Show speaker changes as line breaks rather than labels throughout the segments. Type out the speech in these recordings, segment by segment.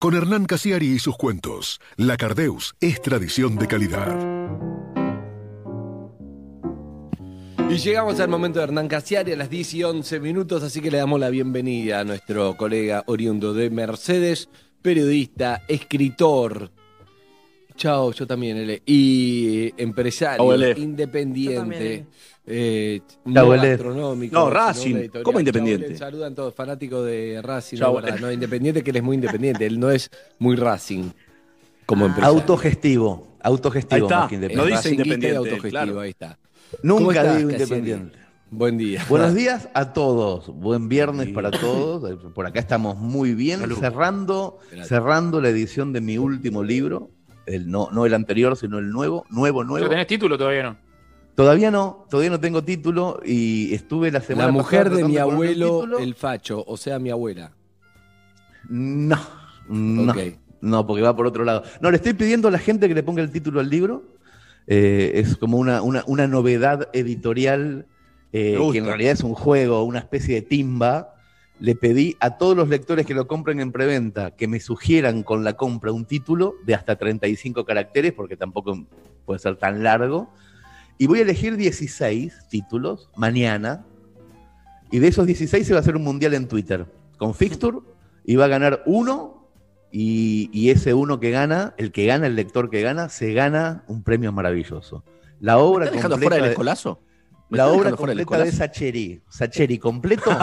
Con Hernán Casiari y sus cuentos, La Cardeus es tradición de calidad.
Y llegamos al momento de Hernán Casiari a las 10:11, así que le damos la bienvenida a nuestro colega oriundo de Mercedes, periodista, escritor. Chao, yo también, L. Y empresario, independiente, no gastronómico.
No, Racing. ¿Cómo independiente?
Saludan todos, fanáticos de Racing. No, independiente, que él es muy independiente. Él no es muy Racing como empresario.
Autogestivo.
Ahí está.
Más que independiente.
No dice independiente. Autogestivo, claro. Ahí está.
Nunca digo independiente.
Buen día.
Buenos días a todos. Buen viernes para todos. Por acá estamos muy bien.
Salud.
Cerrando la edición de mi último libro. No el anterior, sino el nuevo.
¿Pero tenés título todavía no?
Todavía no tengo título y estuve la semana
pasada. La mujer
pasada
de mi abuelo, el facho, o sea, mi abuela.
No,
Okay.
No, porque va por otro lado. No, le estoy pidiendo a la gente que le ponga el título al libro. Es como una novedad editorial que en realidad es un juego, una especie de timba. Le pedí a todos los lectores que lo compren en preventa que me sugieran con la compra un título de hasta 35 caracteres, porque tampoco puede ser tan largo. Y voy a elegir 16 títulos mañana. Y de esos 16 se va a hacer un mundial en Twitter con Fixture. Y va a ganar uno. Y ese uno que gana, el lector que gana, se gana un premio maravilloso. La obra
¿Me estás dejando fuera del escolazo?
La obra completa de Sacheri. Sacheri, completo.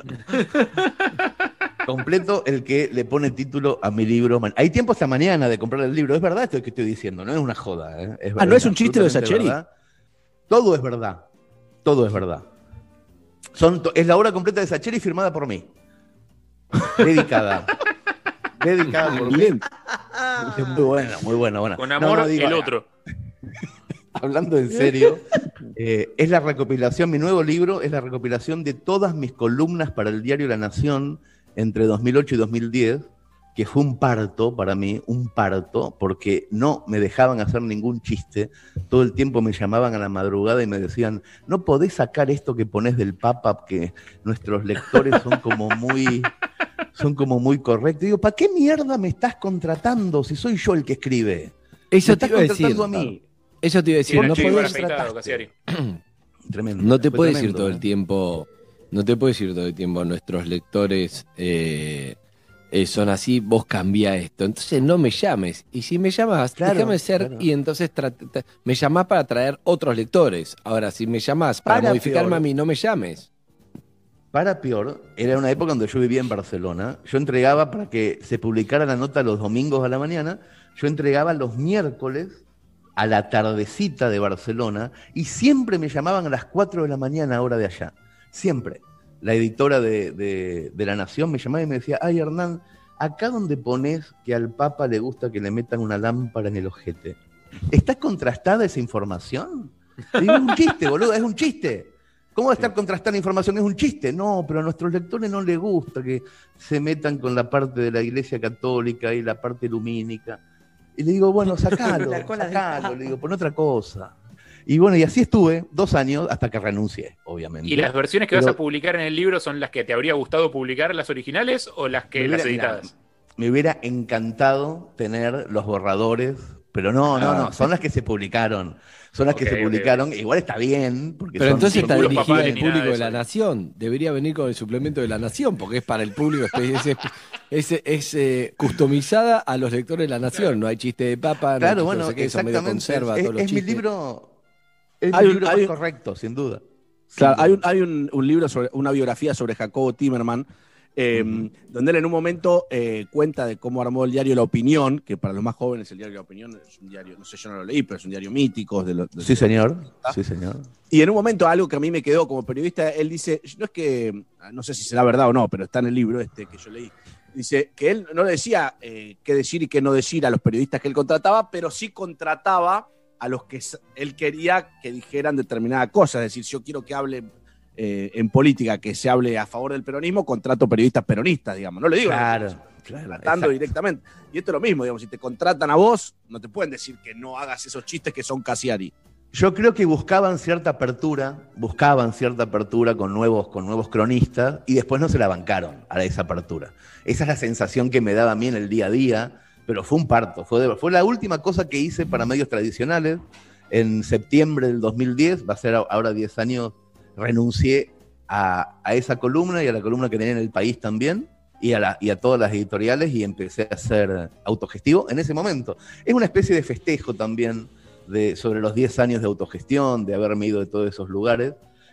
Completo, el que le pone título a mi libro. Hay tiempo hasta mañana de comprar el libro. Es verdad esto que estoy diciendo, no es una joda. Es verdad,
¿no es un chiste de Sacheri?
Verdad. Todo es verdad. Todo es verdad. Es la obra completa de Sacheri firmada por mí. Dedicada por mí. Muy buena.
Con amor, el otro.
Hablando en serio, es la recopilación, mi nuevo libro es la recopilación de todas mis columnas para el diario La Nación entre 2008 y 2010, que fue un parto para mí, porque no me dejaban hacer ningún chiste. Todo el tiempo me llamaban a la madrugada y me decían, no podés sacar esto que ponés del Papa, que nuestros lectores son como muy correctos. Digo, ¿para qué mierda me estás contratando si soy yo el que escribe?
Eso te iba a decir.
A mí.
Eso te iba a decir, no podés
Tremendo.
No te puedes decir todo el tiempo, nuestros lectores son así, vos cambiá esto. Entonces no me llames. Y si me llamas, déjame ser, y entonces me llamás para traer otros lectores. Ahora, si me llamás para modificarme a mí, no me llames.
Para peor, era una época donde yo vivía en Barcelona. Yo entregaba, para que se publicara la nota los domingos a la mañana, yo entregaba los miércoles a la tardecita de Barcelona, y siempre me llamaban a las 4 de la mañana, hora de allá. Siempre. La editora de La Nación me llamaba y me decía, ay, Hernán, acá donde pones que al Papa le gusta que le metan una lámpara en el ojete, ¿está contrastada esa información? Le digo, es un chiste, boludo, es un chiste. ¿Cómo va a estar contrastada la información? Es un chiste. No, pero a nuestros lectores no les gusta que se metan con la parte de la Iglesia Católica y la parte lumínica. Y le digo, bueno, sacalo, le digo, pon otra cosa. Y bueno, y así estuve 2 años hasta que renuncié, obviamente.
¿Y las versiones que vas a publicar en el libro son las que te habría gustado publicar, las originales, o las las editadas?
Me hubiera encantado tener los borradores, pero no, son las que se publicaron. Son las que se publicaron, igual está bien. Porque
pero entonces está dirigida al público de
eso.
La Nación. Debería venir con el suplemento de La Nación, porque es para el público, es customizada a los lectores de La Nación. No hay chiste de papa,
claro,
no
bueno,
no sé qué, eso medio conserva todos los
es mi
chistes.
libro, más correcto, sin duda.
Claro, hay un libro, una biografía sobre Jacobo Timerman, donde él en un momento cuenta de cómo armó el diario La Opinión, que para los más jóvenes el diario La Opinión es un diario, no sé, yo no lo leí, pero es un diario mítico.
Sí, señor.
Y en un momento, algo que a mí me quedó como periodista, él dice, no es que, no sé si será verdad o no, pero está en el libro que yo leí, dice que él no le decía qué decir y qué no decir a los periodistas que él contrataba, pero sí contrataba a los que él quería que dijeran determinada cosa. Es decir, yo quiero que hable en política, que se hable a favor del peronismo, contrato periodistas peronistas, digamos. No le digo, tratando directamente. Y esto es lo mismo, digamos, si te contratan a vos, no te pueden decir que no hagas esos chistes que son Casiari.
Yo creo que buscaban cierta apertura con nuevos cronistas y después no se la bancaron a esa apertura. Esa es la sensación que me daba a mí en el día a día, pero fue un parto. Fue la última cosa que hice para medios tradicionales. En septiembre del 2010, va a ser ahora 10 años, renuncié a esa columna y a la columna que tenía en El País también, y a todas las editoriales, y empecé a ser autogestivo en ese momento. Es una especie de festejo también sobre los 10 años de autogestión, de haberme ido de todos esos lugares,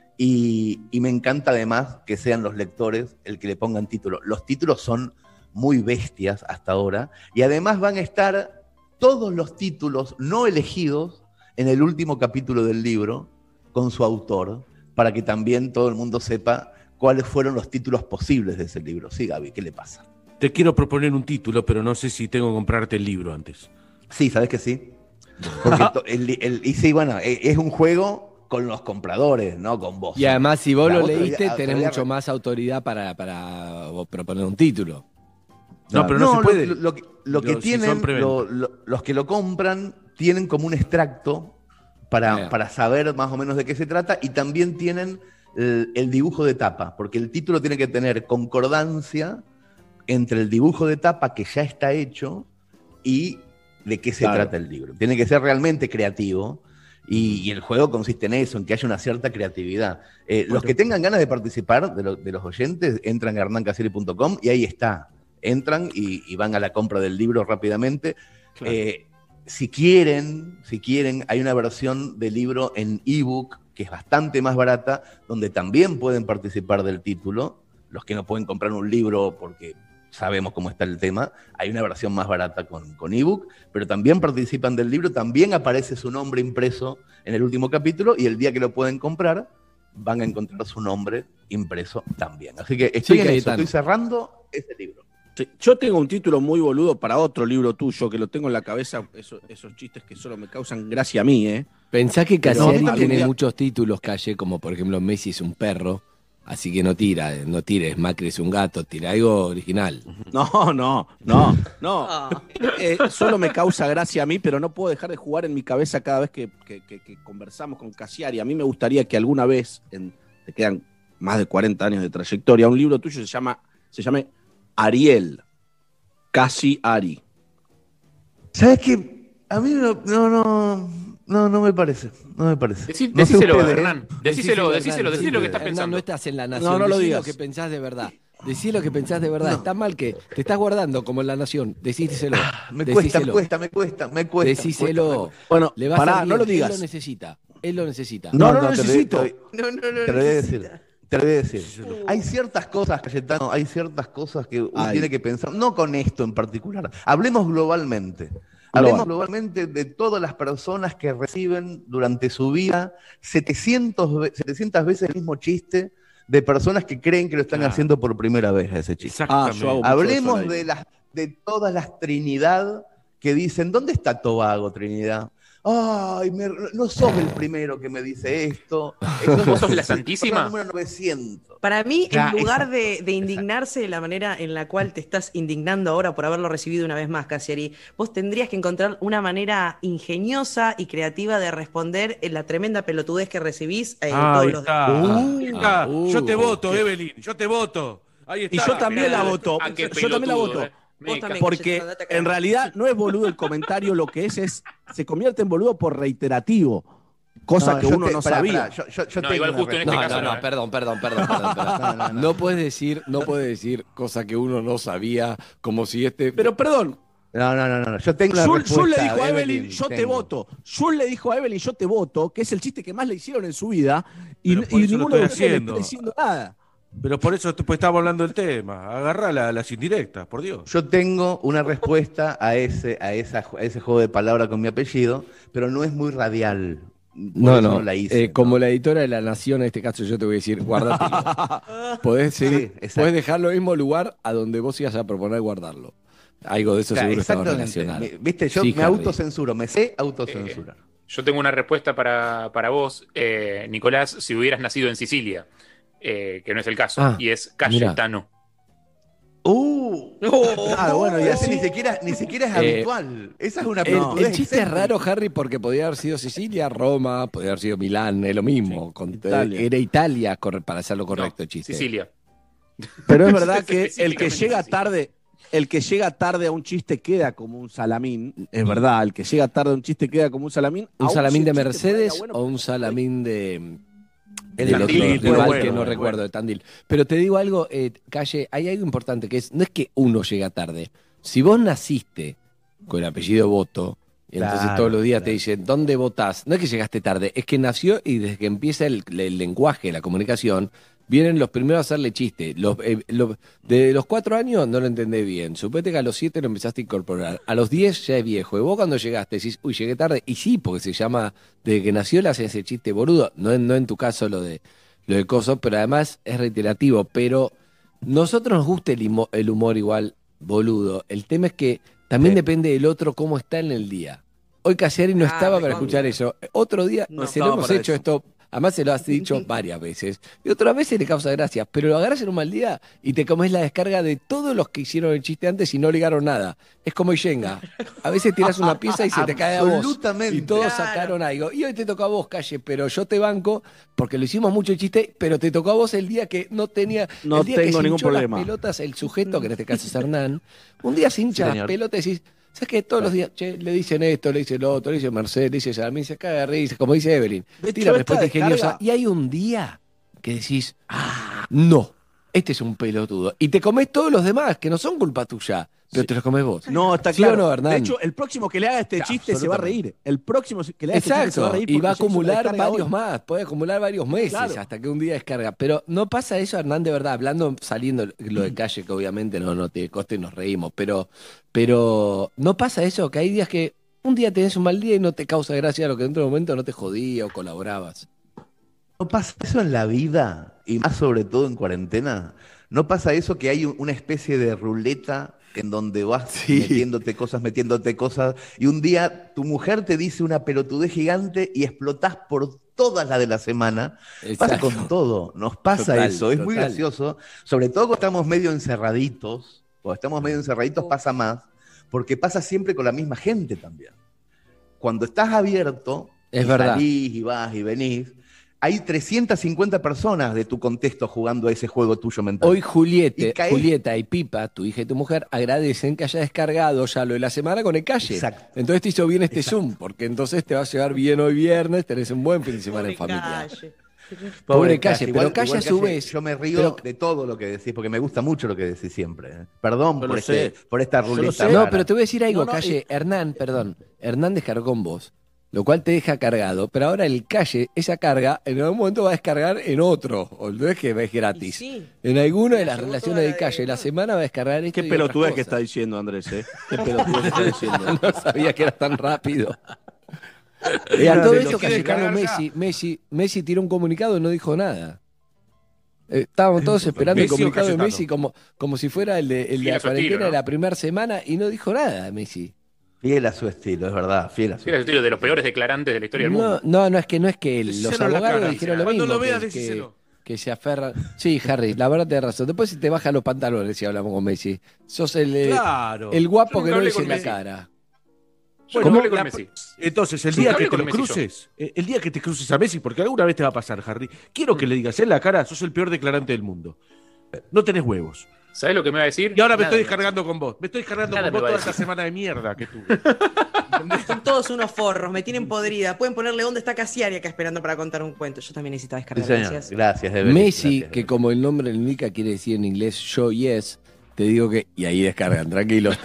y me encanta además que sean los lectores el que le pongan título. Los títulos son muy bestias hasta ahora, y además van a estar todos los títulos no elegidos en el último capítulo del libro con su autor, para que también todo el mundo sepa cuáles fueron los títulos posibles de ese libro. Sí, Gaby, ¿qué le pasa?
Te quiero proponer un título, pero no sé si tengo que comprarte el libro antes.
Sí, ¿sabes que sí? Porque y sí, bueno, es un juego con los compradores, no con vos.
Y además, si vos
La
lo
otra
leíste,
día-
tenés
otro día-
mucho más autoridad para vos proponer un título.
No, pero no se puede.
Lo que
Si
tienen,
son preventa.
los que lo compran, tienen como un extracto para saber más o menos de qué se trata, y también tienen el dibujo de tapa, porque el título tiene que tener concordancia entre el dibujo de tapa que ya está hecho y de qué se trata el libro. Tiene que ser realmente creativo, y el juego consiste en eso, en que haya una cierta creatividad. Los que tengan ganas de participar, de los oyentes, entran a hernancasieri.com y ahí está. Entran y van a la compra del libro rápidamente.
Claro.
Si quieren, hay una versión del libro en ebook que es bastante más barata, donde también pueden participar del título. Los que no pueden comprar un libro porque sabemos cómo está el tema, hay una versión más barata con ebook, pero también participan del libro, también aparece su nombre impreso en el último capítulo, y el día que lo pueden comprar van a encontrar su nombre impreso también. Así que estoy en eso, estoy cerrando ese libro.
Sí, yo tengo un título muy boludo para otro libro tuyo, que lo tengo en la cabeza, esos chistes que solo me causan gracia a mí, ¿eh?
Pensá que Cassiari
No,
tiene
ya-
muchos títulos, Calle, como por ejemplo Messi es un perro, así que no tires, Macri es un gato, tira algo original.
No. Solo me causa gracia a mí, pero no puedo dejar de jugar en mi cabeza cada vez que conversamos con Cassiari. A mí me gustaría que alguna vez, te quedan más de 40 años de trayectoria, un libro tuyo se llame Ariel, Cassiari.
¿Sabes qué? A mí no me parece. No me parece.
Decíselo,
ustedes,
Hernán. Decíselo que estás
Hernán,
pensando.
no estás en La Nación,
No lo
decí
digas.
lo que pensás de verdad. Decí lo que pensás de verdad. Está mal que te estás guardando como en La Nación. Decíselo.
Me
Decíselo.
cuesta.
Decíselo.
Bueno,
Le va a
pará,
hacer
no lo
bien.
digas.
Él lo necesita.
No lo necesito.
Te lo voy a decir. Hay ciertas cosas, Cayetano, que uno tiene que pensar, no con esto en particular. Hablemos globalmente. Hablemos globalmente de todas las personas que reciben durante su vida 700 veces el mismo chiste, de personas que creen que lo están haciendo por primera vez a ese chiste.
Exactamente.
yo hago mucho
Hablemos
eso al aire.
de todas las Trinidad que dicen, ¿dónde está Tobago, Trinidad? Ay, no sos el primero que me dice esto.
¿Vos sos la Santísima?
Número 900.
Para mí,
Claro,
en lugar de indignarse de la manera en la cual te estás indignando ahora por haberlo recibido una vez más, Cassiari, vos tendrías que encontrar una manera ingeniosa y creativa de responder en la tremenda pelotudez que recibís
Ahí
todos los
está. Ahí está. Yo te voto,
qué-
Evelyn. Yo te voto. Ahí está.
Y yo también
mirá,
la voto.
ah, qué
Yo también la
pelotudo,
voto.
Vos también,
Porque
Cayetano, andate a cagar.
en realidad no es boludo el comentario, lo que es se convierte en boludo por reiterativo, cosa que uno no sabía.
Yo
No,
tengo
igual
una
justo en este
respuesta.
caso no,
Perdón. No puedes decir cosa que uno no sabía, como si
Pero perdón,
No. Yo tengo una respuesta.
Jul le dijo a Evelyn, yo te
tengo.
voto. Jul le dijo a Evelyn, yo te voto, que es el chiste que más le hicieron en su vida, y
Pero por eso lo
ninguno de
estoy
ustedes le
haciendo.
está diciendo nada.
Pero por eso pues, estamos hablando del tema. Agarrá las indirectas, por Dios.
Yo tengo una respuesta a ese juego de palabras con mi apellido, pero no es muy radial. Por eso la hice.
Como la editora de La Nación, en este caso yo te voy a decir, guárdatelo. Podés
exacto.
dejarlo en el mismo lugar a donde vos ibas a proponer guardarlo. Algo de eso seguro estaba relacionado.
Viste, yo
Sí,
me
Harry.
autocensuro, me sé autocensurar.
Yo tengo una respuesta para vos, Nicolás, si hubieras nacido en Sicilia, que no es el caso, y es Cayetano.
Claro, bueno, y así
Ni siquiera es habitual. Esa es una
El
pelotudez
chiste es
excéntrica.
raro, Harry, porque podía haber sido Sicilia, Roma, podía haber sido Milán, es lo mismo.
Italia.
Era Italia, para hacerlo correcto, el chiste.
Sicilia.
Pero es verdad que el que
Específicamente
llega
sí.
tarde, el que llega tarde a un chiste queda como un salamín. Es verdad, el que llega tarde a un chiste queda como un salamín.
¿Un
Aún
salamín
si
de
el chiste
Mercedes
fuera bueno,
o un salamín de
El
del otro
Tandil,
rival
bueno,
que no
bueno.
recuerdo, de Tandil? Pero te digo algo, Calle, hay algo importante que no es que uno llega tarde. Si vos naciste con el apellido Boto, y entonces
Claro,
todos los días te
claro.
dicen, ¿dónde votás? No es que llegaste tarde, es que nació y desde que empieza el lenguaje, la comunicación, vienen los primeros a hacerle chiste. De los 4 años no lo entendés bien. Suponete que a los 7 lo empezaste a incorporar. A los 10 ya es viejo. Y vos cuando llegaste decís, uy, llegué tarde. Y sí, porque se llama, desde que nació le hacen ese chiste boludo. No en tu caso lo de coso, pero además es reiterativo. Pero nosotros nos gusta el humor igual boludo. El tema es que también
Sí.
depende del otro cómo está en el día. Hoy Cassiari no estaba para
recontra.
escuchar eso. Otro día
No
se lo
estaba
hemos
para
hecho
eso.
esto. Además se lo has dicho varias veces. Y otras veces le causa gracia. Pero lo agarras en un mal día y te comes la descarga de todos los que hicieron el chiste antes y no ligaron nada. Es como Yenga. A veces tiras una pieza y se te cae a vos.
Absolutamente.
Y todos
Claro.
sacaron algo. Y hoy te tocó a vos, Calle, pero yo te banco porque lo hicimos mucho el chiste, pero te tocó a vos el día que no tenía.
No
el día que
tengo
se
ningún
hinchó
problema.
las pelotas, el sujeto, que en este caso es Hernán. Un día se hincha
Sí,
las
señor.
pelotas y decís, ¿sabes qué? Todos los días, che, le dicen esto, le dicen lo otro, le dicen Mercedes, le dicen Salmín, se caga de risa, como dice Evelyn.
De hecho,
Tira
esta
respuesta ingeniosa.
descarga-
Y hay un día que decís, no, este es un pelotudo. Y te comes todos los demás, que no son culpa tuya, pero te los comes vos.
No, está
¿Sí
claro.
o no, Hernán?
De hecho, el próximo que le haga este chiste se va a reír. El próximo que le haga este chiste se va a
Exacto,
reír.
y va a
porque se hizo una
acumular
descarga
varios
hoy.
más, puede acumular varios meses
Claro.
hasta que un día descarga. Pero no pasa eso, Hernán, de verdad, hablando, saliendo lo de Calle, que obviamente no tiene coste y nos reímos, pero no pasa eso, que hay días que un día tenés un mal día y no te causa gracia lo que en otro momento no te jodía o colaborabas.
¿No pasa eso en la vida? Y más sobre todo en cuarentena. ¿No pasa eso que hay una especie de ruleta en donde vas
Sí.
metiéndote cosas, y un día tu mujer te dice una pelotudez gigante y explotás por todas las de la semana? Pasa
Exacto.
con todo, nos pasa
Total,
eso, es muy
total.
gracioso, sobre todo cuando estamos medio encerraditos, pasa más, porque pasa siempre con la misma gente también. Cuando estás abierto,
Es
y
verdad.
salís y vas y venís, hay 350 personas de tu contexto jugando a ese juego tuyo mental.
Hoy
Y caes-
Julieta y Pipa, tu hija y tu mujer, agradecen que haya descargado ya lo de la semana con el Calle.
Exacto.
Entonces te hizo bien este Zoom, porque entonces te va a llevar bien hoy viernes, tenés un buen fin de semana en
Pobre
familia.
Calle.
Pobre Calle, pero Calle a su vez.
Yo me río
pero-
de todo lo que decís, porque me gusta mucho lo que decís siempre. Perdón
Yo
por,
lo sé.
por esta
Yo lo
ruleta.
sé.
No,
rara.
pero te voy a decir algo,
No, no,
Calle. Hernán descargó con vos, lo cual te deja cargado, pero ahora el Calle, esa carga, en algún momento va a descargar en otro, o no es que es gratis.
Y sí.
En alguna de
Me
las
llegó
relaciones
toda
de
la
Calle,
de-
la semana va a descargar esto
Qué
y
pelotudez
otras
que está
cosas.
diciendo, Andrés, ¿eh? Qué pelotudez que está diciendo.
No sabía que era tan rápido. Y a todo
de
eso
los
que
que
llegó
descargar
Messi tiró un comunicado y no dijo nada. Estábamos todos esperando el
¿Messi o
comunicado de
Cayetano?
Messi como si fuera el de
Fiel
la
a su
cuarentena
estilo, ¿no?
de la primera semana y no dijo nada Messi.
Fiel a su estilo, es verdad, fiel a su
Era el estilo de los peores declarantes de la historia del mundo.
No, es que los
Díselo en la
abogados
cara.
dijeron lo
Cuando
mismo.
lo veas,
que,
decíselo.
que se aferran. Sí, Harry, la verdad tenés razón. Después si te bajan los pantalones si hablamos con Messi. Sos
Claro.
el guapo
Yo
que
nunca
no
hablé
dice
con
la
Messi.
cara.
Yo
Bueno,
no hablé con
la-
Messi.
Entonces, el
Nunca
día
hablé
que te
con
lo
Messi yo.
cruces, el día que te cruces a Messi, porque alguna vez te va a pasar, Harry, quiero que le digas en la cara, sos el peor declarante del mundo. No tenés huevos.
¿Sabes lo que me va a decir?
Y ahora me
Nada
estoy
me
descargando con vos. Me estoy descargando
Nada
con
me
vos
va a
toda esta
decir.
semana de mierda que tuve.
Son todos unos forros, me tienen podrida. Pueden ponerle dónde está Casiari acá esperando para contar un cuento. Yo también necesitaba
Sí,
descargar.
señor.
Gracias.
Gracias, Evelyn.
Messi,
Gracias,
que
Evelyn.
como el nombre le indica quiere decir en inglés yo yes, te digo que. Y ahí descargan. Tranquilos.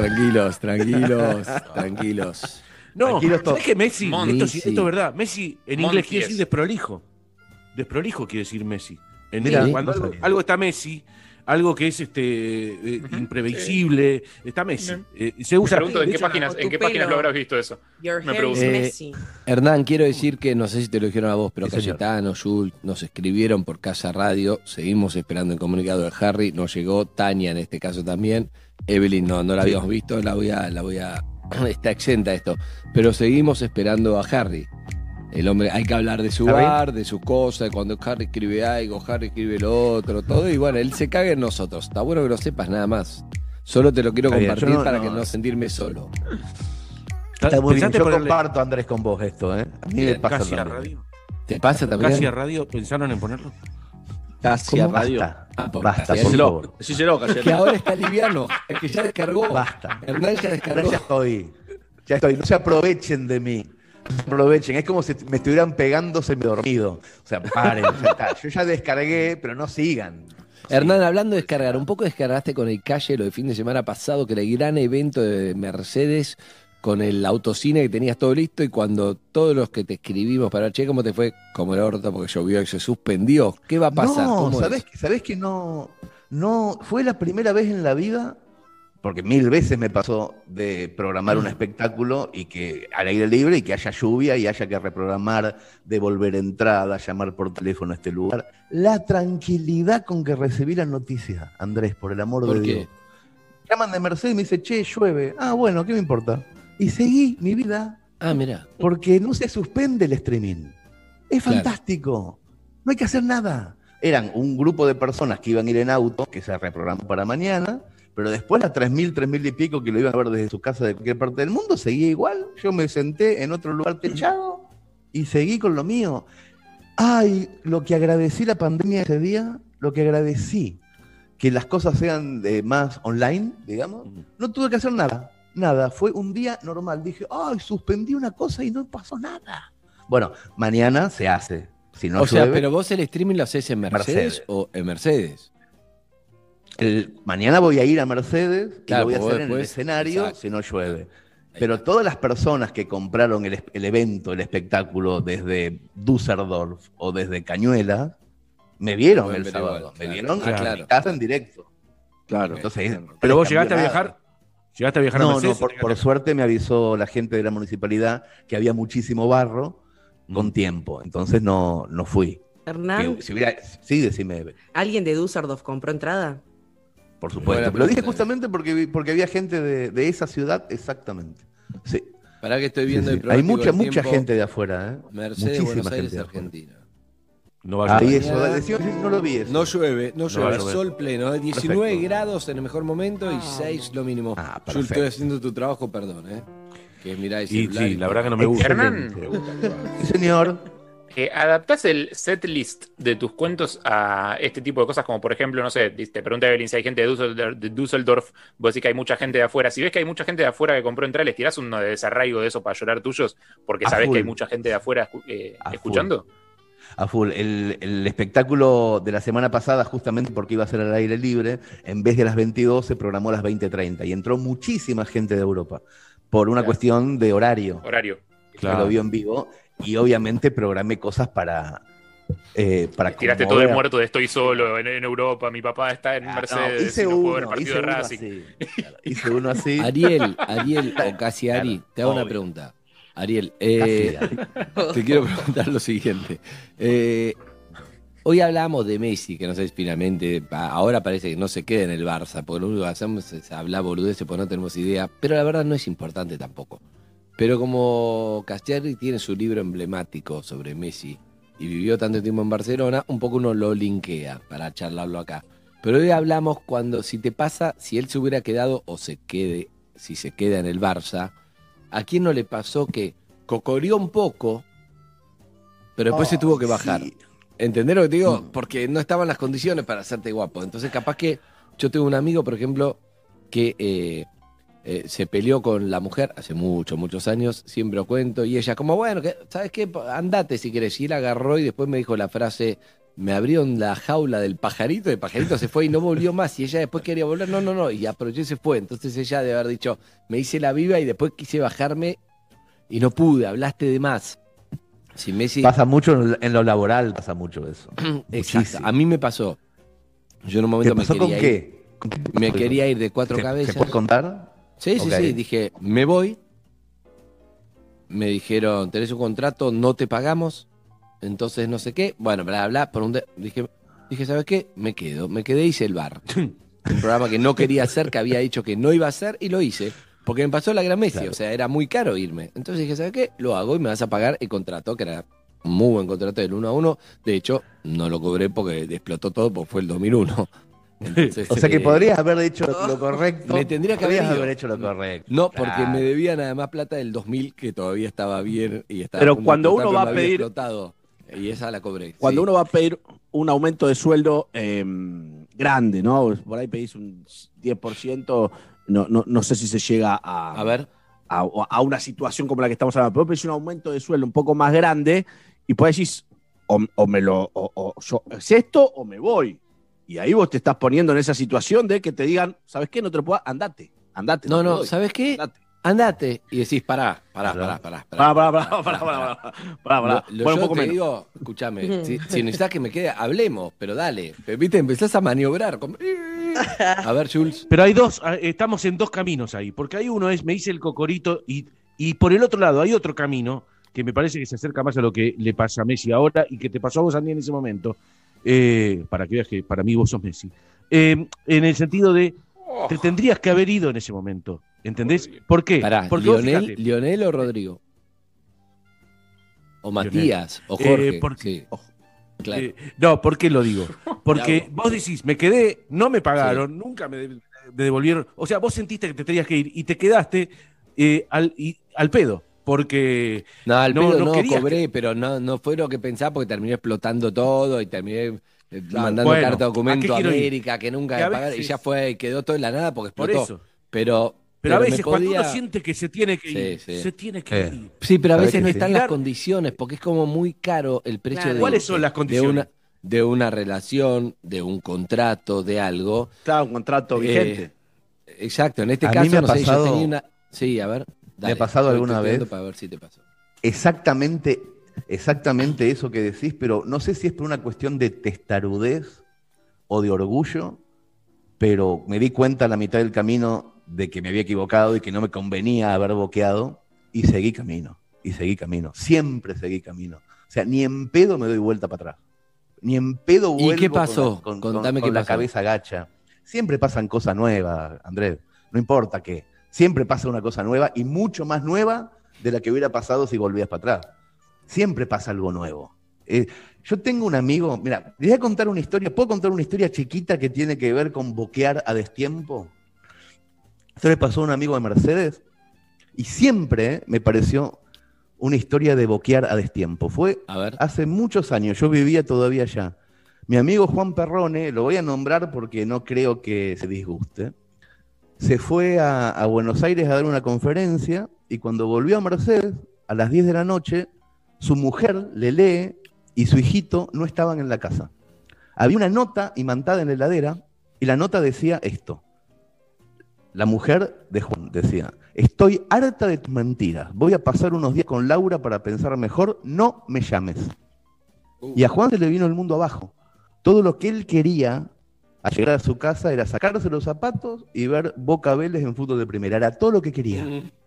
No,
Tranquilos todos.
¿sabés que Messi?
Monty.
Esto es verdad. Messi en
Monty
inglés quiere
es.
decir desprolijo. Desprolijo quiere decir Messi.
Mira,
Cuando
no
algo,
sabía.
algo está Messi, algo que es imprevisible, está Messi. Se
Me
usa.
pregunto
de
en qué
hecho,
páginas,
o
en
tu
qué páginas
pelo.
lo habrás visto eso.
Your
Me
hair
pregunto.
is messy.
Hernán, quiero decir que no sé si te lo dijeron a vos, pero
Sí, señor.
Cayetano, Jules, nos escribieron por Casa Radio, seguimos esperando el comunicado de Harry, nos llegó Tania en este caso también, Evelyn no la habíamos visto, la voy a está exenta de esto, pero seguimos esperando a Harry. El hombre, hay que hablar de su
¿Está bien?
bar, de su cosa, de cuando Harry escribe algo, Harry escribe lo otro, todo, y bueno, él se caga en nosotros. Está bueno que lo sepas, nada más. Solo te lo quiero
Está bien,
compartir
yo
para que no sentirme solo.
Está muy bien.
¿Pensaste
Yo
ponerle
comparto, Andrés, con vos esto, ¿eh? A mí me pasa
casi a
también.
radio?
¿Te pasa también?
¿Casi a radio pensaron en ponerlo?
Casi a
¿Cómo?
radio.
Basta,
Ah, por-
basta, por
Decíselo,
favor.
decíselo, Cassiari.
Que ahora está liviano, es que ya descargó.
Basta.
Hernán ya descargó.
Ya estoy. Ya estoy. No se aprovechen de mí. No se aprovechen. Es como si me estuvieran pegando semi-dormido. O sea, paren, ya está. Yo ya descargué, pero no sigan.
Hernán, hablando de descargar, un poco descargaste con el Calle lo de fin de semana pasado, que era el gran evento de Mercedes con el autocine que tenías todo listo y cuando todos los que te escribimos para che, ¿cómo te fue? Como el orto porque llovió y se suspendió. ¿Qué va a pasar?
No,
¿Cómo es?
¿sabés que no? No, fue la primera vez en la vida, porque 1000 veces me pasó de programar un espectáculo y que al aire libre y que haya lluvia y haya que reprogramar, devolver entrada, llamar por teléfono a este lugar. La tranquilidad con que recibí la noticia, Andrés, por el amor
¿Por
de
qué?
Dios. Llaman de Mercedes y me dice, che, llueve. Ah, bueno, ¿qué me importa? Y seguí mi vida
Ah, mirá.
porque no se suspende el streaming. Es
Claro.
fantástico. No hay que hacer nada. Eran un grupo de personas que iban a ir en auto, que se reprogramó para mañana, pero después las 3.000, 3.000 y pico que lo iban a ver desde su casa de cualquier parte del mundo, seguía igual. Yo me senté en otro lugar techado y seguí con lo mío. Ay, lo que agradecí la pandemia ese día, lo que agradecí que las cosas sean más online, digamos, no tuve que hacer nada. Nada, fue un día normal. Dije, ay, suspendí una cosa y no pasó nada. Bueno, mañana se hace. Si no
O sea,
llueve,
pero vos el streaming lo haces en Mercedes,
Mercedes.
o en Mercedes.
mañana voy a ir a Mercedes
Claro,
y lo voy a
vos
hacer en el
después-
escenario
exacto.
si no llueve. Pero todas las personas que compraron el evento, el espectáculo desde Düsseldorf o desde Cañuelas, me vieron
Pueden
el
ver
sábado.
igual,
Me
claro.
vieron
Ah,
en
claro.
mi casa en directo.
Claro.
Entonces,
Pero vos
no
llegaste a
cambió
viajar.
nada.
¿Llegaste a viajar a
No,
Mercedes?
por suerte me avisó la gente de la municipalidad que había muchísimo barro con tiempo. Entonces no fui.
Hernán,
Que si hubiera, sí, decime,
¿alguien de Düsseldorf compró entrada?
por supuesto.
Buena
Lo dije
pregunta.
justamente porque había gente de esa ciudad, exactamente. Sí.
Para que estoy
Sí,
viendo
sí.
el
Hay
pronóstico del
mucha
tiempo,
gente de afuera, ¿eh?
Mercedes,
Muchísima
Buenos Aires,
gente de afuera.
Argentina.
No va a
Ahí
llover.
eso,
Mañana-
decía, no lo vi eso.
No llueve, no
va a
llueve,
llover.
sol pleno, 19
Perfecto.
grados en el mejor momento y 6 lo mínimo.
Ah,
Yo
perfecto.
estoy haciendo tu trabajo, perdón, que mirá el
Y
celular
sí, la verdad que no me gusta.
Hernán.
Sí, señor.
¿Adaptás el set list de tus cuentos a este tipo de cosas? Como por ejemplo, no sé, te pregunta Evelyn si hay gente de Düsseldorf, vos decís que hay mucha gente de afuera. Si ves que hay mucha gente de afuera que compró entradas, ¿les tirás uno de desarraigo de eso para llorar tuyos? Porque
A
sabés
full.
que hay mucha gente de afuera
A
escuchando.
A full. El espectáculo de la semana pasada, justamente porque iba a ser al aire libre, en vez de las 22 se programó a las 20:30 y entró muchísima gente de Europa por una
Claro.
cuestión de horario.
Horario.
Que lo vio en vivo y obviamente programé cosas para
Tiraste todo el muerto de estoy solo en Europa, mi papá está en Mercedes,
hice
y no puedo ver el
uno,
partido
hice
de
uno
Racing.
así. Claro, hice uno así.
Ariel o casi Ari,
Claro,
te hago una
obvio.
pregunta. Ariel,
Casi, Ari.
te quiero preguntar lo siguiente. Hoy hablamos de Messi, que no sé si finalmente, ahora parece que no se queda en el Barça, porque lo único que hacemos es hablar boludeces, porque no tenemos idea, pero la verdad no es importante tampoco. Pero como Castiari tiene su libro emblemático sobre Messi y vivió tanto tiempo en Barcelona, un poco uno lo linkea para charlarlo acá. Pero hoy hablamos cuando, si te pasa, si él se hubiera quedado o se quede, si se queda en el Barça, ¿a quién no le pasó que cocoreó un poco, pero después se tuvo que bajar?
Sí.
¿Entendés lo que te digo? Porque no estaban las condiciones para hacerte guapo. Entonces, capaz que yo tengo un amigo, por ejemplo, que se peleó con la mujer hace muchos años, siempre lo cuento, y ella como, bueno, ¿sabes qué? Andate si querés. Y él agarró y después me dijo la frase, me abrieron la jaula del pajarito, el pajarito se fue y no volvió más, y ella después quería volver, no, y aprovechó y se fue. Entonces ella debe haber dicho, me hice la viva y después quise bajarme y no pude, hablaste de más. Si Messi...
Pasa mucho en lo laboral, pasa mucho eso.
Exacto,
Muchísimo.
a mí me pasó. Yo en un
¿Te
momento
pasó
me
con
quería ir.
qué? ¿Con qué
Me
pasó?
quería ir de cuatro
¿Se
cabezas.
puede contar?
Sí,
Ok.
dije, me voy. Me dijeron, tenés un contrato, no te pagamos. Entonces no sé qué. Bueno, bla. Dije, ¿sabes qué? Me quedé, hice el bar. Un programa que no quería hacer, que había dicho que no iba a hacer, y lo hice. Porque me pasó la Gran Messi,
Claro.
o sea, era muy caro irme. Entonces dije, ¿sabes qué? Lo hago y me vas a pagar el contrato, que era un muy buen contrato del 1-1. De hecho, no lo cobré porque explotó todo, porque fue el 2001. Entonces,
O sea que podrías haber hecho lo correcto.
Me tendría que
Podrías
haber ido.
hecho lo correcto.
No, porque
Claro.
me debían además plata del 2000, que todavía estaba bien y estaba
Pero
a punto de
cuando
explotar,
uno
pero
va
me
a
había
pedir-
explotado. Y esa la cobré.
Cuando
sí.
uno va a pedir un aumento de sueldo grande, ¿no? Por ahí pedís un 10%, no sé si se llega
A ver.
a una situación como la que estamos hablando, pero pedís un aumento de sueldo un poco más grande y pues decís, ¿es esto o me voy? Y ahí vos te estás poniendo en esa situación de que te digan, ¿sabes qué? No te lo puedo, andate.
No,
te
no,
doy,
¿sabes qué?
andate.
Andate. Y decís, pará.
Pará.
Bueno,
Bueno, un
yo
poco
te
menos.
digo, escúchame, si necesitas que me quede, hablemos, pero dale. Viste, empezás a maniobrar. A ver, Jules.
Pero hay estamos en dos caminos ahí, porque hay uno me dice el Cocorito, y por el otro lado hay otro camino que me parece que se acerca más a lo que le pasa a Messi ahora y que te pasó a vos, Andy, en ese momento, para que veas que para mí vos sos Messi. En el sentido de, te tendrías que haber ido en ese momento, ¿entendés? ¿Por qué?
Pará,
Porque vos
Lionel,
fíjate,
Lionel o Rodrigo. O Matías, o Jorge.
porque-
sí. Claro.
no, ¿por qué lo digo? Porque vos decís, me quedé, no me pagaron, nunca me devolvieron. O sea, vos sentiste que te tenías que ir y te quedaste al pedo. Porque
No, al
no-
pedo
no
no,
querías
cobré, pero no fue lo que pensaba porque terminé explotando todo y terminé mandando
bueno,
carta
¿a
documento
qué
a
quiero ir?
América que nunca
Que a
me pagaron y
veces-
ya fue y quedó todo en la nada porque
por
explotó.
eso.
Pero
Pero a
me
veces cuando
podía-
uno siente que se tiene que ir,
Sí, sí.
se tiene que ir.
Sí, pero a
¿Sabés
veces
que
no
sí?
están las
Mirar-
condiciones porque es como muy caro el precio
Claro.
de
¿Cuáles son las condiciones?
de una relación, de un contrato, de algo.
Claro, un contrato vigente.
Exacto, en este
A mí
caso
me ha
no sé, yo
pasado-
tenía una. Sí, a ver.
¿Me ha pasado
estoy
alguna
tuiteando
vez?
para ver si te pasó.
Exactamente eso que decís, pero no sé si es por una cuestión de testarudez o de orgullo, pero me di cuenta a la mitad del camino de que me había equivocado y que no me convenía haber boqueado y seguí camino, siempre seguí camino. O sea, ni en pedo me doy vuelta para atrás, ni en pedo
¿Y
vuelvo
qué pasó?
con
Contame qué
la
pasó.
cabeza gacha. Siempre pasan cosas nuevas, Andrés, no importa qué, siempre pasa una cosa nueva y mucho más nueva de la que hubiera pasado si volvías para atrás. Siempre pasa algo nuevo. Yo tengo un amigo, mira, les voy a contar una historia, ¿puedo contar una historia chiquita que tiene que ver con boquear a destiempo? Esto le pasó a un amigo de Mercedes y siempre me pareció una historia de boquear a destiempo. Fue
A ver.
hace muchos años, yo vivía todavía allá. Mi amigo Juan Perrone, lo voy a nombrar porque no creo que se disguste, se fue a Buenos Aires a dar una conferencia y cuando volvió a Mercedes, a las 10 de la noche, su mujer, Lele, y su hijito no estaban en la casa. Había una nota imantada en la heladera y la nota decía esto. La mujer de Juan decía, estoy harta de tus mentiras, voy a pasar unos días con Laura para pensar mejor, no me llames. Y a Juan se le vino el mundo abajo. Todo lo que él quería al llegar a su casa era sacarse los zapatos y ver Boca Vélez en fútbol de primera. Era todo lo que quería.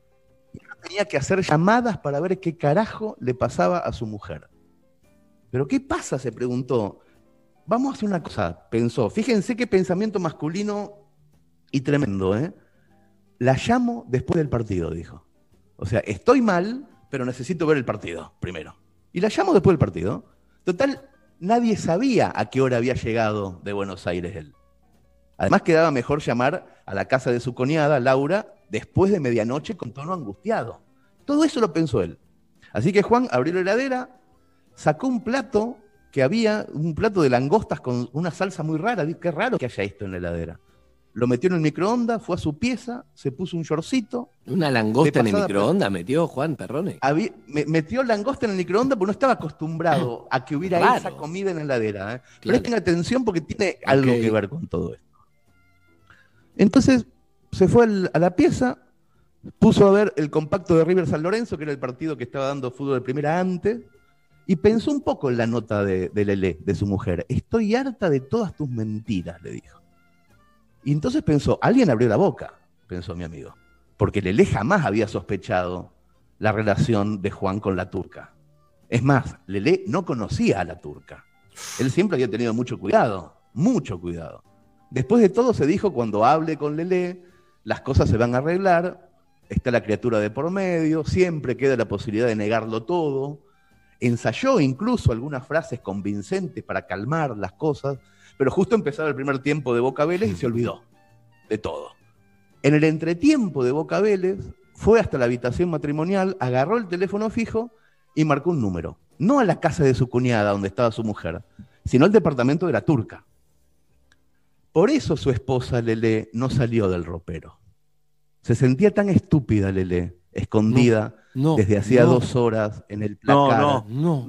Tenía que hacer llamadas para ver qué carajo le pasaba a su mujer. ¿Pero qué pasa?, se preguntó. Vamos a hacer una cosa, pensó. Fíjense qué pensamiento masculino y tremendo, ¿eh? La llamo después del partido, dijo. O sea, estoy mal, pero necesito ver el partido primero. Y la llamo después del partido. Total, nadie sabía a qué hora había llegado de Buenos Aires él. Además, quedaba mejor llamar a la casa de su cuñada, Laura, después de medianoche con tono angustiado. Todo eso lo pensó él. Así que Juan abrió la heladera, sacó un plato que había, un plato de langostas con una salsa muy rara. Qué raro que haya esto en la heladera. Lo metió en el microondas, fue a su pieza, se puso un shortcito.
Una langosta
De
en el
pasada,
microondas metió Juan Perrone.
Metió langosta en el microondas porque no estaba acostumbrado a que hubiera
Raro.
esa comida en la heladera.
Claro.
Presten atención porque tiene algo
Ok.
que ver con todo esto. Entonces se fue a la pieza, puso a ver el compacto de River San Lorenzo, que era el partido que estaba dando fútbol de primera antes, y pensó un poco en la nota de Lelé, de su mujer. Estoy harta de todas tus mentiras, le dijo. Y entonces pensó, alguien abrió la boca, pensó mi amigo, porque Lelé jamás había sospechado la relación de Juan con la turca. Es más, Lelé no conocía a la turca. Él siempre había tenido mucho cuidado, mucho cuidado. Después de todo se dijo, cuando hable con Lelé, las cosas se van a arreglar, está la criatura de por medio, siempre queda la posibilidad de negarlo todo. Ensayó incluso algunas frases convincentes para calmar las cosas, pero justo empezaba el primer tiempo de Boca Vélez y se olvidó de todo. En el entretiempo de Boca Vélez, fue hasta la habitación matrimonial, agarró el teléfono fijo y marcó un número. No a la casa de su cuñada, donde estaba su mujer, sino al departamento de la turca. Por eso su esposa, Lelé, no salió del ropero. Se sentía tan estúpida, Lelé, escondida desde hacía 2 horas en el placar,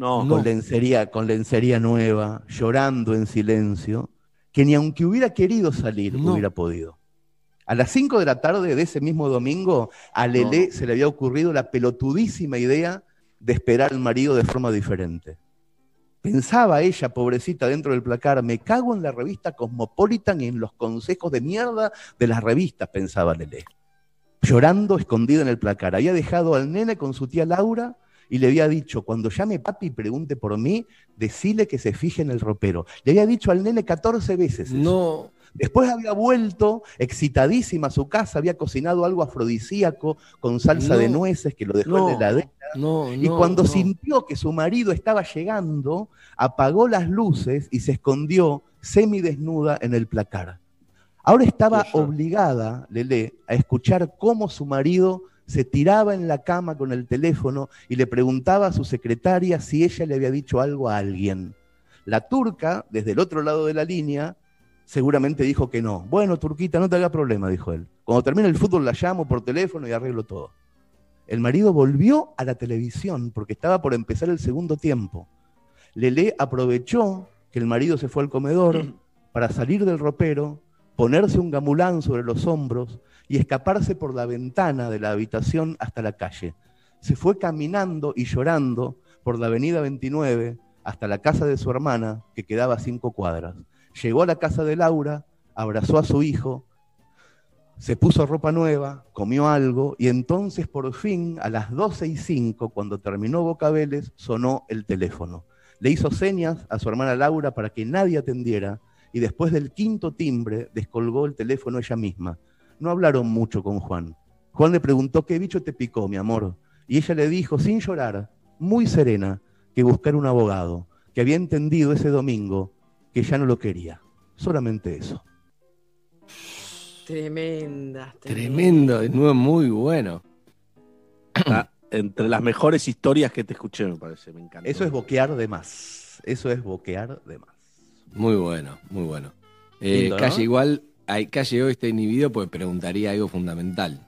con lencería nueva, llorando en silencio, que ni aunque hubiera querido salir, hubiera podido. A las 5 de la tarde de ese mismo domingo, a Lelé se le había ocurrido la pelotudísima idea de esperar al marido de forma diferente. Pensaba ella, pobrecita, dentro del placar, me cago en la revista Cosmopolitan y en los consejos de mierda de las revistas, pensaba Lelé. Llorando, escondida en el placar. Había dejado al nene con su tía Laura y le había dicho, cuando llame papi y pregunte por mí, decile que se fije en el ropero. Le había dicho al nene 14 veces eso.
No.
Después había vuelto, excitadísima a su casa, había cocinado algo afrodisíaco con salsa de nueces que lo dejó en la heladera. Y cuando sintió que su marido estaba llegando, apagó las luces y se escondió semidesnuda en el placar. Ahora estaba obligada, Lelé, a escuchar cómo su marido se tiraba en la cama con el teléfono y le preguntaba a su secretaria si ella le había dicho algo a alguien. La turca, desde el otro lado de la línea, seguramente dijo que no. Bueno, turquita, no te haga problema, dijo él. Cuando termine el fútbol la llamo por teléfono y arreglo todo. El marido volvió a la televisión porque estaba por empezar el segundo tiempo. Lelé aprovechó que el marido se fue al comedor para salir del ropero, ponerse un gamulán sobre los hombros y escaparse por la ventana de la habitación hasta la calle. Se fue caminando y llorando por la avenida 29 hasta la casa de su hermana, que quedaba a 5 cuadras. Llegó a la casa de Laura, abrazó a su hijo, se puso ropa nueva, comió algo y entonces por fin a las 12:05, cuando terminó Boca Vélez, sonó el teléfono. Le hizo señas a su hermana Laura para que nadie atendiera y después del 5.º timbre descolgó el teléfono ella misma. No hablaron mucho con Juan. Juan le preguntó, ¿qué bicho te picó, mi amor? Y ella le dijo, sin llorar, muy serena, que buscar un abogado, que había entendido ese domingo que ya no lo quería. Solamente eso.
Tremendo, de nuevo, muy bueno.
Entre las mejores historias que te escuché, me parece, me encanta.
Eso es boquear de más. Eso es boquear de más.
Muy bueno, muy bueno.
Lindo, ¿no?
Calle igual, Calle hoy está inhibido porque preguntaría algo fundamental.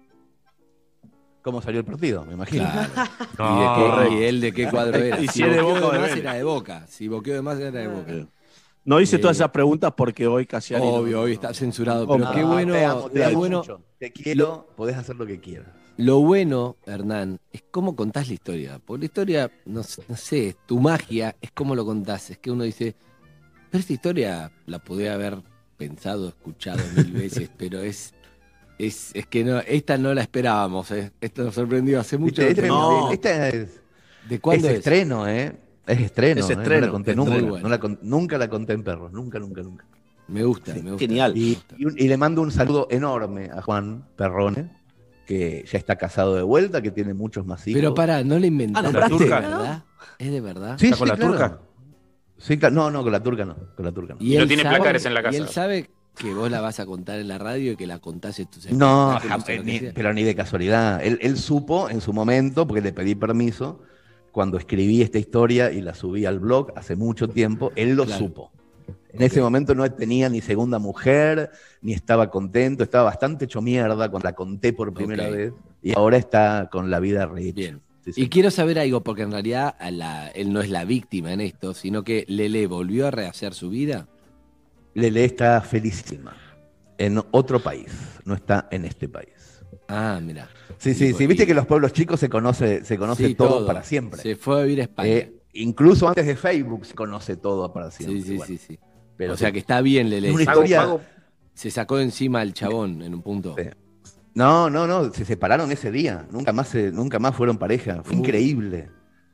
¿Cómo salió el partido? Me imagino.
Claro. ¿Y él de qué cuadro era?
Y si es de
boqueó
Boca,
de más
de
era de Boca. Si boqueó de más era de Boca.
No hice todas esas preguntas porque hoy casi
obvio, hoy está censurado, pero qué bueno,
te amo,
qué bueno.
mucho. Te quiero, podés hacer lo que quieras.
Lo bueno, Hernán, es cómo contás la historia. Porque la historia, no sé, tu magia es cómo lo contás. Es que uno dice, pero esta historia la podía haber pensado, escuchado 1000 veces, pero es que no, esta no la esperábamos, ¿eh? Esta nos sorprendió hace mucho.
Esta es,
¿de cuándo es?
Estreno, ¿eh? Es estreno.
Es estreno.
No la conté nunca.
Bueno.
Nunca la conté en Perros. Nunca.
Me gusta, me gusta.
Genial.
Y le mando un saludo enorme a Juan Perrone, que ya está casado de vuelta, que tiene muchos más hijos.
Pero pará, no le inventaste,
¿la turca?
¿de verdad? ¿Es de verdad?
Sí,
¿Está con la
claro.
turca?
Sí, claro. No, con la turca no. Con la turca no.
Y
No
él
tiene
sabe-
placares en la casa.
Y él sabe que vos la vas a contar en la radio y que la contás en tus
No,
espectáculos, o lo que sea.
pero ni de casualidad. Él supo en su momento, porque le pedí permiso, cuando escribí esta historia y la subí al blog hace mucho tiempo, él lo
Claro.
supo. En ese momento no tenía ni segunda mujer, ni estaba contento, estaba bastante hecho mierda cuando la conté por primera vez, y ahora está con la vida rehecha.
Bien.
Sí, sí.
Y quiero saber algo, porque en realidad él no es la víctima en esto, sino que Lele volvió a rehacer su vida.
Lele está felicísima. En otro país, no está en este país.
Ah, mira.
Sí, viste que los pueblos chicos se conoce
Sí,
todo para siempre.
Se fue a vivir a España.
Incluso antes de Facebook se conoce todo para siempre.
sí,
Bueno,
sí.
pero
O sea
sí.
que está bien Lele.
Una historia-
Se sacó de encima al chabón en un punto.
Sí. No, se separaron ese día, nunca más fueron pareja, fue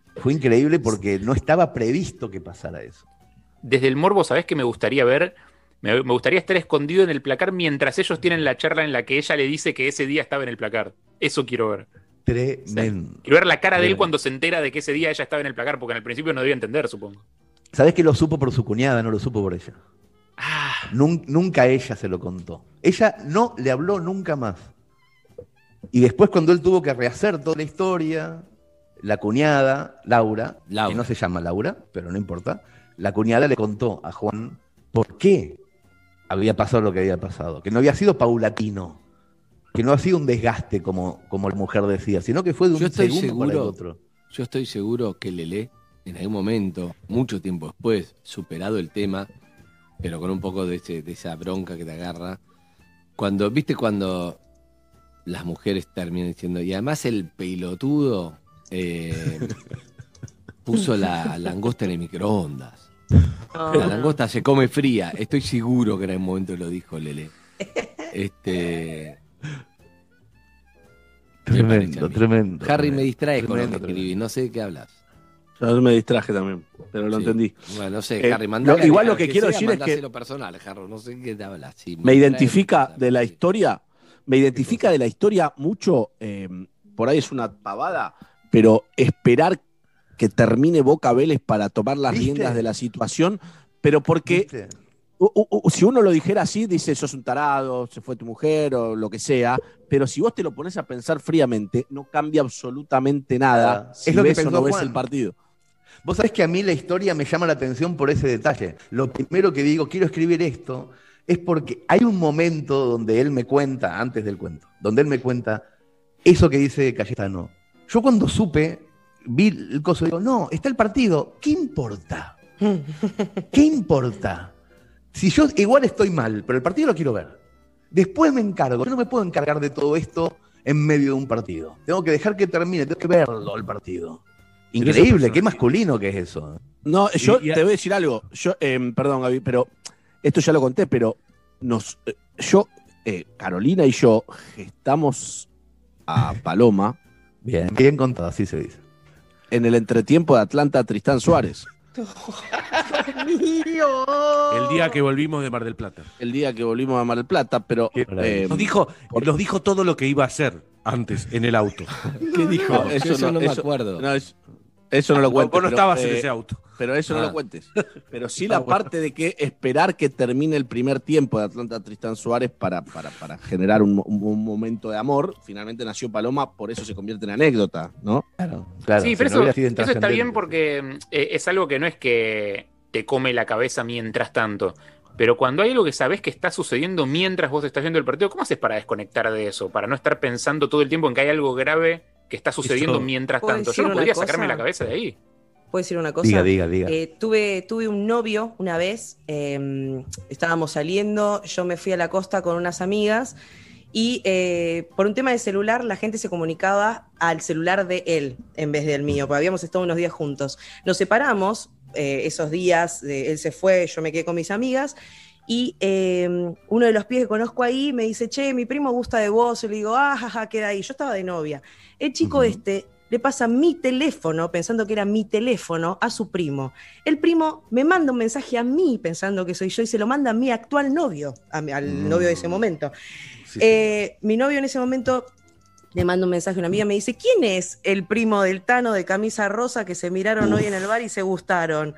increíble porque no estaba previsto que pasara eso.
Desde el morbo, ¿sabés qué me gustaría ver? Me gustaría estar escondido en el placar mientras ellos tienen la charla en la que ella le dice que ese día estaba en el placar. Eso quiero ver.
Tremendo.
Quiero ver la cara de él
Tremendo.
cuando se entera de que ese día ella estaba en el placar, porque en el principio no debía entender, supongo.
¿Sabés que lo supo por su cuñada, no lo supo por ella?
Ah,
Nunca ella se lo contó. Ella no le habló nunca más. Y después cuando él tuvo que rehacer toda la historia, la cuñada, Laura,
Laura.
que no se llama Laura, pero no importa, la cuñada le contó a Juan por qué había pasado lo que había pasado, que no había sido paulatino, que no ha sido un desgaste como la mujer decía, sino que fue de
Yo
un
estoy
segundo para el
seguro,
otro.
yo estoy seguro que Lelé, en algún momento, mucho tiempo después, superado el tema, pero con un poco de esa bronca que te agarra, ¿viste cuando las mujeres terminan diciendo, y además el pelotudo puso la langosta en el microondas? La langosta se come fría. Estoy seguro que en algún momento lo dijo Lele.
Tremendo, tremendo.
Harry, me distrae con lo que
Tremendo,
escribí. No sé de qué hablas.
Yo me distraje también, pero lo
Sí.
entendí.
Bueno, no sé, Harry,
igual lo que quiero decir es que
mandáselo personal, Harry, no sé de qué te hablas. Sí,
me identifica
distrae,
de la
sí.
historia, mucho, por ahí es una pavada, pero esperar que termine Boca Vélez para tomar las
¿Viste?
riendas de la situación, pero porque
¿Viste?
si uno lo dijera así, dice, sos un tarado, se fue tu mujer o lo que sea, pero si vos te lo pones a pensar fríamente, no cambia absolutamente nada si
Es lo que
ves o
pensó
no ves
Juan.
el partido.
Vos sabés que a mí la historia me llama la atención por ese detalle. Lo primero que digo, quiero escribir esto, es porque hay un momento donde él me cuenta, antes del cuento, donde él me cuenta eso que dice Cayetano. Yo cuando supe, vi el coso, digo, no, está el partido, ¿qué importa? ¿Qué importa? Si yo igual estoy mal, pero el partido lo quiero ver. Después me encargo, yo no me puedo encargar de todo esto en medio de un partido. Tengo que dejar que termine, tengo que verlo el partido.
Pero ese
Increíble,
personaje-
qué masculino que es eso.
No, yo
Y- y-
te voy a decir algo. Perdón, Gaby, pero esto ya lo conté, pero Carolina y yo gestamos a Paloma
Bien, bien contado, así se dice.
en el entretiempo de Atlanta Tristán Suárez,
El día que volvimos de Mar del Plata.
el día que volvimos a Mar del Plata, pero
Qué maravilla.
Nos dijo todo lo que iba a hacer antes en el auto.
¿Qué dijo?
No,
Yo eso no me acuerdo.
no, eso no lo cuentes.
Vos no
pero,
estabas en ese auto.
Pero eso no
Ah.
lo cuentes. Pero sí la parte de que esperar que termine el primer tiempo de Atlanta Tristán Suárez para generar un momento de amor. Finalmente nació Paloma, por eso se convierte en anécdota, ¿no?
Claro, claro.
sí,
si
pero
no hubiera sido
eso está bien
intrascendente.
porque es algo que no es que te come la cabeza mientras tanto. Pero cuando hay algo que sabes que está sucediendo mientras vos estás viendo el partido, ¿cómo haces para desconectar de eso? Para no estar pensando todo el tiempo en que hay algo grave que está sucediendo
Eso-
mientras
¿Puedo
tanto.
decir
Yo no
una
podría
cosa?
sacarme la cabeza de ahí.
¿Puedo decir una cosa?
Diga.
Tuve un novio una vez, estábamos saliendo, yo me fui a la costa con unas amigas y por un tema de celular la gente se comunicaba al celular de él en vez del mío, porque habíamos estado unos días juntos. Nos separamos esos días, él se fue, yo me quedé con mis amigas y uno de los pibes que conozco ahí me dice, che, mi primo gusta de vos, y le digo, jaja, queda ahí. Yo estaba de novia. El chico le pasa mi teléfono, pensando que era mi teléfono, a su primo. El primo me manda un mensaje a mí, pensando que soy yo, y se lo manda a mi actual novio, al novio de ese momento. Mi novio en ese momento le manda un mensaje a una amiga, me dice, ¿quién es el primo del Tano de camisa rosa que se miraron hoy en el bar y se gustaron?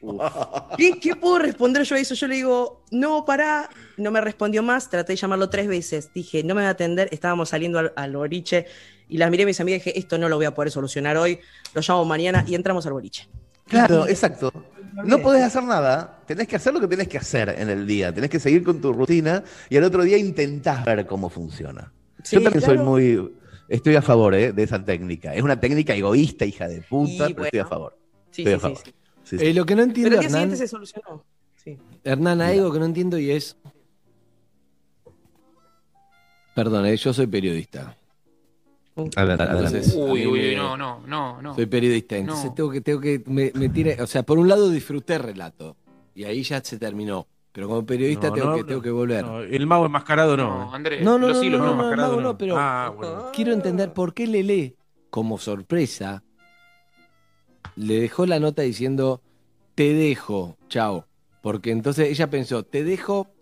¿Qué puedo responder yo a eso? Yo le digo, no, pará. No me respondió más, traté de llamarlo 3 veces. Dije, no me va a atender, estábamos saliendo al boliche y las miré a mis amigas y dije, esto no lo voy a poder solucionar hoy, lo llamo mañana y entramos al boliche.
Claro, exacto. No podés hacer nada, tenés que hacer lo que tenés que hacer en el día, tenés que seguir con tu rutina y al otro día intentás ver cómo funciona.
Sí,
Yo también
claro.
estoy a favor de esa técnica. Es una técnica egoísta, hija de puta,
Y
pero estoy a
bueno.
favor.
Sí,
Estoy a
sí,
favor.
sí.
Sí, sí.
Lo que no
Pero
entiendo,
el día
Hernán,
siguiente se solucionó. Sí.
Hernán, hay algo que no entiendo y es... Perdón, yo soy periodista. Entonces, a
Uy,
mí
uy,
me-
no.
Soy periodista, entonces
No.
tengo que me tire, o sea, por un lado disfruté el relato y ahí ya se terminó, pero como periodista tengo que volver.
No, el mago enmascarado no.
No, Andrés,
No,
los hilos no.
enmascarado
no, pero
bueno.
quiero entender por qué Lele, como sorpresa, le dejó la nota diciendo, te dejo, chao. Porque entonces ella pensó, te dejo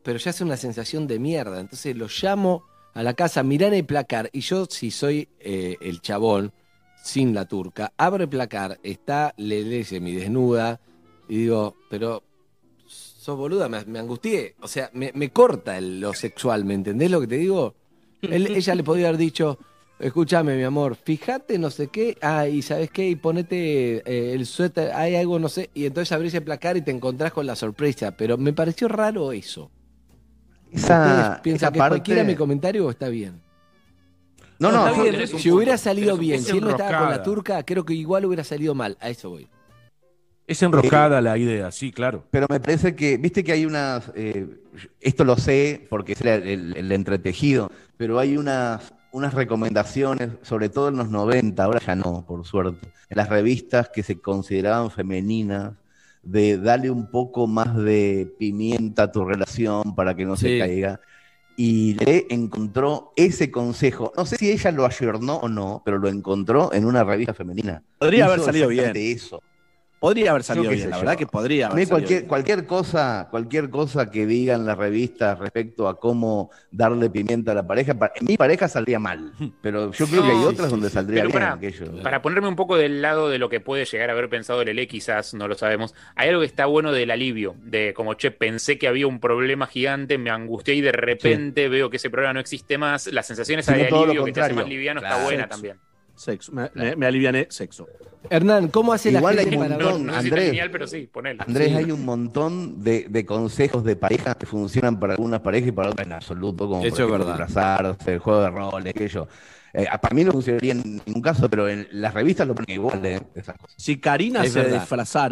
pero ya es una sensación de mierda. Entonces lo llamo a la casa, mirá en el placar, y yo, si soy el chabón, sin la turca, abro el placar, está Lele semidesnuda, y digo, pero sos boluda, me angustié. O sea, me corta lo sexual, ¿me entendés lo que te digo? Ella le podía haber dicho, escúchame, mi amor, fíjate no sé qué, y ¿sabes qué? Y ponete el suéter, hay algo, no sé, y entonces abrís el placar y te encontrás con la sorpresa. Pero me pareció raro eso. ¿Ustedes piensan que cualquiera mi comentario o está bien?
No,
está bien,
Si hubiera salido bien,
es
si él no estaba con la
enroscada.
turca, creo que igual hubiera salido mal. A eso voy.
Es enroscada la idea, sí, claro.
pero me parece que, viste que hay unas, esto lo sé porque es el entretejido, pero hay unas recomendaciones, sobre todo en los 90, ahora ya no, por suerte, en las revistas que se consideraban femeninas, de darle un poco más de pimienta a tu relación para que no se
Sí.
caiga. Y le encontró ese consejo. No sé si ella lo ayornó o no, pero lo encontró en una revista femenina.
Podría haber
Hizo
salido
exactamente
bien.
eso.
Podría haber
Yo
salido
qué
bien,
sé
la
yo.
verdad que podría
A mí
haber salido bien.
cualquier cosa que digan las revistas respecto a cómo darle pimienta a la pareja, en mi pareja saldría mal, pero yo creo que hay
No,
otras donde saldría
Pero
bien
para,
aquello.
para ponerme un poco del lado de lo que puede llegar a haber pensado Lele, quizás no lo sabemos, hay algo que está bueno del alivio, de como, che, pensé que había un problema gigante, me angustié y de repente veo que ese problema no existe más, la sensación esa
Sino
de
todo lo
alivio que te hace más
contrario.
liviano
Claro.
está buena
Sexo.
también.
Sexo. Me aliviané, sexo.
Hernán, ¿cómo hace
Igual
la
hay
gente
un
para
No,
montón,
no sé si
Andrés.
está genial, pero sí, ponele.
Andrés,
Sí.
hay un montón de consejos de pareja que funcionan para algunas parejas y para otras en absoluto, como
Eso
por
es
ejemplo
verdad.
disfrazarse, el juego de roles, aquello. Para mí no funcionaría en ningún caso, pero en las revistas lo ponen igual, esas cosas.
Si Karina
Es
se
verdad.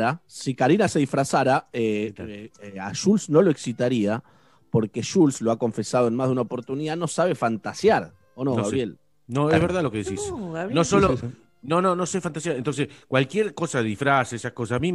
disfrazara, a Jules no lo excitaría, porque Jules lo ha confesado en más de una oportunidad, no sabe fantasear, ¿o no,
No sé.
Gabriel?
No, es verdad lo que decís.
No, Gabriel.
No solo.
Sí, sí, sí.
No sé fantasía. Entonces, cualquier cosa de disfraz, esas cosas, a mí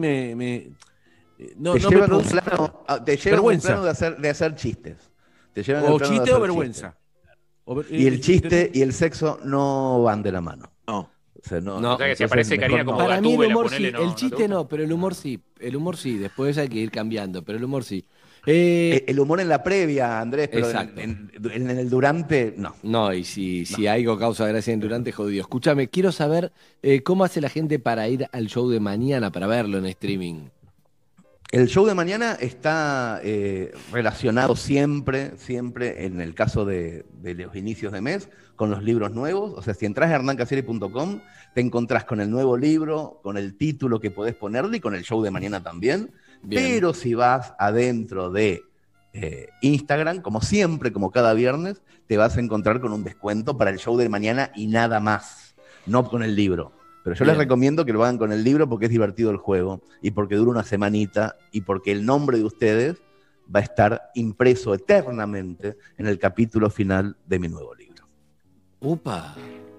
no
Te
me
llevan a un
produce
plano, te llevan a un
vergüenza.
plano de hacer chistes. Te llevan al
O
plano de
chiste o
hacer
vergüenza.
chistes. Y el chiste y el sexo no van de la mano.
No.
O sea, no,
No.
O sea que si
entonces
aparece
mejor
Karina
no.
como
Para mí el
Gatúbela,
humor
ponele,
sí,
no,
el
¿no te
chiste
gusta?
no, pero el humor sí. El humor sí, después hay que ir cambiando, pero el humor sí.
El humor en la previa, Andrés, pero
Exacto.
en el durante, no.
No, y si algo causa gracia en durante, jodido. Escúchame, quiero saber cómo hace la gente para ir al show de mañana, para verlo en streaming.
El show de mañana está relacionado siempre, en el caso de los inicios de mes, con los libros nuevos. O sea, si entras a hernancasieri.com, te encontrás con el nuevo libro, con el título que podés ponerle y con el show de mañana también.
Bien.
Pero si vas adentro de Instagram, como siempre, como cada viernes, te vas a encontrar con un descuento para el show de mañana y nada más, no con el libro. Pero yo les
Bien.
recomiendo que lo hagan con el libro porque es divertido el juego y porque dura una semanita y porque el nombre de ustedes va a estar impreso eternamente en el capítulo final de mi nuevo libro.
Upa.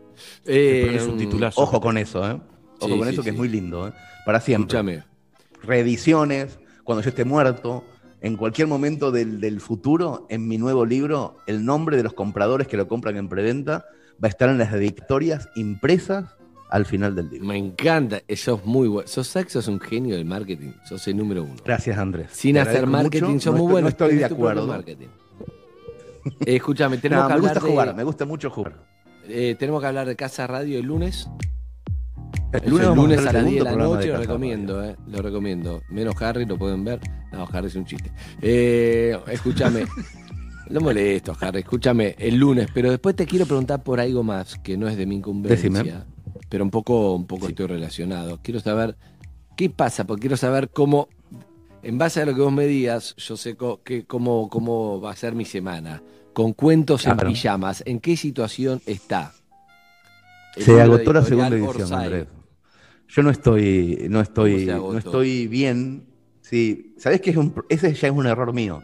Es un titulazo.
Ojo con eso, ¿eh? Ojo
Sí,
con
sí,
eso que
sí.
es muy lindo, ¿eh? Para siempre.
Escúchame.
Reediciones, cuando yo esté muerto, en cualquier momento del futuro, en mi nuevo libro, el nombre de los compradores que lo compran en preventa va a estar en las dedicatorias impresas al final del libro.
Me encanta, sos muy bueno. Sos un genio del marketing, sos el número uno.
Gracias, Andrés.
Sin
Te
hacer
agradezco
marketing,
mucho.
sos
No
muy
estoy-
bueno.
No estoy de
tenés tu propio
acuerdo.
marketing. Escúchame, tenemos
No,
que
me
hablar
gusta
de,
jugar, me gusta mucho jugar.
tenemos que hablar de Casa Radio el lunes.
El
El
vamos
lunes
hacer
a
el
las 10 de
segundo
la
programa
noche,
de
lo
Casa
recomiendo, lo recomiendo. Menos Harry, lo pueden ver. No, Harry es un chiste. Escúchame. No molesto, Harry, escúchame el lunes, pero después te quiero preguntar por algo más que no es de mi incumbencia,
Decime.
pero un poco
Sí.
estoy relacionado. Quiero saber qué pasa, porque quiero saber cómo, en base a lo que vos me digas, yo sé cómo va a ser mi semana. Con cuentos en
Claro.
pijamas, ¿en qué situación está? El
Se
libro
agotó la
editorial
segunda edición,
Orsay.
Andrés. Yo no
¿Cómo se agotó?
no estoy bien. Sí, ¿sabés qué? Ese ya es un error mío.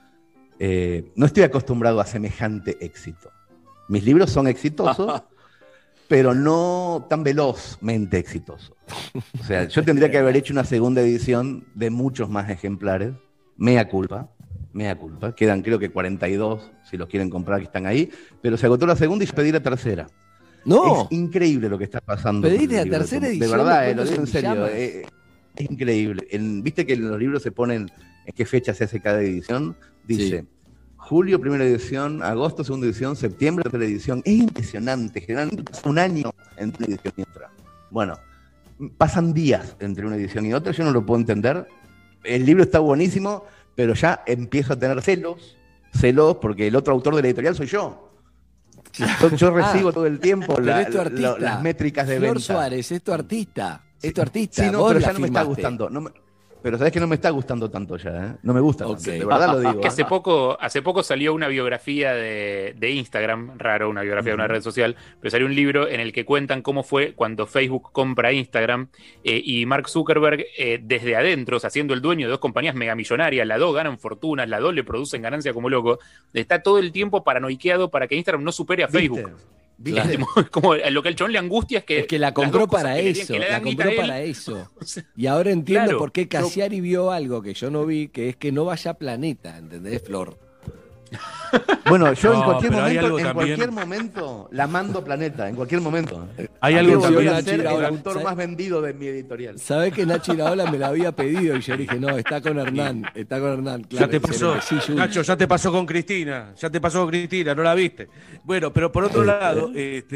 No estoy acostumbrado a semejante éxito. Mis libros son exitosos, pero no tan velozmente exitosos. O sea, yo tendría que haber hecho una segunda edición de muchos más ejemplares. Mea culpa. Quedan creo que 42, si los quieren comprar, que están ahí. Pero se agotó la segunda y yo pedí la tercera.
No,
Es increíble lo que está pasando.
Pediste
con el
la
libro.
tercera
De
edición
verdad,
de
lo digo en
Cuentos en
serio.
Pijamas.
Es increíble. Viste que en los libros se ponen en qué fecha se hace cada edición. Dice, julio, primera edición, agosto, segunda edición, septiembre, tercera edición. Es impresionante, generalmente pasa un año entre una edición y otra. Bueno, pasan días entre una edición y otra, yo no lo puedo entender. El libro está buenísimo, pero ya empiezo a tener celos porque el otro autor de la editorial soy yo. Yo recibo todo el tiempo
Pero es tu artista.
las métricas de
Flor
venta.
Suárez es tu artista. Es tu artista.
Sí, no,
Vos
pero
la
ya no me está
firmaste.
gustando. Pero sabes que no me está gustando tanto ya, ¿eh? No me gusta
Ok.
tanto, de verdad lo digo.
Que hace poco salió una biografía de Instagram, raro, una biografía de una red social, pero salió un libro en el que cuentan cómo fue cuando Facebook compra Instagram y Mark Zuckerberg desde adentro, o sea, siendo el dueño de dos compañías megamillonarias, las dos ganan fortunas, las dos le producen ganancia como loco, está todo el tiempo paranoiqueado para que Instagram no supere a Facebook.
¿Viste?
Como lo que al chabón le angustia es que
la
las
compró
dos cosas
para
que le
eso.
que le
La
dan guita
compró
a él,
para eso.
o sea,
Y ahora entiendo
Claro.
por qué Cassiari vio algo que yo no vi, que es que no vaya a Planeta, ¿entendés, Flor?
Bueno, yo
No,
en cualquier
pero hay algo
momento,
también.
la mando a Planeta, en cualquier momento.
Hay
Yo
algo
voy
también.
a ser el
Ahora,
autor
¿sabes?
más vendido de mi editorial.
¿Sabés que Nacho Iraola me lo había pedido? Y yo le dije, no, está con Hernán. Está con Hernán.
Ya
Claro,
te pasó,
excelente. Sí, Juli.
Nacho, ya te pasó con Cristina, no la viste. Bueno, pero por otro lado,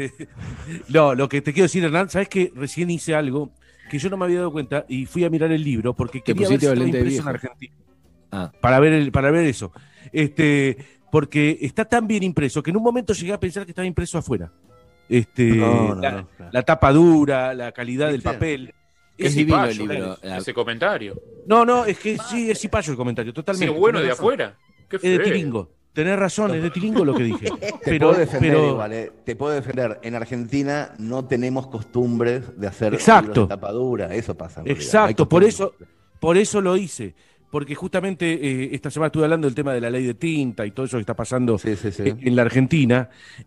no, lo que te quiero decir, Hernán, sabes que recién hice algo que yo no me había dado cuenta y fui a mirar el libro porque quería ver
pusiste
si estaba
lente de
impreso en
viejo.
Argentina.
Ah.
Para ver eso. Porque está tan bien impreso que en un momento llegué a pensar que estaba impreso afuera.
No,
la
claro.
tapa dura, la calidad del
¿Viste?
papel.
Es divino el
cipayo,
libro.
ese comentario.
No, es que sí, es cipayo el comentario,
Sí,
totalmente.
bueno
tenés
de
razón.
afuera. Qué
Es de
feo.
Tilingo. Tenés razón, es de Tilingo lo que dije.
Te puedo defender igual, te puedo defender. En Argentina no tenemos costumbres de hacer
Exacto.
libros de tapadura, eso pasa. En realidad.
Exacto,
Hay costumbres.
por eso lo hice. Porque justamente esta semana estuve hablando del tema de la ley de tinta y todo eso que está pasando
Sí, sí, sí.
en la Argentina.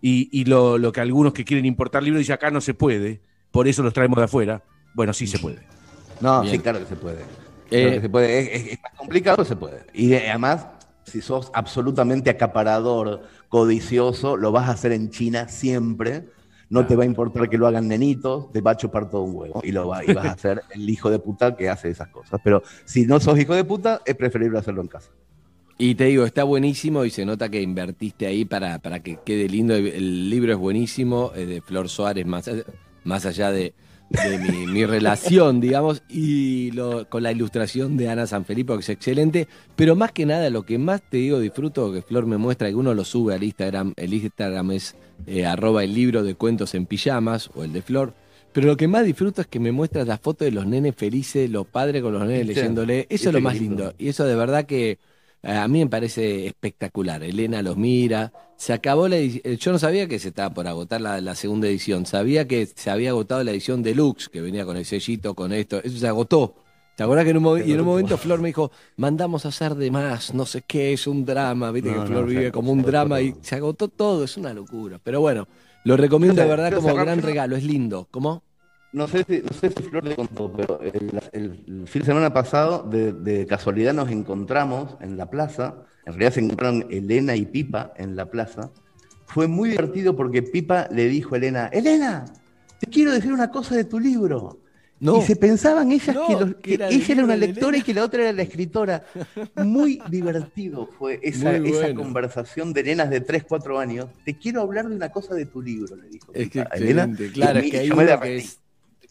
Y lo que algunos que quieren importar libros dicen acá no se puede, por eso los traemos de afuera. Bueno, sí se puede.
No,
Bien.
sí, claro que se puede. Claro que se puede. Es más complicado, se puede. Y además, si sos absolutamente acaparador, codicioso, lo vas a hacer en China siempre. No te va a importar que lo hagan nenitos, te va a chupar todo un huevo. Y vas a ser el hijo de puta que hace esas cosas. Pero si no sos hijo de puta, es preferible hacerlo en casa.
Y te digo, está buenísimo y se nota que invertiste ahí para que quede lindo. El libro es buenísimo, es de Flor Suárez, más allá de mi relación, digamos, y con la ilustración de Ana Sanfilippo, que es excelente. Pero más que nada, lo que más te digo, disfruto, que Flor me muestra, que uno lo sube al Instagram. El Instagram es @el libro de cuentos en pijamas, o el de Flor. Pero lo que más disfruto es que me muestras las fotos de los nenes felices, los padres con los nenes
¿Viste?
leyéndole. Eso es lo más lindo. Y eso de verdad que a mí me parece espectacular. Elena los mira. Se acabó la edición. Yo no sabía que se estaba por agotar la segunda edición. Sabía que se había agotado la edición deluxe, que venía con el sellito, con esto. Eso se agotó. ¿Te acuerdas que en un momento Flor me dijo, mandamos a hacer de más, no sé qué, es un drama? Viste que Flor vive como un drama y se agotó todo, es una locura. Pero bueno, lo recomiendo de verdad como gran regalo, es lindo. ¿Cómo?
No sé si Flor le contó, pero el fin de semana pasado, de casualidad, nos encontramos en la plaza. En realidad se encontraron Elena y Pipa en la plaza. Fue muy divertido porque Pipa le dijo a Elena, Elena, te quiero decir una cosa de tu libro.
No.
Y se pensaban ellas
No,
que
era el
ella era
libro
una
de
lectora
Elena.
y que la otra era la escritora. Muy divertido fue esa
Muy bueno.
conversación de nenas de 3, 4 años. Te quiero hablar de una cosa de tu libro, le dijo
Es que
Pipa a Elena.
excelente, claro,
Y
es que hay
yo me
uno que
derretí.
es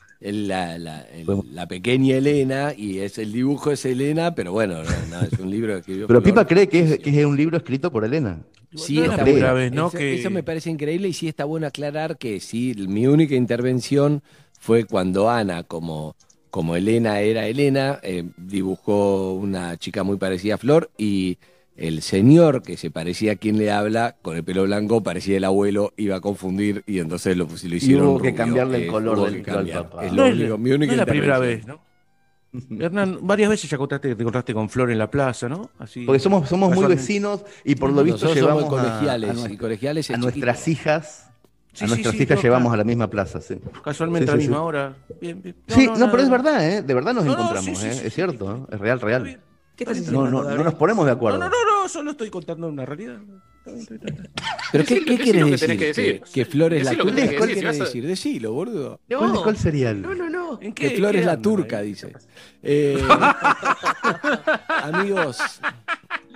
la pequeña Elena y el dibujo es Elena, pero bueno, no, es un libro que escribió
Pero
Flor.
Pipa cree que es un libro escrito por Elena.
Sí,
No es la
está
primera
bueno.
vez, ¿no?
Eso me parece increíble y sí está bueno aclarar que sí, mi única intervención fue cuando Ana, como Elena era Elena, dibujó una chica muy parecida a Flor y el señor que se parecía a quien le habla, con el pelo blanco, parecía el abuelo, iba a confundir y entonces lo hicieron
hubo que
rubio,
cambiarle el color
hubo
del
que
pelo al
cambiar.
papá.
Es
No
lo
es,
único, mi
no
única
es la primera vez,
intervención.
¿no? Hernán, varias veces ya te encontraste con Flor en la plaza, ¿no? Así,
Porque somos muy
casualmente.
vecinos y por lo visto
Nosotros somos
llevamos
colegiales, y colegiales
a
es
nuestras
chiquito.
hijas.
Sí,
A nuestras
sí,
hijas
no,
llevamos
claro.
a la misma plaza, sí.
Casualmente
Sí,
a la
sí,
misma
sí.
hora. Bien, bien.
Sí, no,
nada.
pero es verdad, ¿eh? De verdad nos
No, no,
encontramos,
sí,
¿eh?
sí, sí.
Es cierto, ¿eh? Es real,
Está
real.
bien.
¿Qué estás
No,
diciendo?
no, no nos ponemos de
No,
acuerdo.
no, solo estoy contando una realidad. Está bien.
¿Pero qué
Decí lo
quieres
que
decir?
tenés que decir.
¿Que Flor es la
Decí lo que
turca?
tenés que
¿Cuál
decir,
quieres
si vas a-
decir? Decilo, boludo.
¿Cuál sería el?
No.
¿En
Que
qué?
Flor es la
andan
turca,
ahí?
dice. Amigos,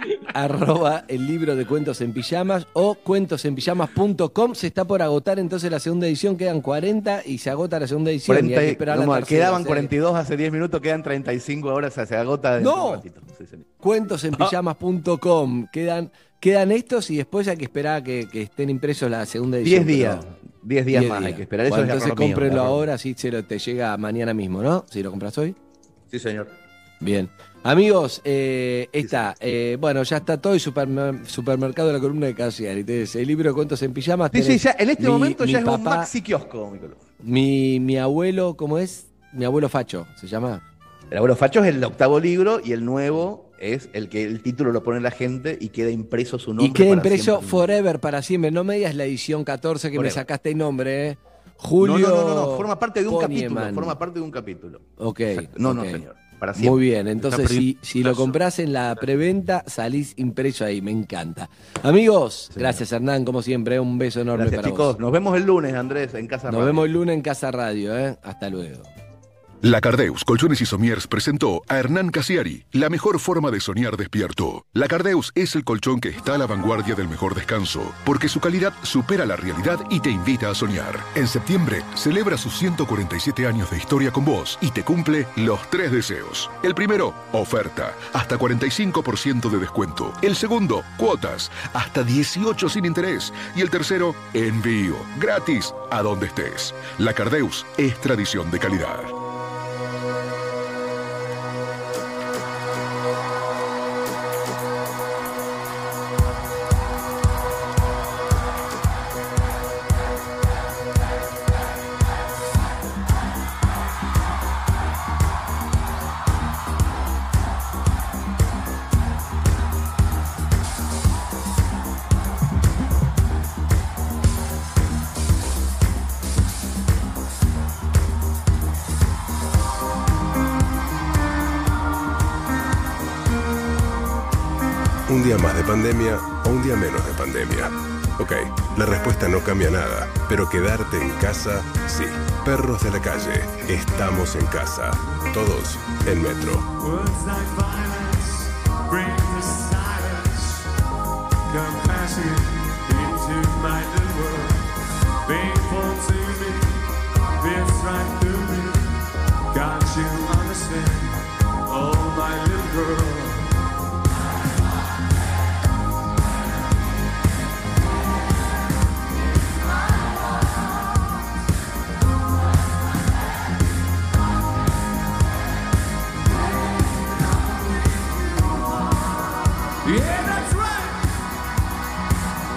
arroba el libro de Cuentos en Pijamas o cuentosenpijamas.com. Se está por agotar entonces la segunda edición, quedan 40 y se agota la segunda edición.
40,
y hay que esperar la tercera,
quedaban 42 hace 10 minutos, quedan 35 ahora, o sea, se agota dentro de un ratito. Sí, señor.
Cuentosenpijamas.com. Quedan estos y después hay que esperar a que estén impresos la segunda edición.
10 días. 10 días
10
más
días.
hay que esperar. Eso
Bueno,
es
entonces
error mío,
cómprenlo
error.
ahora, así te llega mañana mismo, ¿no? Si lo compras hoy.
Sí, señor.
Bien. Amigos, bueno, ya está todo el supermercado de la columna de Cassiari. Entonces, el libro de Cuentos en Pijamas.
Sí, sí, ya en este momento ya es un
papá,
maxi kiosco.
mi abuelo, ¿cómo es? Mi abuelo Facho, ¿se llama?
El abuelo Facho es el 8º libro y el nuevo es el que el título lo pone la gente y queda impreso su nombre.
Y queda
para
impreso
siempre.
forever, para siempre. No me digas la edición 14 que
Forever.
me sacaste el nombre, ¿eh? Julio.
No, forma parte de un
Ponieman.
capítulo. Forma parte de un capítulo.
Ok.
Exacto. No,
ok.
no, señor. Para siempre.
Muy bien, entonces
Está
si lo compras en la preventa, salís impreso ahí, me encanta. Amigos,
Señor.
gracias Hernán, como siempre, un beso enorme
Gracias,
para
chicos.
vos.
Nos vemos el lunes, Andrés, en Casa
Nos
Radio.
vemos el lunes en Casa Radio, ¿eh? Hasta luego.
La Cardeus Colchones y Somiers presentó a Hernán Cassiari, la mejor forma de soñar despierto. La Cardeus es el colchón que está a la vanguardia del mejor descanso, porque su calidad supera la realidad y te invita a soñar. En septiembre, celebra sus 147 años de historia con vos y te cumple los 3 deseos. El primero, oferta, hasta 45% de descuento. El segundo, cuotas, hasta 18 sin interés. Y el tercero, envío, gratis, a donde estés. La Cardeus es tradición de calidad.
Un día más de pandemia o un día menos de pandemia. Ok, la respuesta no cambia nada, pero quedarte en casa, sí. Perros de la calle, estamos en casa. Todos en Metro.
Words like violence bring the silence. Come passing into my little world. Painful to me, it's right through me. Can't you understand? Oh, my little girl. Yeah, that's right.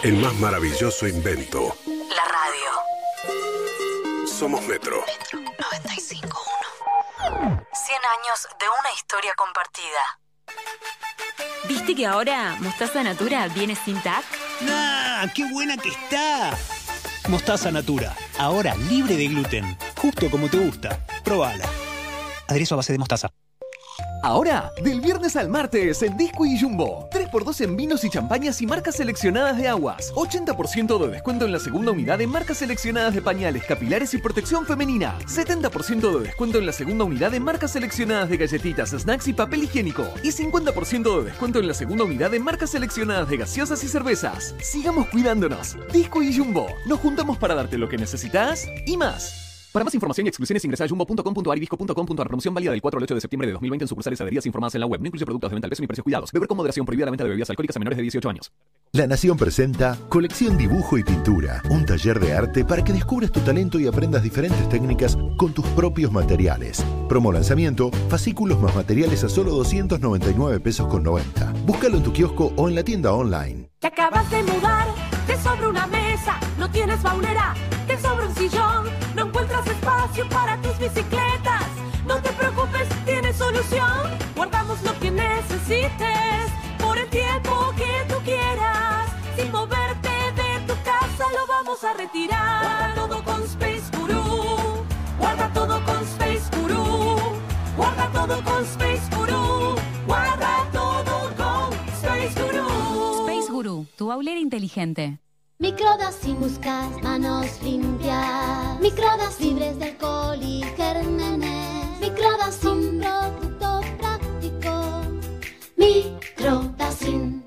el más maravilloso invento.
La radio.
Somos Metro.
Metro 95.1. 100 años de una historia compartida.
¿Viste que ahora Mostaza Natura viene sin TAC?
¡Ah! ¡Qué buena que está! Mostaza Natura, ahora libre de gluten, justo como te gusta. Probala. Aderezo a base de mostaza.
Ahora, del viernes al martes en Disco y Jumbo. 3x2 en vinos y champañas y marcas seleccionadas de aguas. 80% de descuento en la segunda unidad en marcas seleccionadas de pañales, capilares y protección femenina. 70% de descuento en la segunda unidad en marcas seleccionadas de galletitas, snacks y papel higiénico. Y 50% de descuento en la segunda unidad en marcas seleccionadas de gaseosas y cervezas. Sigamos cuidándonos. Disco y Jumbo. Nos juntamos para darte lo que necesitas y más. Para más información y exclusiones ingresa a jumbo.com.ar y disco.com.ar. Promoción válida del 4 al 8 de septiembre de 2020 en sucursales adheridas informadas en la web. No incluye productos de venta al peso ni precios cuidados. Beber con moderación. Prohibida la venta de bebidas alcohólicas a menores de 18 años.
La Nación presenta Colección Dibujo y Pintura, un taller de arte para que descubras tu talento y aprendas diferentes técnicas con tus propios materiales. Promo lanzamiento, fascículos más materiales a solo 299 pesos con 90. Búscalo en tu kiosco o en la tienda online.
Te acabas de mudar, te sobra una mesa, no tienes baulera, te sobra un sillón, no encuentras espacio para tus bicicletas. No te preocupes, tienes solución. Guardamos lo que necesites por el tiempo que tú quieras. Sin moverte de tu casa lo vamos a retirar. Guarda todo con Space Guru. Guarda todo con Space Guru. Guarda todo con Space Guru. Guarda todo con Space Guru.
Space Guru, tu baulera inteligente.
Microdas sin buscar manos limpias. Microdas libres de alcohol y gérmenes. Microdas sin producto práctico. Microdas sin.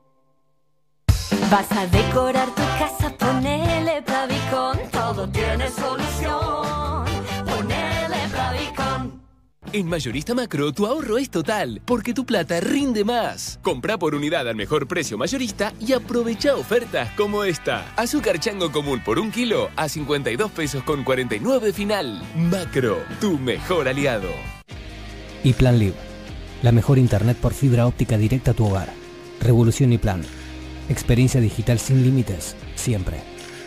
Vas a decorar tu casa, ponele Plavicon. Todo tiene solución. Ponele Plavicon.
En Mayorista Macro, tu ahorro es total, porque tu plata rinde más. Comprá por unidad al mejor precio mayorista y aprovecha ofertas como esta. Azúcar chango común por 1 kilo a 52 pesos con 49 final. Macro, tu mejor aliado.
Y Plan Live, la mejor internet por fibra óptica directa a tu hogar. Revolución y Plan. Experiencia digital sin límites, siempre.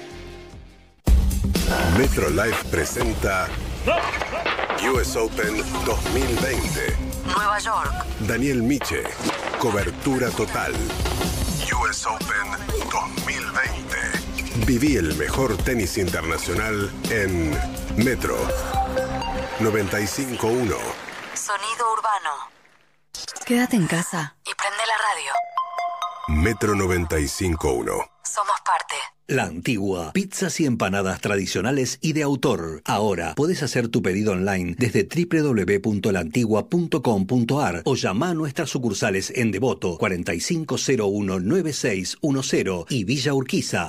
Metro Live presenta US Open 2020.
Nueva York.
Daniel Miche. Cobertura total. US Open 2020. Viví el mejor tenis internacional en Metro 95.1.
Sonido urbano.
Quédate en casa
Y prende la radio.
Metro 95.1.
Somos parte.
La Antigua, pizzas y empanadas tradicionales y de autor. Ahora podés hacer tu pedido online desde www.laantigua.com.ar o llama a nuestras sucursales en Devoto 4501-9610 y Villa Urquiza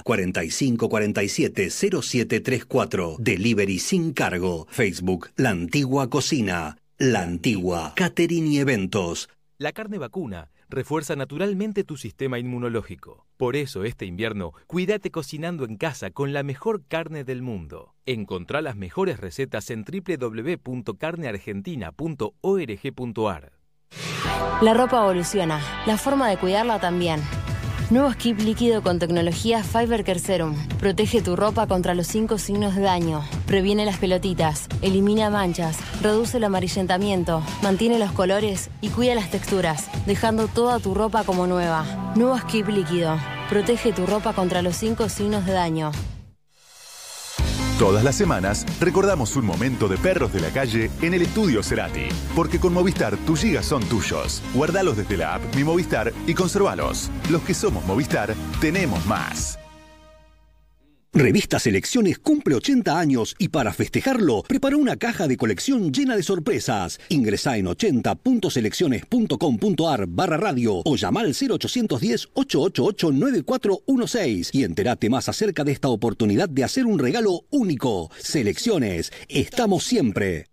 4547-0734. Delivery sin cargo. Facebook La Antigua Cocina. La Antigua, catering y eventos.
La carne vacuna refuerza naturalmente tu sistema inmunológico. Por eso este invierno, cuídate cocinando en casa con la mejor carne del mundo. Encontrá las mejores recetas en www.carneargentina.org.ar.
La ropa evoluciona, la forma de cuidarla también. Nuevo Skip líquido con tecnología Fiber Care Serum. Protege tu ropa contra los 5 signos de daño. Previene las pelotitas, elimina manchas, reduce el amarillentamiento, mantiene los colores y cuida las texturas, dejando toda tu ropa como nueva. Nuevo Skip líquido. Protege tu ropa contra los 5 signos de daño.
Todas las semanas recordamos un momento de perros de la calle en el estudio Cerati. Porque con Movistar tus gigas son tuyos. Guardalos desde la app Mi Movistar y conservalos. Los que somos Movistar tenemos más.
Revista Selecciones cumple 80 años y para festejarlo preparó una caja de colección llena de sorpresas. Ingresá en 80.selecciones.com.ar/radio o llama al 0810-888-9416 y entérate más acerca de esta oportunidad de hacer un regalo único. Selecciones, estamos siempre.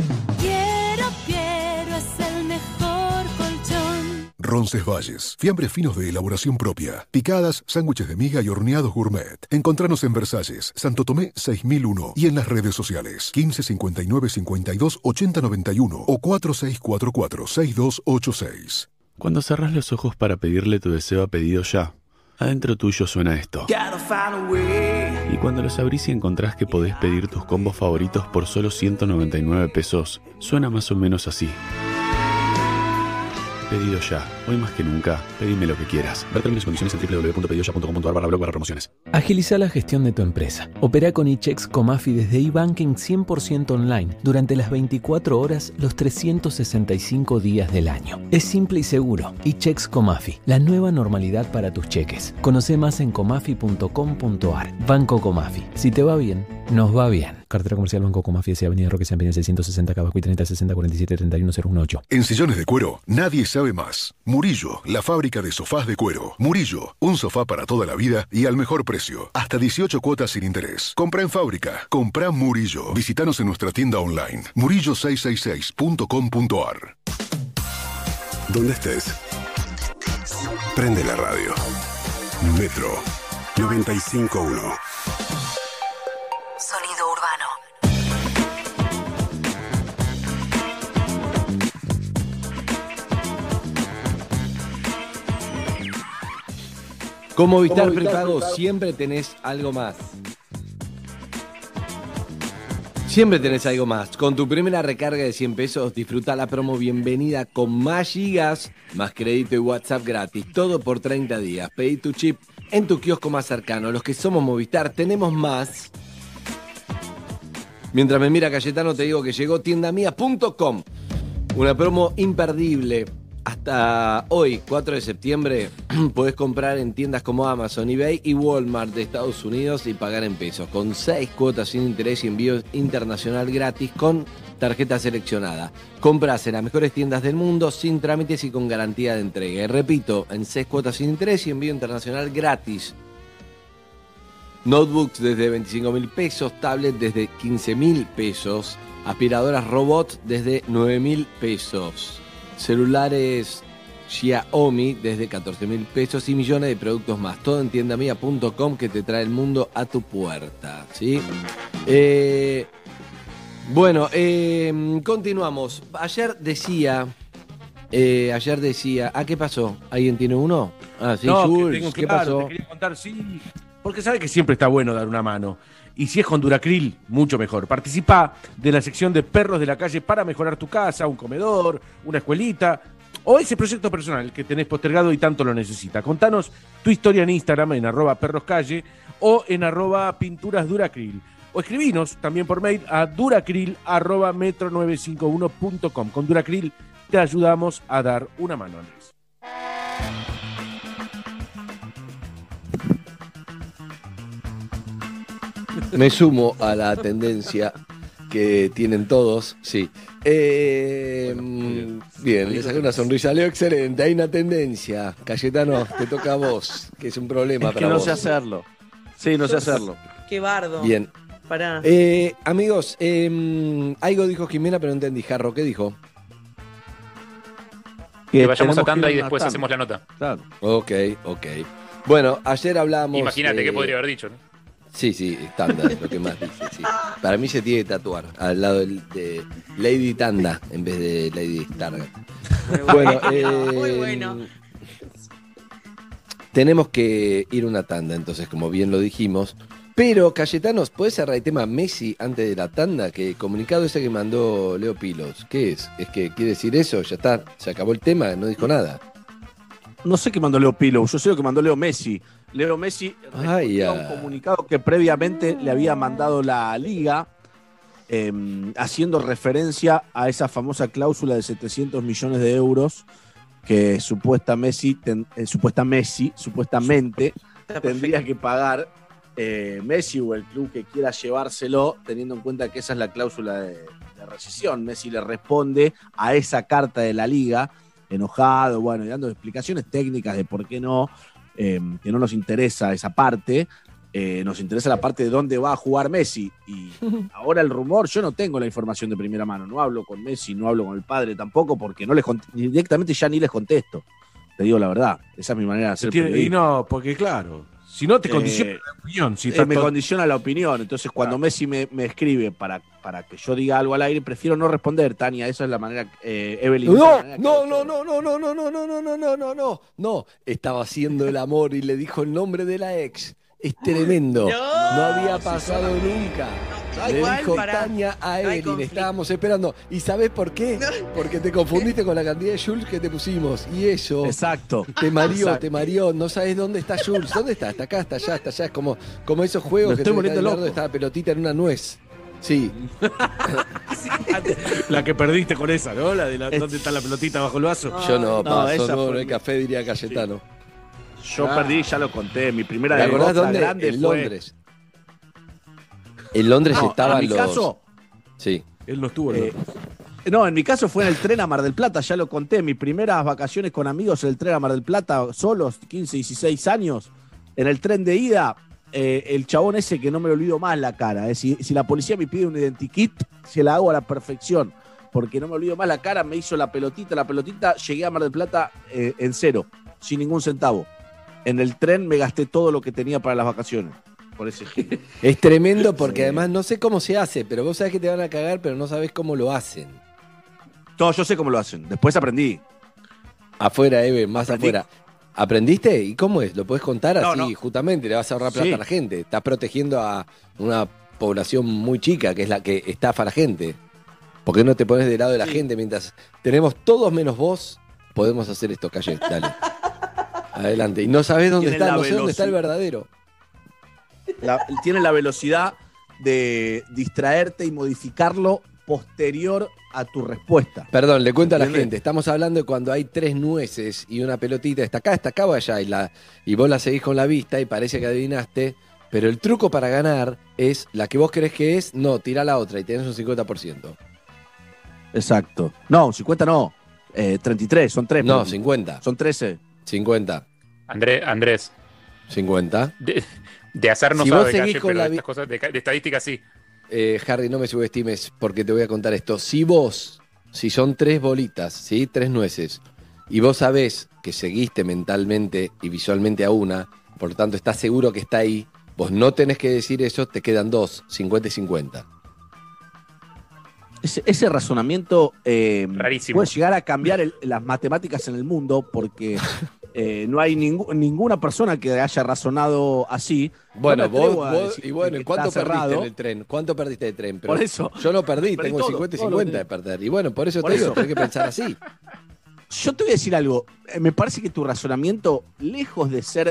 Piero es el mejor colchón.
Roncesvalles, fiambres finos de elaboración propia, picadas, sándwiches de miga y horneados gourmet. Encontranos en Versalles, Santo Tomé 6001 y en las redes sociales 15 59 52 80 91 o 4644 6286.
Cuando cerrás los ojos para pedirle tu deseo a pedido ya,
Adentro tuyo suena esto. Y cuando los abrís y encontrás que podés pedir tus combos favoritos por solo 199 pesos, suena más o menos así. Pedido ya. Hoy más que nunca, pedime lo que quieras. Ver términos y condiciones en www.pedidoya.com.ar/blog/promociones.
Agiliza la gestión de tu empresa. Opera con eChecks Comafi desde eBanking 100% online durante las 24 horas, los 365 días del año. Es simple y seguro. eChecks Comafi, la nueva normalidad para tus cheques. Conoce más en comafi.com.ar. Banco Comafi. Si te va bien, nos va bien. Cartera comercial Banco Comafi, Avenida Roque San Peña 660, Cabasco y 30 60 47 31 018.
En sillones de cuero, nadie sabe más. Murillo, la fábrica de sofás de cuero. Murillo, un sofá para toda la vida y al mejor precio. Hasta 18 cuotas sin interés. Compra en fábrica. Compra Murillo. Visítanos en nuestra tienda online. murillo666.com.ar.
Donde estés, prende la radio. Metro 95.1.
Sonido urbano.
Con Movistar Prepago siempre tenés algo más. Siempre tenés algo más. Con tu primera recarga de 100 pesos, disfruta la promo bienvenida con más gigas, más crédito y WhatsApp gratis. Todo por 30 días. Pedí tu chip en tu kiosco más cercano. Los que somos Movistar tenemos más. Mientras me mira Cayetano, te digo que llegó tiendamia.com. Una promo imperdible. Hasta hoy, 4 de septiembre, podés comprar en tiendas como Amazon, eBay y Walmart de Estados Unidos y pagar en pesos, con 6 cuotas sin interés y envío internacional gratis con tarjeta seleccionada. Comprás en las mejores tiendas del mundo, sin trámites y con garantía de entrega. Y repito, en 6 cuotas sin interés y envío internacional gratis. Notebooks desde 25.000 pesos, tablet desde 15.000 pesos, aspiradoras robot desde 9.000 pesos. Celulares Xiaomi desde 14.000 pesos y millones de productos más. Todo en tiendamia.com, que te trae el mundo a tu puerta, ¿sí? Continuamos. Ayer decía... ¿qué pasó? ¿Alguien tiene uno? Ah, sí,
no,
Jules, ¿qué pasó?
Te quería contar, sí, porque sabe que siempre está bueno dar una mano. Y si es con Duracril, mucho mejor. Participa de la sección de Perros de la Calle para mejorar tu casa, un comedor, una escuelita o ese proyecto personal que tenés postergado y tanto lo necesita. Contanos tu historia en Instagram en @perroscalle o en @pinturasduracril. O escribinos también por mail a duracril@metro951.com. Con Duracril te ayudamos a dar una mano, Andrés.
Me sumo a la tendencia que tienen todos, sí. Bien, le saqué una sonrisa. Leo, excelente, hay una tendencia. Cayetano, te toca a vos, que es un problema
es que
para
no
vos.
sé hacerlo. Sí, no sé hacerlo.
Qué bardo.
Bien.
Pará.
Amigos, algo dijo Jimena, pero no entendí. Jarro, ¿qué dijo?
Que vayamos a tanda y después hacemos la nota.
Claro.
Ok. Bueno, ayer hablábamos...
Imagínate qué podría haber dicho, ¿no?
Sí, Tanda es lo que más dice, sí. Para mí se tiene que tatuar al lado de Lady Tanda en vez de Lady Stargate.
Muy bueno.
Tenemos que ir a una tanda, entonces, como bien lo dijimos. Pero, Cayetanos, ¿podés cerrar el tema Messi antes de la tanda? Que el comunicado ese que mandó Leo Pilos, ¿qué es? ¿Es que quiere decir eso? Ya está, se acabó el tema, no dijo nada.
No sé qué mandó Leo Pilo, yo sé lo que mandó Leo Messi. Leo Messi respondió a un comunicado que previamente le había mandado la Liga, haciendo referencia a esa famosa cláusula de 700 millones de euros que supuestamente tendría que pagar Messi o el club que quiera llevárselo, teniendo en cuenta que esa es la cláusula de rescisión. Messi le responde a esa carta de la Liga, enojado, bueno, y dando explicaciones técnicas de por qué no, que no nos interesa esa parte, nos interesa la parte de dónde va a jugar Messi. Y ahora el rumor, yo no tengo la información de primera mano, no hablo con Messi, no hablo con el padre tampoco, porque no les directamente ya ni les contesto. Te digo la verdad, esa es mi manera de hacer periodismo.
Y no, porque claro, Si no, te condiciona la opinión. Si
me condiciona la opinión. Entonces, cuando Messi me escribe para que yo diga algo al aire, prefiero no responder, Tania. Esa es la manera, Evelyn.
No. Estaba haciendo el amor y le dijo el nombre de la ex. Es tremendo. No había pasado nunca. Le dijo Tania a Evelyn, estábamos esperando. ¿Y sabés por qué? Porque te confundiste con la cantidad de Jules que te pusimos. Y eso te mareó. No sabes dónde está Jules. ¿Dónde está? Está acá, está allá, está allá. Es como esos juegos que te están dando, está la pelotita en una nuez. Sí.
La que perdiste con esa, ¿no? La de ¿dónde está la pelotita bajo el vaso?
Yo no hay café, diría Cayetano.
Yo perdí, ya lo conté. Mi primera
¿Te acordás dónde?
Grande
en
fue...
Londres. En Londres estaban
en mi caso,
Sí.
Él no estuvo en Londres.
No, en mi caso fue en el tren a Mar del Plata, ya lo conté. Mis primeras vacaciones con amigos en el tren a Mar del Plata, solos, 15, 16 años. En el tren de ida, el chabón ese que no me lo olvido más la cara. Si la policía me pide un identikit, se la hago a la perfección. Porque no me olvido más la cara, me hizo la pelotita, llegué a Mar del Plata en cero, sin ningún centavo. En el tren me gasté todo lo que tenía para las vacaciones. Por ese giro.
Es tremendo porque además no sé cómo se hace, pero vos sabés que te van a cagar, pero no sabés cómo lo hacen.
No, yo sé cómo lo hacen. Después aprendí.
Afuera, Eve, más afuera. ¿Aprendiste? ¿Y cómo es? ¿Lo podés contar así?
No.
Justamente, le vas a ahorrar plata a la gente. Estás protegiendo a una población muy chica, que es la que estafa a la gente. ¿Por qué no te pones del lado de la gente mientras tenemos todos menos vos? Podemos hacer esto, Calle. Dale. Adelante. Y no sabés dónde está, no sé dónde está el verdadero.
Tiene la velocidad de distraerte y modificarlo posterior a tu respuesta.
Perdón, le cuento a la gente. Estamos hablando de cuando hay 3 nueces y una pelotita. Está acá o allá. Y vos la seguís con la vista y parece que adivinaste. Pero el truco para ganar es la que vos crees que es, no, tirá la otra y tenés un 50%.
Exacto. No, 50 no. 33, son 3.
No, 50.
Son 13.
50.
Andrés.
50.
De azar no
si
sabe,
vos seguís
Calle,
con
pero
la
estas cosas de estadística sí.
Harry, no me subestimes porque te voy a contar esto. Si son 3 bolitas, ¿sí? 3 nueces, y vos sabés que seguiste mentalmente y visualmente a una, por lo tanto estás seguro que está ahí, vos no tenés que decir eso, te quedan 2, 50 y 50.
Ese razonamiento
rarísimo.
Puede llegar a cambiar las matemáticas en el mundo porque no hay ninguna persona que haya razonado así.
Bueno,
no
vos y bueno, ¿cuánto perdiste en el tren? ¿Cuánto perdiste de tren? Pero
por eso.
Yo no perdí tengo todo, 50 y 50 de perder. Y bueno, por eso te digo, tenés que pensar así.
Yo te voy a decir algo. Me parece que tu razonamiento, lejos de ser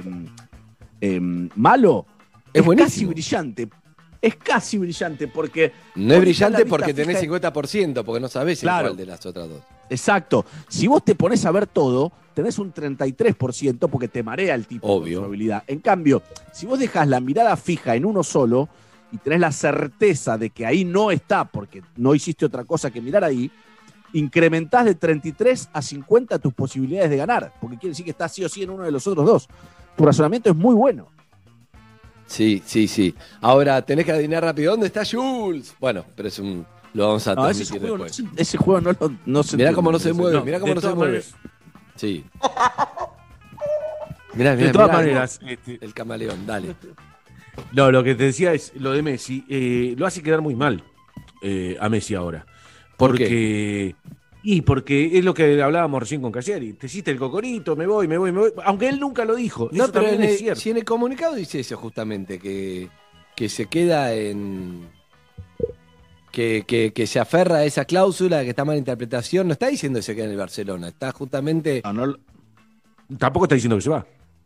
malo, es casi brillante. Es casi brillante porque...
No es brillante porque tenés 50%, porque no sabés cuál de las otras dos.
Exacto. Si vos te pones a ver todo, tenés un 33% porque te marea el tipo de probabilidad. En cambio, si vos dejás la mirada fija en uno solo y tenés la certeza de que ahí no está porque no hiciste otra cosa que mirar ahí, incrementás de 33 a 50 tus posibilidades de ganar, porque quiere decir que estás sí o sí en uno de los otros dos. Tu razonamiento es muy bueno.
Sí. Ahora tenés que adivinar rápido. ¿Dónde está Jules? Bueno, pero lo vamos a transmitir después.
Ese juego no se
mirá cómo no se mueve, mirá cómo no se mueve. Sí. Mirá,
de todas maneras,
el camaleón, dale.
No, lo que te decía es lo de Messi. Lo hace quedar muy mal a Messi ahora. Porque es lo que hablábamos recién con Cassiari. Te hiciste el cocorito, me voy. Aunque él nunca lo dijo.
No,
eso
pero
también es cierto.
Si en el comunicado dice eso justamente, que se queda en... Que se aferra a esa cláusula, que está mala interpretación. No está diciendo que se queda en el Barcelona. Está justamente...
Tampoco está diciendo que se va.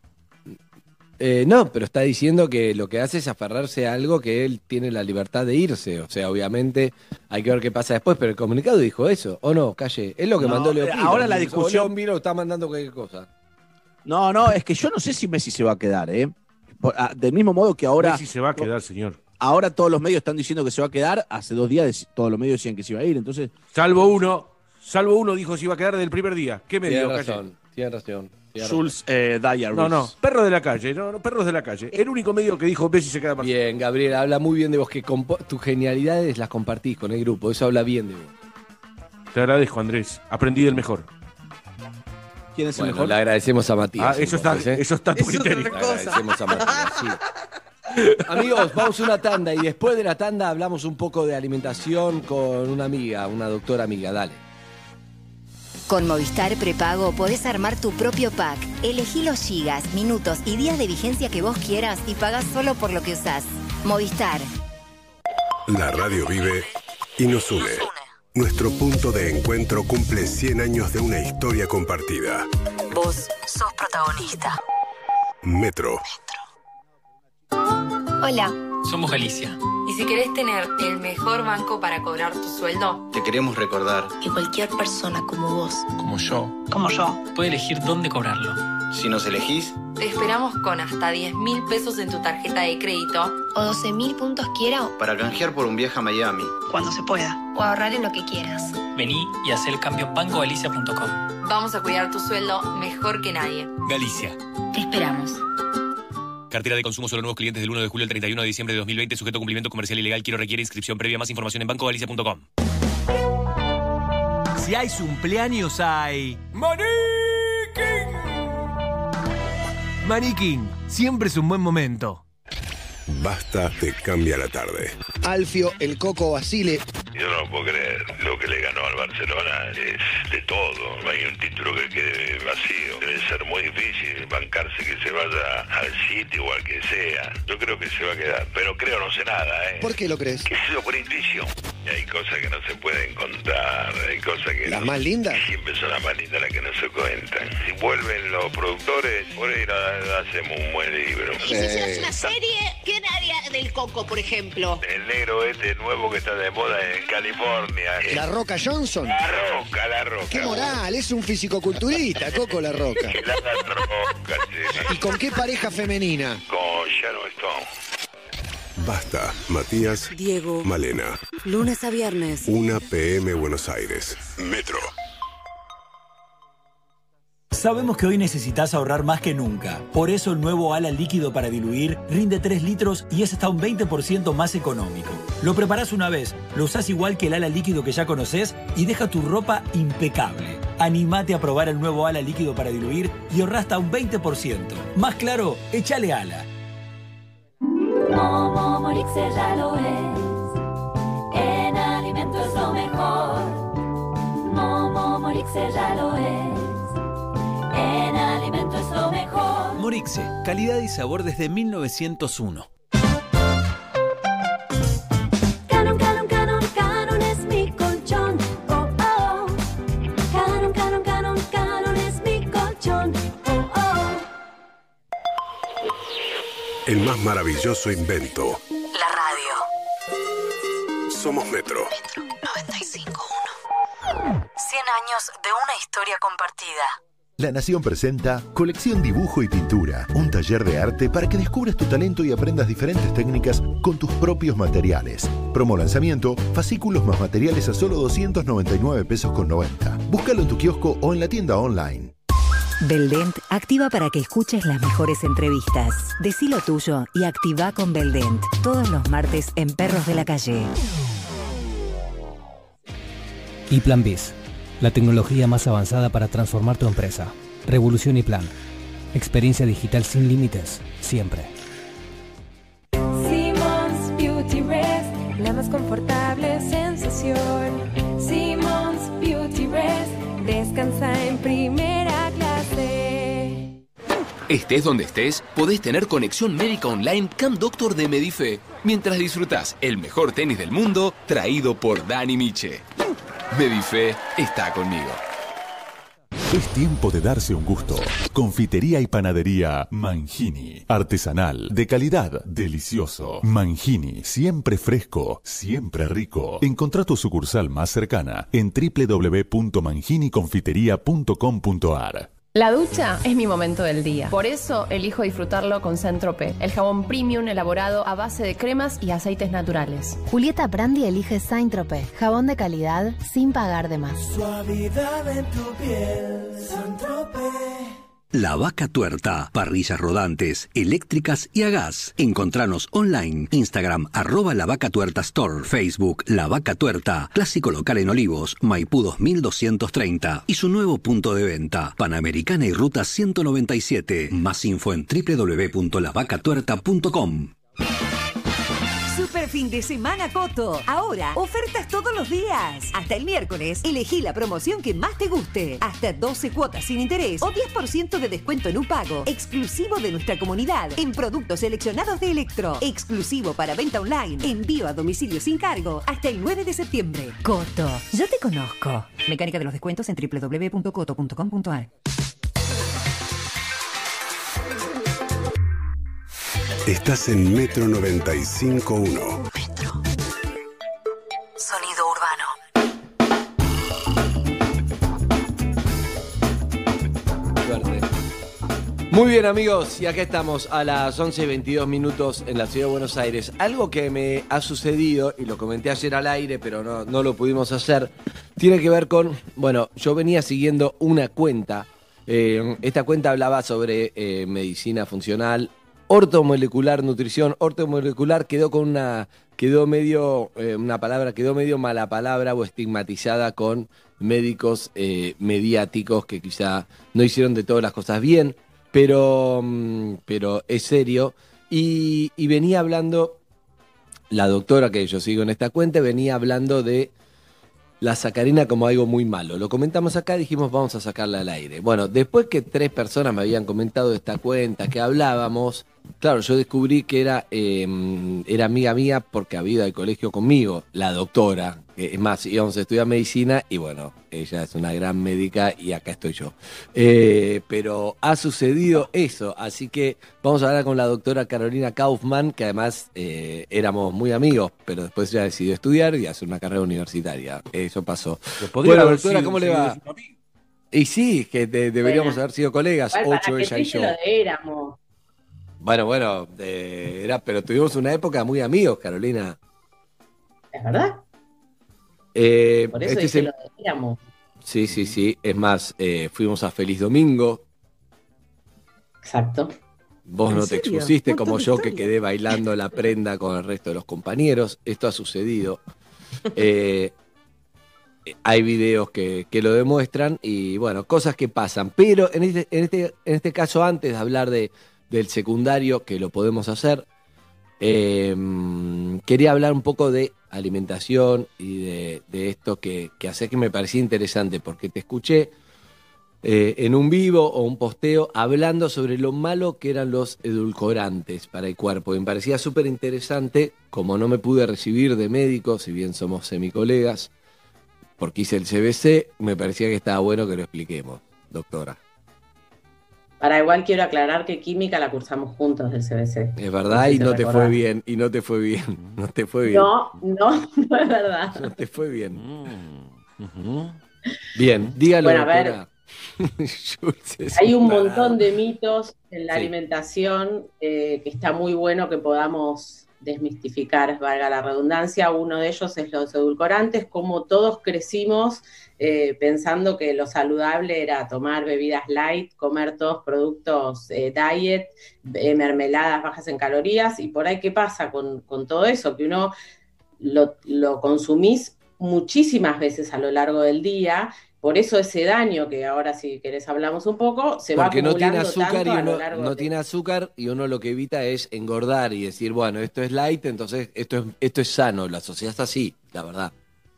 No, pero está diciendo que lo que hace es aferrarse a algo que él tiene la libertad de irse. O sea, obviamente hay que ver qué pasa después, pero el comunicado dijo eso, ¿o no, Calle? Es lo que mandó Leo Pino.
Ahora la discusión...
Leo Pino está mandando cualquier cosa.
No, es que yo no sé si Messi se va a quedar, del mismo modo que ahora...
Messi se va a quedar, señor.
Ahora todos los medios están diciendo que se va a quedar. Hace 2 días todos los medios decían que se iba a ir, entonces...
Salvo uno dijo que se iba a quedar del primer día. ¿Qué medio, Calle?
Tiene razón.
Schulz Diaries.
No, perros de la calle, perros de la calle. El único medio que dijo Messi se queda más.
Bien, Gabriel, habla muy bien de vos, que tus genialidades las compartís con el grupo, eso habla bien de vos.
Te agradezco, Andrés, aprendí del mejor.
¿Quién es el
Bueno,
mejor?
le agradecemos a Matías.
Eso está a tu
Eso es
criterio.
otra
Le
cosa.
agradecemos a Matías, sí. Amigos, vamos a una tanda y después de la tanda hablamos un poco de alimentación con una amiga, una doctora amiga. Dale.
Con Movistar Prepago podés armar tu propio pack. Elegí los gigas, minutos y días de vigencia que vos quieras y pagás solo por lo que usás. Movistar.
La radio vive y nos une. Nuestro punto de encuentro cumple 100 años de una historia compartida.
Vos sos protagonista.
Metro.
Hola.
Somos Galicia.
¿Y si querés tener el mejor banco para cobrar tu sueldo?
Te queremos recordar
Que cualquier persona como vos,
como yo, puede elegir dónde cobrarlo. Si nos elegís,
te esperamos con hasta 10.000 pesos en tu tarjeta de crédito o 12.000 puntos quiera
para canjear por un viaje a Miami.
cuando se pueda o ahorrar en lo que quieras.
Vení y hacé el cambio en bancogalicia.com.
Vamos a cuidar tu sueldo mejor que nadie.
Galicia.
Te esperamos.
Cartera de consumo solo nuevos clientes del 1 de julio al 31 de diciembre de 2020, sujeto a cumplimiento comercial ilegal. Quiero requiere inscripción previa. Más información en bancogalicia.com.
Si hay cumpleaños, hay... Maniquín, siempre es un buen momento.
Basta te cambia la tarde.
Alfio, el Coco Basile.
Yo no puedo creer, lo que le ganó al Barcelona es de todo, no hay un título que quede vacío. Debe ser muy difícil bancarse que se vaya al City o al que sea. Yo creo que se va a quedar, pero creo no sé nada, ¿eh?
¿Por qué lo crees?
Que ha sido por intuición. Hay cosas que no se pueden contar, hay cosas que...
¿Las más lindas?
Siempre son las más lindas las que no se cuentan. Si vuelven los productores, por ahí hacemos un buen libro.
Y si hicieras una serie, ¿quién haría del Coco, por ejemplo?
El negro este nuevo que está de moda en California.
¿La Roca Johnson?
La Roca.
¡Qué moral! Es un fisicoculturista, Coco La Roca.
La Roca, sí.
¿Y con qué pareja femenina?
Con Sharon Stone.
Basta, Matías,
Diego,
Malena.
lunes a viernes.
1 p.m. Buenos Aires. Metro.
Sabemos que hoy necesitas ahorrar más que nunca. Por eso el nuevo ala líquido para diluir rinde 3 litros y es hasta un 20% más económico. Lo preparás una vez, lo usás igual que el ala líquido que ya conocés y deja tu ropa impecable. Animate a probar el nuevo ala líquido para diluir y ahorrá hasta un 20%. Más claro, échale ala.
Momo Morixe ya lo es. En alimento es lo mejor. Momo Morixe ya lo es. En alimento es lo mejor.
Morixe, calidad y sabor desde 1901.
Canon, Canon, Canon, Canon es mi colchón. Oh, oh. Canon, Canon, Canon, Canon es mi colchón. Oh, oh.
El más maravilloso invento.
La radio.
Somos Metro.
Metro 95.1. 100 años de una historia compartida.
La Nación presenta Colección Dibujo y Pintura, un taller de arte para que descubras tu talento y aprendas diferentes técnicas con tus propios materiales. Promo lanzamiento, fascículos más materiales a solo 299 pesos con 90. Búscalo en tu kiosco o en la tienda online.
Beldent activa para que escuches las mejores entrevistas. Decí lo tuyo y activa con Beldent. Todos los martes en Perros de la Calle.
Y Plan Biz, la tecnología más avanzada para transformar tu empresa. Revolución y Plan. Experiencia digital sin límites, siempre.
Simmons Beauty Rest, la más confortable sensación. Simmons Beauty Rest, descansa en primera clase.
Estés donde estés, podés tener conexión médica online Camp Doctor de Medife, mientras disfrutás el mejor tenis del mundo, traído por Dani Miche. Medife está conmigo.
Es tiempo de darse un gusto. Confitería y panadería Mangini. Artesanal, de calidad, delicioso. Mangini, siempre fresco, siempre rico. Encontrá tu sucursal más cercana en www.manginiconfiteria.com.ar.
La ducha es mi momento del día. Por eso elijo disfrutarlo con Saint-Tropez, el jabón premium elaborado a base de cremas y aceites naturales.
Julieta Prandi elige Saint-Tropez, jabón de calidad sin pagar de más.
Suavidad en tu piel, Saint-Tropez.
La Vaca Tuerta. Parrillas rodantes, eléctricas y a gas. Encontranos online. Instagram @La Vaca Tuerta Store. Facebook La Vaca Tuerta. Clásico local en Olivos, Maipú 2230. Y su nuevo punto de venta, Panamericana y Ruta 197. Más info en www.lavacatuerta.com.
Super fin de semana Coto. Ahora, ofertas todos los días. Hasta el miércoles, elegí la promoción que más te guste. Hasta 12 cuotas sin interés o 10% de descuento en un pago. Exclusivo de nuestra comunidad. En productos seleccionados de Electro. Exclusivo para venta online. Envío a domicilio sin cargo. Hasta el 9 de septiembre. Coto, yo te conozco. Mecánica de los descuentos en www.coto.com.ar.
Estás en Metro 95.1.
Metro. Sonido urbano.
Muy bien, amigos, y acá estamos a las 11:22 en la ciudad de Buenos Aires. Algo que me ha sucedido, y lo comenté ayer al aire, pero no lo pudimos hacer, tiene que ver con, bueno, yo venía siguiendo una cuenta. Esta cuenta hablaba sobre medicina funcional, ortomolecular, nutrición. Ortomolecular quedó medio mala palabra o estigmatizada con médicos mediáticos que quizá no hicieron de todas las cosas bien, pero es serio. Y venía hablando, la doctora que yo sigo en esta cuenta, venía hablando de la sacarina como algo muy malo. Lo comentamos acá, dijimos vamos a sacarla al aire. Bueno, después que 3 personas me habían comentado de esta cuenta, que hablábamos, claro, yo descubrí que era amiga mía porque había ido al colegio conmigo, la doctora. Es más, íbamos a estudiar medicina y bueno, ella es una gran médica y acá estoy yo. Pero ha sucedido eso, así que vamos a hablar con la doctora Carolina Kaufmann, que además éramos muy amigos, pero después ella decidió estudiar y hacer una carrera universitaria. Eso pasó. Bueno, doctora, ¿cómo le va? Y sí, que deberíamos haber sido colegas,
Igual,
8 ella y yo.
Lo éramos.
Bueno, pero tuvimos una época muy amigos, Carolina.
¿Es verdad? Por eso
Este
lo éramos.
Sí. Es más, fuimos a Feliz Domingo.
Exacto.
Vos no te expusiste como yo, que quedé bailando la prenda con el resto de los compañeros. Esto ha sucedido. Hay videos que lo demuestran y bueno, cosas que pasan. Pero en este caso, antes de hablar del secundario, que lo podemos hacer, quería hablar un poco de alimentación y de esto que hace, que me parecía interesante, porque te escuché en un vivo o un posteo hablando sobre lo malo que eran los edulcorantes para el cuerpo. Y me parecía súper interesante, como no me pude recibir de médico, si bien somos semicolegas, porque hice el CBC, me parecía que estaba bueno que lo expliquemos, doctora.
Para igual quiero aclarar que química la cursamos juntos del CBC.
Es verdad, y no te fue bien, No te fue bien.
No es verdad.
No te fue bien. Bien, dígalo,
bueno, a
doctora.
Ver, hay un montón de mitos en la alimentación que está muy bueno que podamos desmistificar, valga la redundancia. Uno de ellos es los edulcorantes, como todos crecimos pensando que lo saludable era tomar bebidas light, comer todos productos diet, mermeladas bajas en calorías, y por ahí ¿qué pasa con todo eso? Que uno lo consumís muchísimas veces a lo largo del día. Por eso ese daño, que ahora si querés hablamos un poco, se va acumulando tanto a lo largo
no tiene azúcar, y uno lo que evita es engordar y decir, bueno, esto es light, entonces esto es sano. La sociedad está así, la verdad.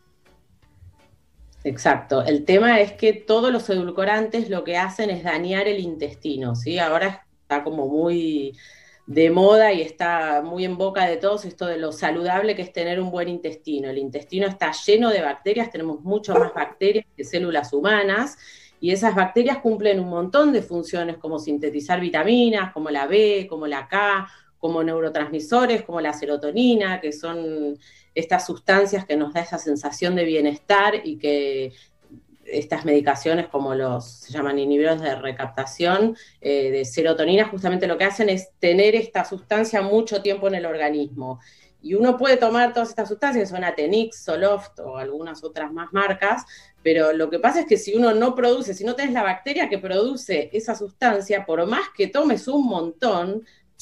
Exacto. El tema es que todos los edulcorantes lo que hacen es dañar el intestino, ¿sí? Ahora está como muy de moda y está muy en boca de todos esto de lo saludable que es tener un buen intestino. El intestino está lleno de bacterias, tenemos mucho más bacterias que células humanas, y esas bacterias cumplen un montón de funciones como sintetizar vitaminas, como la B, como la K, como neurotransmisores, como la serotonina, que son estas sustancias que nos da esa sensación de bienestar, y que estas medicaciones como se llaman inhibidores de recaptación de serotonina, justamente lo que hacen es tener esta sustancia mucho tiempo en el organismo. Y uno puede tomar todas estas sustancias, que son Atenix, Zoloft o algunas otras más marcas, pero lo que pasa es que si uno no produce, si no tenés la bacteria que produce esa sustancia, por más que tomes un montón,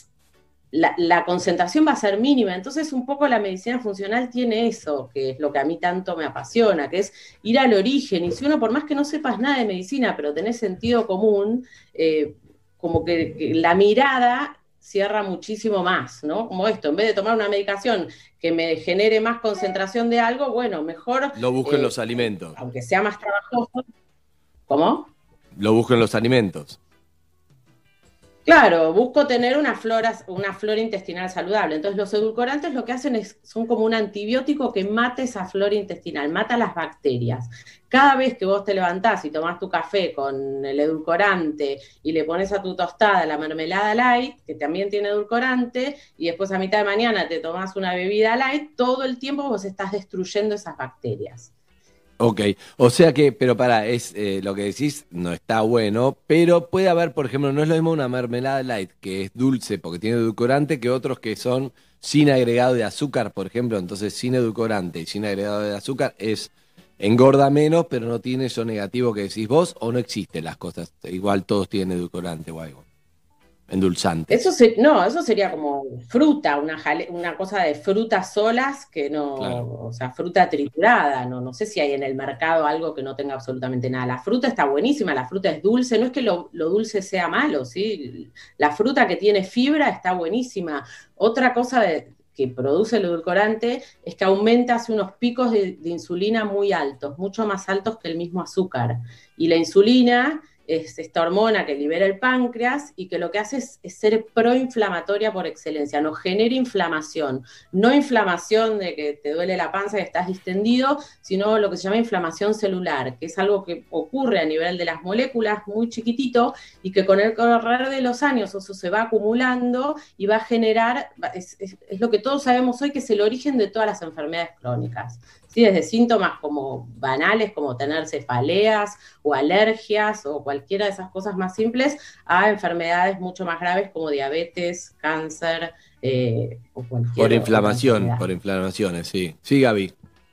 la concentración va a ser mínima. Entonces un poco la medicina funcional tiene eso, que es lo que a mí tanto me apasiona, que es ir al origen. Y si uno, por más que no sepas nada de medicina, pero tenés sentido común, como que la mirada cierra muchísimo más, ¿no? Como esto, en vez de tomar una medicación que me genere más concentración de algo, bueno, mejor...
Lo busco en los alimentos.
Aunque sea más trabajoso. ¿Cómo?
Lo busco en los alimentos.
Claro, busco tener una flora intestinal saludable. Entonces los edulcorantes lo que hacen son como un antibiótico que mata esa flora intestinal, mata las bacterias. Cada vez que vos te levantás y tomás tu café con el edulcorante y le pones a tu tostada la mermelada light, que también tiene edulcorante, y después a mitad de mañana te tomás una bebida light, todo el tiempo vos estás destruyendo esas bacterias.
Ok, o sea que, pero lo que decís no está bueno, pero puede haber, por ejemplo, no es lo mismo una mermelada light que es dulce porque tiene edulcorante que otros que son sin agregado de azúcar, por ejemplo. Entonces sin edulcorante y sin agregado de azúcar engorda menos, pero no tiene eso negativo que decís vos, o no existen las cosas, igual todos tienen edulcorante o algo. Endulzante.
Eso sería como fruta, una cosa de frutas solas que no, claro. O sea, fruta triturada, no sé si hay en el mercado algo que no tenga absolutamente nada. La fruta está buenísima, la fruta es dulce, no es que lo dulce sea malo, ¿sí? La fruta que tiene fibra está buenísima. Otra cosa que produce el edulcorante es que hace unos picos de insulina muy altos, mucho más altos que el mismo azúcar. Y la insulina es esta hormona que libera el páncreas y que lo que hace es ser proinflamatoria por excelencia, nos genera inflamación, no inflamación de que te duele la panza y estás distendido, sino lo que se llama inflamación celular, que es algo que ocurre a nivel de las moléculas muy chiquitito y que con el correr de los años eso se va acumulando y va a generar, es lo que todos sabemos hoy, que es el origen de todas las enfermedades crónicas. Sí, desde síntomas como banales, como tener cefaleas o alergias o cualquiera de esas cosas más simples, a enfermedades mucho más graves como diabetes, cáncer o cualquier
Por inflamaciones, sí. Sí, Gaby.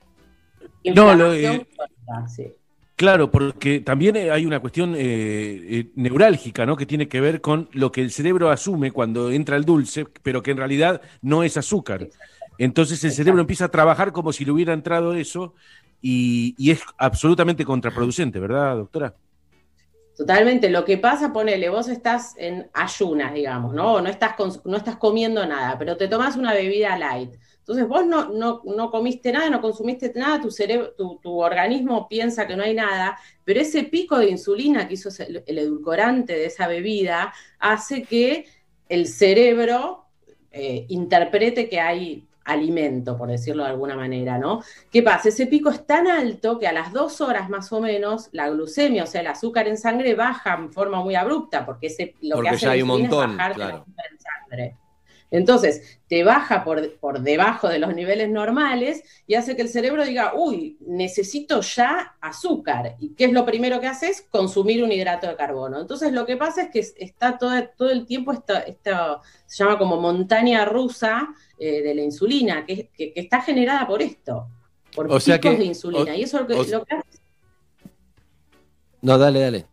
Sí.
Claro, porque también hay una cuestión neurálgica, ¿no? Que tiene que ver con lo que el cerebro asume cuando entra el dulce, pero que en realidad no es azúcar. Entonces el cerebro empieza a trabajar como si le hubiera entrado eso y es absolutamente contraproducente, ¿verdad, doctora?
Totalmente. Lo que pasa, ponele, vos estás en ayunas, digamos, ¿no? No estás comiendo nada, pero te tomás una bebida light. Entonces vos no comiste nada, no consumiste nada, tu cerebro, tu organismo piensa que no hay nada, pero ese pico de insulina que hizo el edulcorante de esa bebida hace que el cerebro interprete que hay alimento, por decirlo de alguna manera, ¿no? ¿Qué pasa? Ese pico es tan alto que a las 2 horas más o menos la glucemia, o sea, el azúcar en sangre, baja en forma muy abrupta, porque lo que hace la insulina es bajar el azúcar en sangre. Entonces, te baja por debajo de los niveles normales y hace que el cerebro diga, uy, necesito ya azúcar. ¿Y qué es lo primero que hace? Es consumir un hidrato de carbono. Entonces, lo que pasa es que está todo el tiempo, se llama como montaña rusa de la insulina, que está generada por esto, por picos de insulina. Y eso es lo que hace.
No, dale.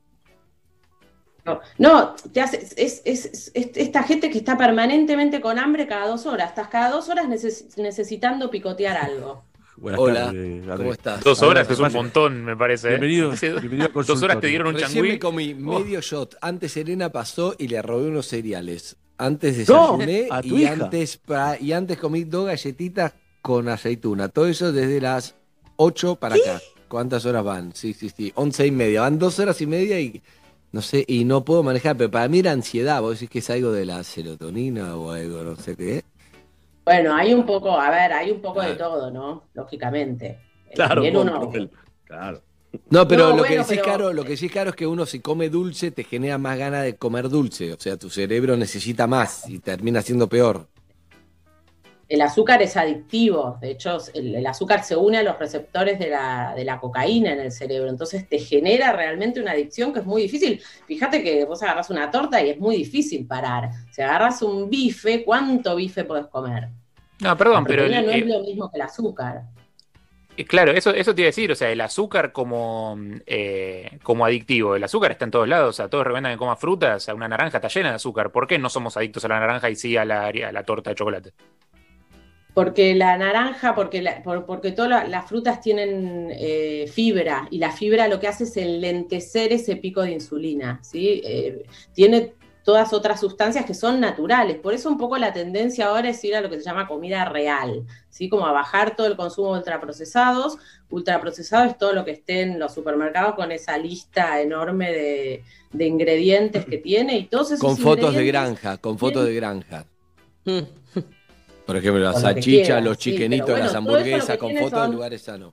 No, te hace, es esta gente que está permanentemente con hambre cada 2 horas. Estás cada 2 horas necesitando picotear algo.
Hola, ¿cómo estás?
2 horas es un montón, me parece.
Bienvenido a
2 horas te dieron un
Recién
changüí.
me comí medio shot. Antes Elena pasó y le robé unos cereales. Antes desayuné y antes comí 2 galletitas con aceituna. Todo eso desde las 8 para acá. ¿Cuántas horas van? Sí. 11:30. Van 2 horas y media y... No sé, y no puedo manejar, pero para mí era ansiedad. ¿Vos decís que es algo de la serotonina o algo, no sé qué?
Bueno, hay un poco de todo, ¿no? Lógicamente.
Claro,
claro. No, pero lo que sí es caro es que uno si come dulce te genera más ganas de comer dulce. O sea, tu cerebro necesita más y termina siendo peor.
El azúcar es adictivo, de hecho el azúcar se une a los receptores de la cocaína en el cerebro, entonces te genera realmente una adicción que es muy difícil. Fíjate que vos agarrás una torta y es muy difícil parar. Si agarras un bife, ¿cuánto bife podés comer?
No, perdón,
La
pero
proteína no es lo mismo que el azúcar.
claro, eso te iba a decir, o sea, el azúcar como adictivo, el azúcar está en todos lados, o sea, todos recomiendan que comas frutas, o sea, una naranja está llena de azúcar. ¿Por qué no somos adictos a la naranja y sí a la torta de chocolate?
Porque la naranja, porque todas las frutas tienen fibra, y la fibra lo que hace es enlentecer ese pico de insulina, ¿sí? Tiene todas otras sustancias que son naturales. Por eso un poco la tendencia ahora es ir a lo que se llama comida real, ¿sí? Como a bajar todo el consumo de ultraprocesados. Ultraprocesado es todo lo que esté en los supermercados con esa lista enorme de ingredientes que tiene y todos esos
Con fotos de
ingredientes
granja, con fotos de granja. Por ejemplo, la
Con lo que
salchicha,
quieras,
los
sí,
chiquenitos,
pero bueno,
las
todo eso lo
hamburguesas,
que
con
tiene
fotos de
son-
lugares sanos.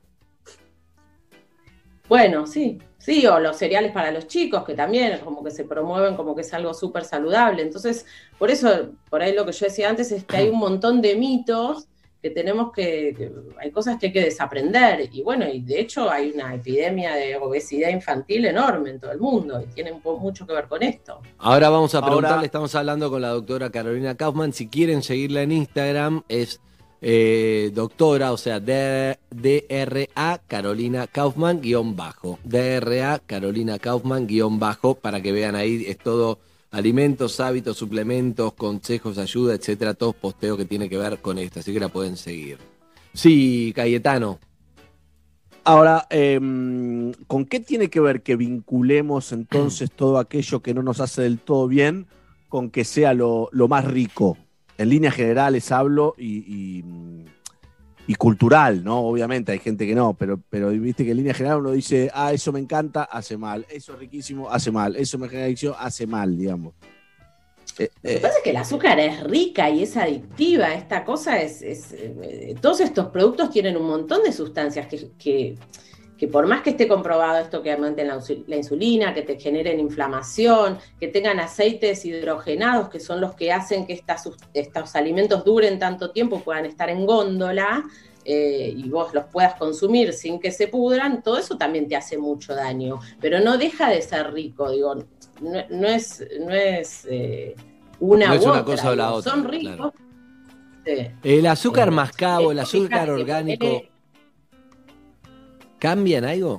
Bueno, sí, o los cereales para los chicos, que también como que se promueven como que es algo súper saludable. Entonces, por eso, por ahí lo que yo decía antes es que hay un montón de mitos que tenemos que hay cosas que hay que desaprender. Y bueno, y de hecho hay una epidemia de obesidad infantil enorme en todo el mundo y tiene mucho que ver con esto.
Ahora vamos a preguntarle,
Ahora-
estamos hablando con la doctora Carolina Kaufman. Si quieren seguirla en Instagram, es doctora, o sea, DRA Carolina Kaufman _, DRA Carolina Kaufman _ para que vean ahí, es todo alimentos, hábitos, suplementos, consejos, ayuda, etcétera, todos posteos que tiene que ver con esto, así que la pueden seguir. Sí, Cayetano.
Ahora, ¿con qué tiene que ver que vinculemos entonces todo aquello que no nos hace del todo bien con que sea lo más rico? En líneas generales hablo y cultural, ¿no? Obviamente hay gente que no, pero viste que en línea general uno dice, eso me encanta, hace mal, eso es riquísimo, hace mal, eso me genera adicción, hace mal, digamos.
Lo que pasa es que el azúcar es rica y es adictiva. Esta cosa todos estos productos tienen un montón de sustancias que por más que esté comprobado esto que aumenten la insulina, que te generen inflamación, que tengan aceites hidrogenados, que son los que hacen que estos alimentos duren tanto tiempo, puedan estar en góndola, y vos los puedas consumir sin que se pudran, todo eso también te hace mucho daño. Pero no deja de ser rico, digo, no es una
No es
u
una
otra,
cosa o la
digo,
otra,
son ricos.
claro.
Sí.
El azúcar mascabo, el azúcar
fíjate,
orgánico, ¿cambian algo?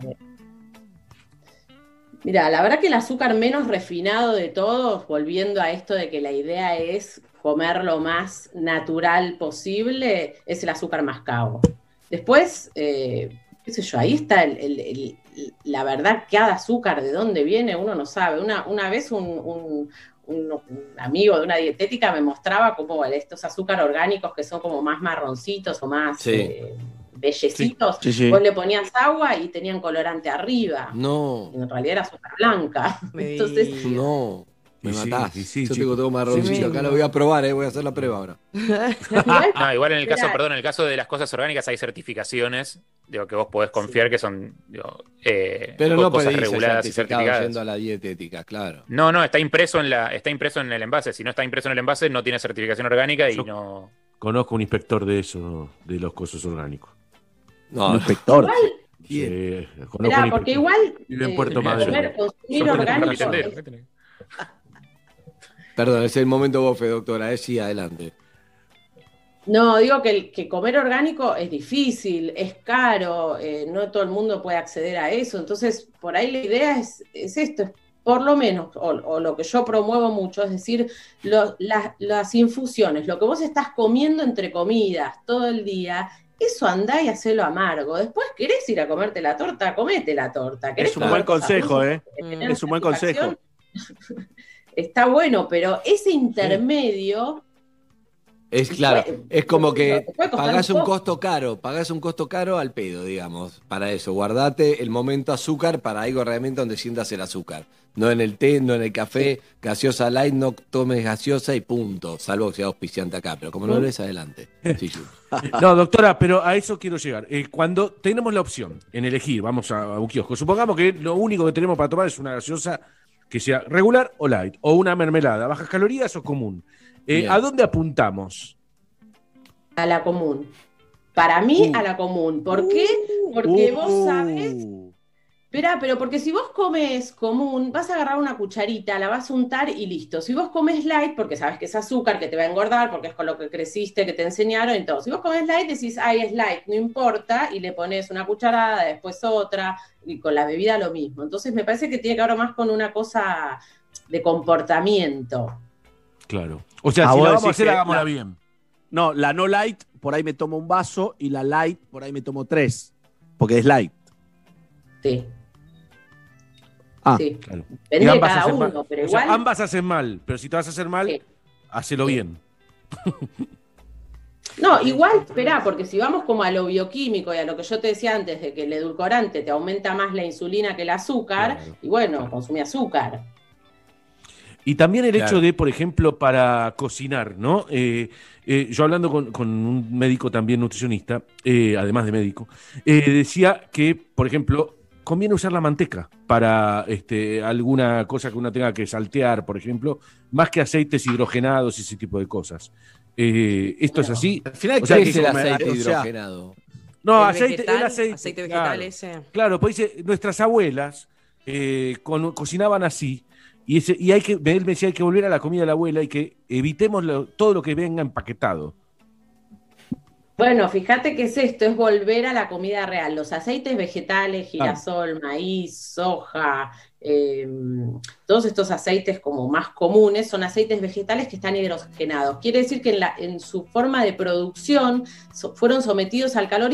Mira, la verdad que el azúcar menos refinado de todos, volviendo a esto de que la idea es comer lo más natural posible, es el azúcar mascabo. Después, qué sé yo, ahí está la verdad, cada azúcar, de dónde viene, uno no sabe. Una vez un amigo de una dietética me mostraba como estos azúcar orgánicos que son como más marroncitos o más bellecitos.
Sí.
Vos le ponías agua y tenían colorante arriba.
No.
Y en realidad era azúcar blanca. Entonces,
No, me matás.
Sí,
Yo
chico.
tengo todo marroncito.
Sí,
Acá lo voy a probar, voy a hacer la prueba ahora.
No, igual en el caso,
Mirá.
perdón, en el caso de las cosas orgánicas hay certificaciones, digo, que vos podés confiar que son, digo,
Pero no
cosas
pedís el
reguladas y
certificado
certificadas.
yendo a la dietética, claro.
No, está impreso en el envase. Si no está impreso en el envase, no tiene certificación orgánica y no.
Conozco un inspector de eso, de los cosos orgánicos.
No,
inspector.
Sí, conozco
mirá,
un
porque
inspector.
igual
Vive en Puerto
comer,
Madero.
consumir orgánico
Perdón, es el momento bofe, doctora. Sí, adelante.
No, digo que comer orgánico es difícil, es caro, no todo el mundo puede acceder a eso. Entonces, por ahí la idea es esto, es por lo menos, o lo que yo promuevo mucho, es decir, las infusiones, lo que vos estás comiendo entre comidas todo el día, eso andá y hacelo amargo. Después querés ir a comerte la torta, comete la torta. ¿Querés
Es un
comer
buen
cosas
consejo,
dulces que tener
Es un buen consejo.
satisfacción? Está bueno, pero ese intermedio...
Es claro, es como que
Te puede costar
pagás
un
un costo caro al pedo, digamos, para eso. Guardate el momento azúcar para algo realmente donde sientas el azúcar. No en el té, no en el café, gaseosa light, no tomes gaseosa y punto. Salvo que sea auspiciante acá, pero como no lo es, adelante. Sí, sí.
No, doctora, pero a eso quiero llegar. Cuando tenemos la opción en elegir, vamos a un kiosco, supongamos que lo único que tenemos para tomar es una gaseosa que sea regular o light, o una mermelada, bajas calorías o común. ¿A dónde apuntamos?
A la común. Para mí, a la común. ¿Por qué? Porque vos sabés Esperá, pero porque si vos comes común, vas a agarrar una cucharita, la vas a untar y listo. Si vos comes light, porque sabes que es azúcar, que te va a engordar, porque es con lo que creciste, que te enseñaron y todo. Si vos comes light, decís, ay, es light, no importa, y le pones una cucharada, después otra, y con la bebida lo mismo. Entonces me parece que tiene que ver más con una cosa de comportamiento.
Claro. O sea, si la vamos a hacer, hagámosla bien.
No, la no light, por ahí me tomo un vaso, y la light, por ahí me tomo 3, porque es light.
Sí.
Sí.
Claro.
Depende de cada uno, pero igual.
Sea, ambas hacen mal, pero si te vas a hacer mal, hacelo bien.
No, igual, esperá, porque si vamos como a lo bioquímico y a lo que yo te decía antes, de que el edulcorante te aumenta más la insulina que el azúcar, y bueno, consumí azúcar.
Y también el hecho de, por ejemplo, para cocinar, ¿no? Yo hablando con un médico también nutricionista, además de médico, decía que, por ejemplo, conviene usar la manteca para alguna cosa que uno tenga que saltear, por ejemplo, más que aceites hidrogenados y ese tipo de cosas. ¿Esto es así?
Al final,
¿qué
es el aceite hidrogenado?
No,
el aceite
claro,
vegetal ese.
Claro, pues dice, nuestras abuelas cocinaban así, y hay que, él me decía, hay que volver a la comida de la abuela y que evitemos todo lo que venga empaquetado.
Bueno, fíjate que es esto, es volver a la comida real. Los aceites vegetales, girasol, maíz, soja, todos estos aceites como más comunes son aceites vegetales que están hidrogenados. Quiere decir que en su forma de producción fueron sometidos al calor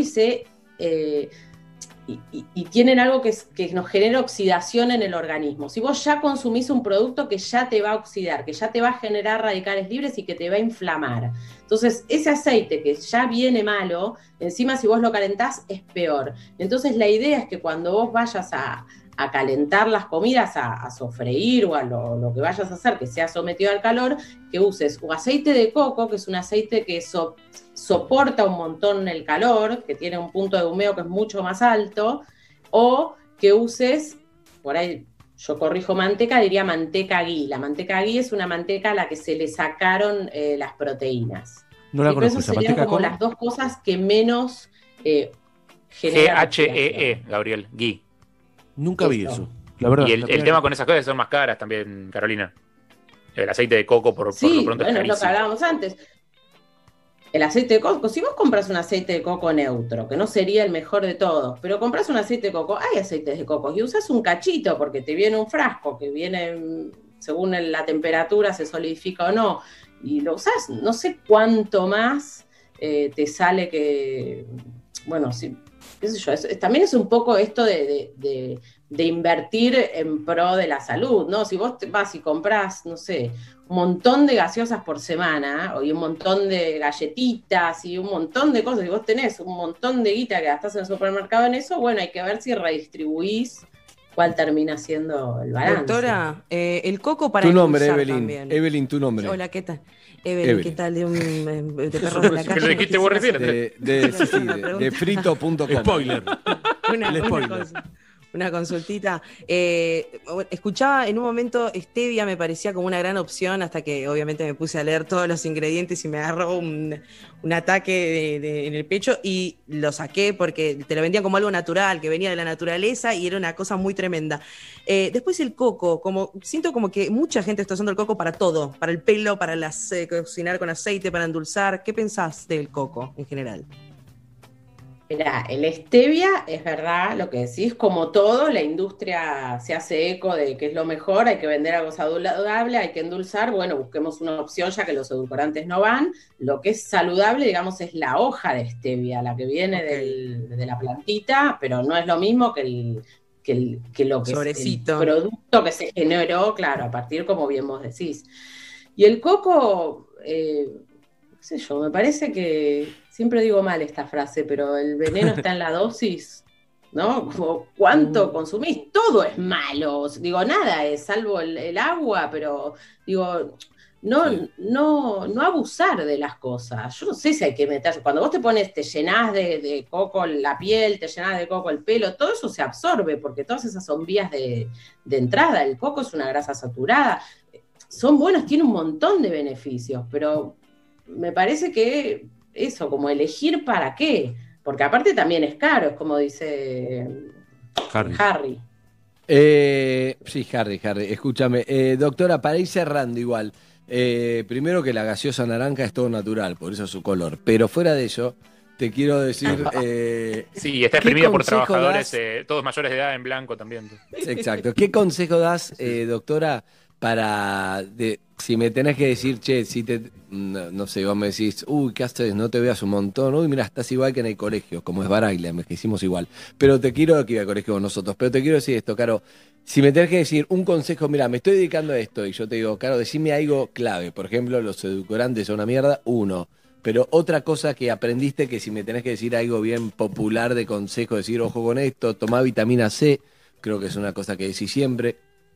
y tienen algo que nos genera oxidación en el organismo. Si vos ya consumís un producto que ya te va a oxidar, que ya te va a generar radicales libres y que te va a inflamar. Entonces, ese aceite que ya viene malo, encima si vos lo calentás es peor. Entonces, la idea es que cuando vos vayas a calentar las comidas, a sofreír o a lo que vayas a hacer que sea sometido al calor, que uses o aceite de coco, que es un aceite que soporta un montón el calor, que tiene un punto de humeo que es mucho más alto, o que uses, por ahí yo corrijo manteca, diría manteca ghee. La manteca ghee es una manteca a la que se le sacaron las proteínas.
No la conozco,
esa serían como las dos cosas que menos generan.
GHEE, Gabriel, ghee.
Nunca vi eso, la verdad.
Y el tema con esas cosas son más caras también, Carolina. El aceite de coco, por lo pronto,
bueno,
es
lo que hablábamos antes. El aceite de coco, si vos compras un aceite de coco neutro, que no sería el mejor de todos, pero compras un aceite de coco, hay aceites de coco, y usas un cachito, porque te viene un frasco, que viene, según la temperatura, se solidifica o no, y lo usás, no sé cuánto más te sale que, bueno, sí, qué sé yo, también es un poco esto de invertir en pro de la salud, ¿no? Si vos te vas y comprás, no sé, un montón de gaseosas por semana, y un montón de galletitas, y un montón de cosas, y vos tenés un montón de guita que gastás en el supermercado en eso, bueno, hay que ver si redistribuís cuál termina siendo el balance.
Doctora, el coco para
tu nombre,
endulzar
Evelyn.
también.
Evelyn, tu nombre.
Hola, ¿qué tal? Evelyn, ¿qué tal? De perros de la calle.
Lo dijiste vos recién.
De frito.com.
Spoiler.
Una consultita. Escuchaba en un momento stevia, me parecía como una gran opción, hasta que obviamente me puse a leer todos los ingredientes y me agarró un ataque en el pecho y lo saqué porque te lo vendían como algo natural, que venía de la naturaleza y era una cosa muy tremenda. Después el coco, siento como que mucha gente está usando el coco para todo, para el pelo, para cocinar con aceite, para endulzar. ¿Qué pensás del coco en general?
Mirá, el stevia, es verdad lo que decís, como todo, la industria se hace eco de que es lo mejor, hay que vender algo saludable, hay que endulzar, bueno, busquemos una opción ya que los edulcorantes no van. Lo que es saludable, digamos, es la hoja de stevia, la que viene de la plantita, pero no es lo mismo que lo que
Sobrecito.
Es el producto que se generó, claro, a partir, como bien vos decís. Y el coco, qué sé yo, me parece que... Siempre digo mal esta frase, pero el veneno está en la dosis, ¿no? Como cuánto consumís, todo es malo. Digo, nada es, salvo el agua, pero digo, no abusar de las cosas. Yo no sé si hay que meter, cuando vos te llenás de coco la piel, te llenás de coco el pelo, todo eso se absorbe, porque todas esas son vías de entrada. El coco es una grasa saturada. Son buenos, tiene un montón de beneficios, pero me parece que eso, como elegir para qué, porque aparte también es caro, es como dice Harry.
Sí, Harry. Escúchame. Doctora, para ir cerrando igual. Primero que la gaseosa naranja es todo natural, por eso es su color. Pero fuera de eso, te quiero decir...
Sí, está exprimida por trabajadores, todos mayores de edad en blanco también.
Exacto. ¿Qué consejo das, doctora, para... si me tenés que decir, che, si te... No sé, vos me decís, uy, ¿qué haces? No te veas un montón. Uy, mira, estás igual que en el colegio, como es Baraglia, me hicimos igual. Pero te quiero, que iba al colegio con nosotros, pero te quiero decir esto, Caro. Si me tenés que decir un consejo, mira, me estoy dedicando a esto, y yo te digo, Caro, decime algo clave. Por ejemplo, los edulcorantes son una mierda, uno. Pero otra cosa que aprendiste, que si me tenés que decir algo bien popular de consejo, decir, ojo con esto, tomá vitamina C, creo que es una cosa que decís siempre.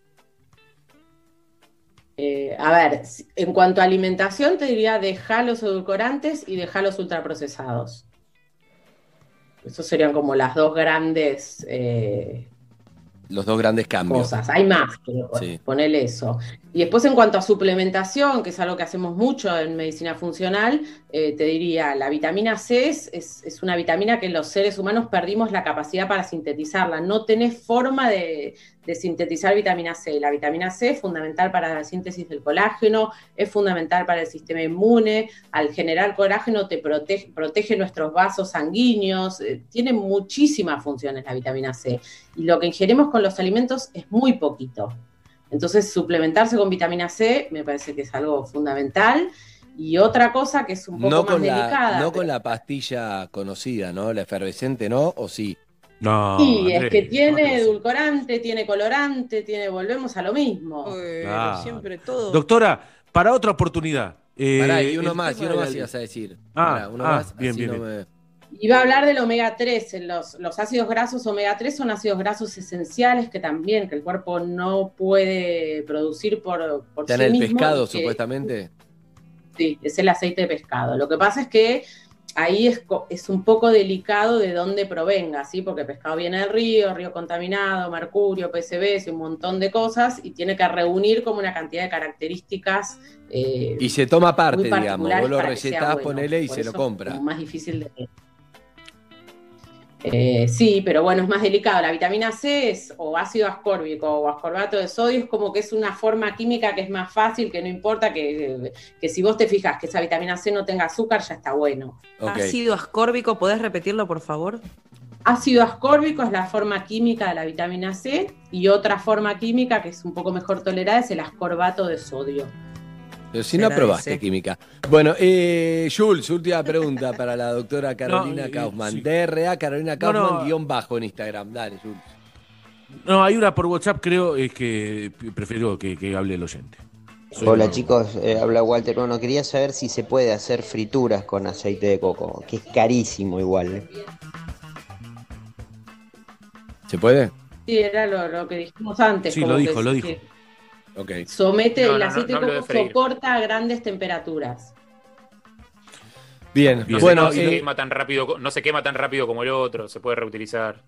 A ver, en cuanto a alimentación, te diría dejar los edulcorantes y dejar los ultraprocesados. Esos serían como las dos grandes
los dos grandes cambios.
Cosas. Hay más, pero
sí.
Ponele eso. Y después en cuanto a suplementación, que es algo que hacemos mucho en medicina funcional, te diría, la vitamina C es una vitamina que los seres humanos perdimos la capacidad para sintetizarla. No tenés forma de sintetizar vitamina C. La vitamina C es fundamental para la síntesis del colágeno, es fundamental para el sistema inmune. Al generar colágeno te protege nuestros vasos sanguíneos. Tiene muchísimas funciones la vitamina C. Y lo que ingerimos con los alimentos es muy poquito. Entonces, suplementarse con vitamina C me parece que es algo fundamental. Y otra cosa que es un poco más delicada.
No con la pastilla conocida, ¿no? La efervescente, ¿no? ¿O sí?
No.
Sí, es que tiene edulcorante, tiene colorante, volvemos a lo mismo.
Claro.
Siempre todo.
Doctora, para otra oportunidad.
Pará, y uno más ibas a decir.
Uno
más,
bien,
así
bien.
Iba a hablar del omega 3. Los ácidos grasos omega 3 son ácidos grasos esenciales que el cuerpo no puede producir por sí mismo.
¿Está en el pescado, supuestamente?
Sí, es el aceite de pescado. Lo que pasa es que ahí es un poco delicado de dónde provenga, ¿sí? Porque el pescado viene del río contaminado, mercurio, PCBs y un montón de cosas, y tiene que reunir como una cantidad de características.
Y se toma parte, digamos. Vos lo recetás,
bueno.
ponele y
Por
se lo compra.
Es más difícil de... sí, pero bueno, es más delicado. La vitamina C es o ácido ascórbico o ascorbato de sodio, es como que es una forma química que es más fácil, que no importa, que si vos te fijas que esa vitamina C no tenga azúcar, ya está bueno.
Okay.
Ácido ascórbico, ¿podés repetirlo, por favor?
Ácido ascórbico es la forma química de la vitamina C, y otra forma química que es un poco mejor tolerada es el ascorbato de sodio.
Pero si no aprobaste química. Bueno, Jules, última pregunta para la doctora Carolina Kaufman.
Sí.
DRA Carolina Kaufman _ en Instagram. Dale, Jules.
No, hay una por WhatsApp, creo, es que prefiero que hable el oyente.
Hola chicos, habla Walter. Bueno, quería saber si se puede hacer frituras con aceite de coco, que es carísimo igual.
¿Se puede?
Sí, era lo que dijimos antes.
Sí,
como
lo dijo.
Okay.
El aceite de coco soporta a grandes temperaturas.
Bien.
Bueno, no se quema tan rápido como el otro, se puede reutilizar.